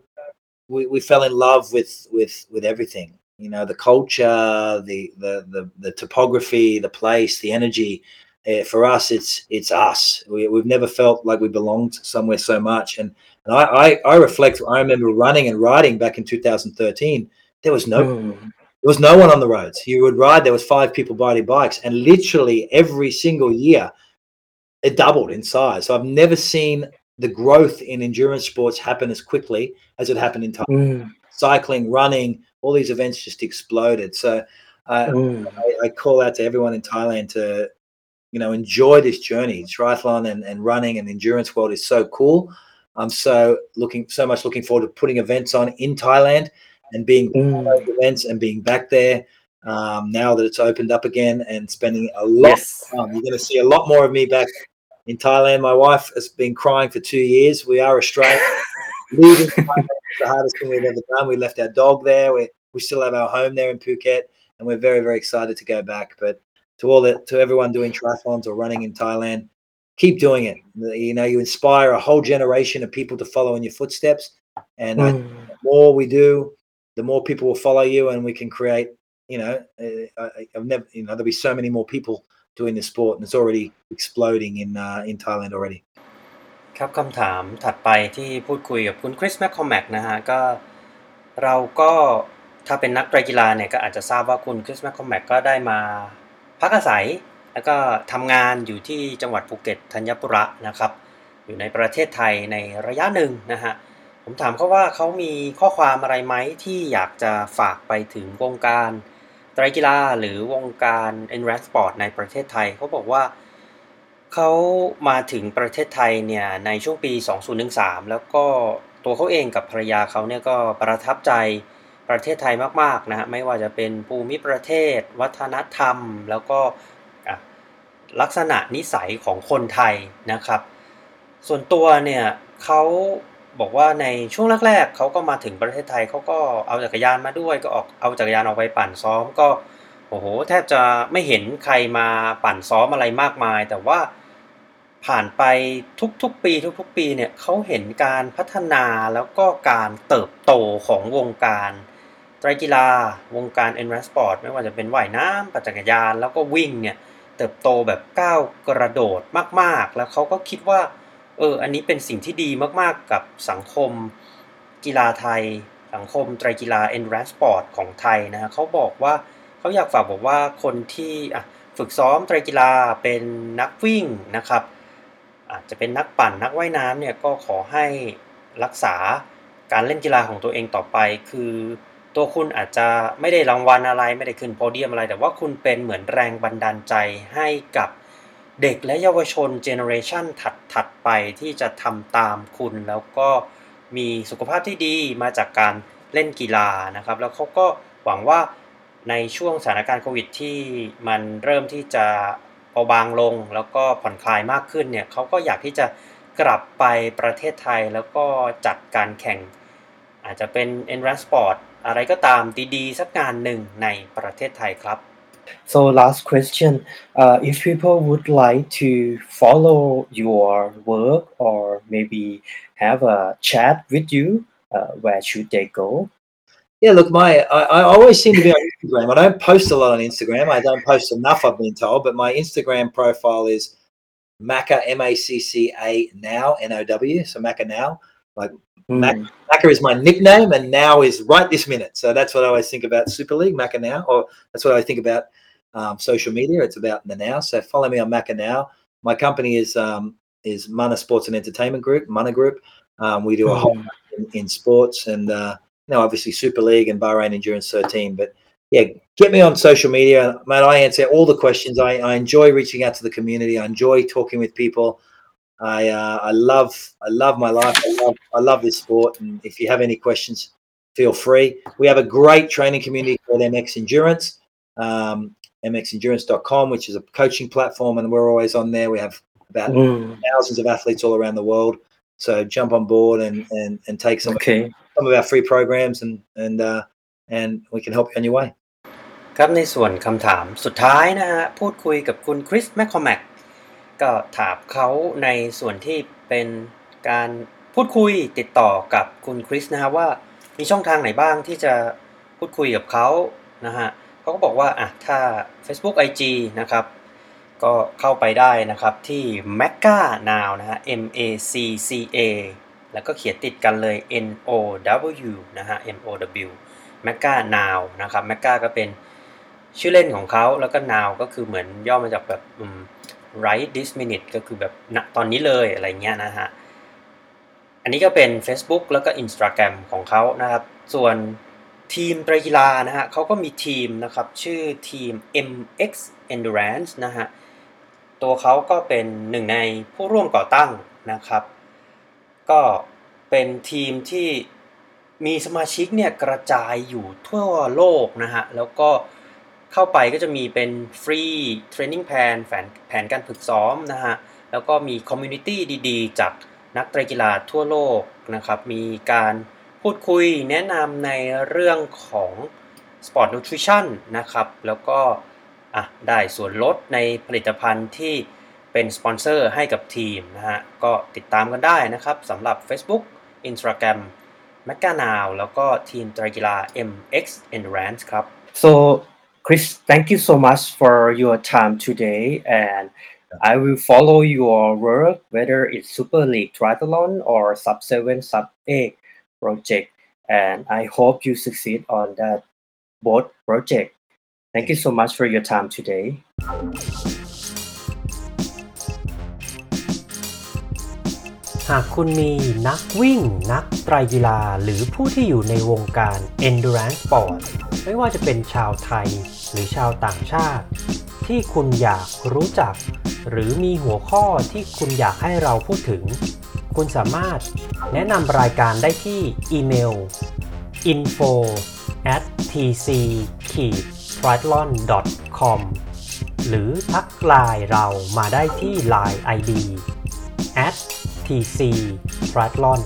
we fell in love with everything. You know, the culture, the topography, the place, the energy. For us, it's us. We've never felt like we belonged somewhere so much. And I reflect. I remember running and riding back in 2013. There was no There was no one on the roads. You would ride, there was 5 people riding bikes, and literally every single year it doubled in size. So I've never seen the growth in endurance sports happen as quickly as it happened in Thailand. Cycling, running, all these events just exploded. So I call out to everyone in Thailand to, you know, enjoy this journey. Triathlon and running and endurance world is so cool. I'm so much looking forward to putting events on in Thailand and being those events and being back there now that it's opened up again, and spending a lot of time. You're going to see a lot more of me back in Thailand. My wife has been crying for 2 years. We are Australian. Leaving Thailand is the hardest thing we've ever done. We left our dog there. We still have our home there in Phuket, and we're very, very excited to go back. But to everyone doing triathlons or running in Thailand, keep doing it. You know, you inspire a whole generation of people to follow in your footsteps. And the more we do, the more people will follow you, and we can create, you know, there'll be so many more people doing this sport, and it's already exploding in Thailand already. ครับคำถามถัดไปที่พูดคุยกับคุณคริสแมคคอมแมกนะฮะก็เราก็ถ้าเป็นนักไตรกีฬาเนี่ยก็อาจจะทราบว่าคุณคริสแมคคอมแมกก็ได้มาพักอาศัยแล้วก็ทำงานอยู่ที่จังหวัดภูเก็ตธัญบุระนะครับอยู่ในประเทศไทยในระยะหนึ่งนะฮะผมถามเขาว่าเขามีข้อความอะไรไหมที่อยากจะฝากไปถึงวงการไตรกีฬาหรือวงการ endurance sport ในประเทศไทยเขาบอกว่าเขามาถึงประเทศไทยเนี่ยในช่วงปี 2013 แล้วก็ตัวเขาเองกับภรรยาเขาเนี่ยก็ประทับใจประเทศไทยมากๆนะฮะไม่ว่าจะเป็นภูมิประเทศวัฒนธรรมแล้วก็ลักษณะนิสัยของคนไทยนะครับส่วนตัวเนี่ยเขาบอกว่าในช่วงแรกๆเขาก็มาถึงประเทศไทยเขาก็เอาจักรยานมาด้วยก็เอาจักรยานออกไปปั่นซ้อมก็โอ้โหแทบจะไม่เห็นใครมาปั่นซ้อมอะไรมากมายแต่ว่าผ่านไปทุกๆปีเนี่ยเขาเห็นการพัฒนาแล้วก็การเติบโตของวงการไตรกีฬาวงการ endurance sport ไม่ว่าจะเป็นว่ายน้ำปั่นจักรยานแล้วก็วิ่งเนี่ยเติบโตแบบก้าวกระโดดมากๆแล้วเขาก็คิดว่าอันนี้เป็นสิ่งที่ดีมากๆกับสังคมกีฬาไทยสังคมไตรกีฬา endurance sport ของไทยนะฮะเขาบอกว่าเขาอยากฝากบอกว่าคนที่ฝึกซ้อมไตรกีฬาเป็นนักวิ่งนะครับอาจจะเป็นนักปั่นนักว่ายน้ำเนี่ยก็ขอให้รักษาการเล่นกีฬาของตัวเองต่อไปคือตัวคุณอาจจะไม่ได้รางวัลอะไรไม่ได้ขึ้นโพเดียมอะไรแต่ว่าคุณเป็นเหมือนแรงบันดาลใจให้กับเด็กและเยาวชนเจเนอเรชันถัดไปที่จะทำตามคุณแล้วก็มีสุขภาพที่ดีมาจากการเล่นกีฬานะครับแล้วเขาก็หวังว่าในช่วงสถานการณ์โควิดที่มันเริ่มที่จะเบาบางลงแล้วก็ผ่อนคลายมากขึ้นเนี่ยเขาก็อยากที่จะกลับไปประเทศไทยแล้วก็จัดการแข่งอาจจะเป็น endurance sport อะไรก็ตามดีๆสักงานหนึ่งในประเทศไทยครับ So last question, if people would like to follow your work or maybe have a chat with you, where should they go? Yeah, look, I always seem to be on Instagram. I don't post a lot on Instagram. I don't post enough, I've been told, but my Instagram profile is Macca, M-A-C-C-A now, N-O-W, so Macca now. Like Macca is my nickname, and now is right this minute. So that's what I always think about Super League, Macca now, or that's what I think about social media. It's about the now. So follow me on Macca now. My company is Mana Sports and Entertainment Group, Mana Group. We do a whole in sports and obviously Super League and Bahrain Endurance 13. But yeah, get me on social media, mate. I answer all the questions. I enjoy reaching out to the community. I enjoy talking with people. I love my life. I love this sport. And if you have any questions, feel free. We have a great training community called MX Endurance, mxendurance.com, which is a coaching platform, and we're always on there. We have about thousands of athletes all around the world. So jump on board and take some Okay. of our free programs and we can help you on your way. ครับในส่วนคำถามสุดท้ายนะฮะพูดคุยกับคุณคริสแมคคอมแมกก็ถามเขาในส่วนที่เป็นการพูดคุยติดต่อกับคุณคริสนะฮะว่ามีช่องทางไหนบ้างที่จะพูดคุยกับเขานะฮะเขาก็บอกว่าถ้า Facebook IG นะครับก็เข้าไปได้นะครับที่ Macca Now นะฮะ MACCA แล้วก็เขียนติดกันเลย NOW นะฮะ MOW Macca Now นะครับ Macca ก็เป็นชื่อเล่นของเขาแล้วก็ Now ก็คือเหมือนย่อมาจากแบบright this minute ก็คือแบบณตอนนี้เลยอะไรเงี้ยนะฮะอันนี้ก็เป็น Facebook แล้วก็ Instagram ของเขานะครับส่วนทีมไตรกีฬานะฮะเขาก็มีทีมนะครับชื่อทีม MX Endurance นะฮะตัวเขาก็เป็นหนึ่งในผู้ร่วมก่อตั้งนะครับก็เป็นทีมที่มีสมาชิกเนี่ยกระจายอยู่ทั่วโลกนะฮะแล้วก็เข้าไปก็จะมีเป็นฟรีเทรนนิ่งแผนการฝึกซ้อมนะฮะแล้วก็มีคอมมูนิตี้ดีๆจากนักไตรกีฬาทั่วโลกนะครับมีการพูดคุยแนะนำในเรื่องของ Sport Nutrition นะครับแล้วก็ได้ส่วนลดในผลิตภัณฑ์ที่เป็นสปอนเซอร์ให้กับทีมนะฮะก็ติดตามกันได้นะครับสำหรับ Facebook Instagram Macca Now แล้วก็ทีมไตรกีฬา MX Endurance ครับ So Chris, thank you so much for your time today, and I will follow your work, whether it's Super League Triathlon or Sub 7, Sub 8 project, and I hope you succeed on that both project. Thank you so much for your time today. หากคุณมีนักวิ่งนักไตรกีฬาหรือผู้ที่อยู่ในวงการ Endurance Sport ไม่ว่าจะเป็นชาวไทยหรือชาวต่างชาติที่คุณอยากรู้จักหรือมีหัวข้อที่คุณอยากให้เราพูดถึงคุณสามารถแนะนำรายการได้ที่อีเมล info@tc-triathlon.com หรือทักไลน์เรามาได้ที่ Line ID @tc-triathlon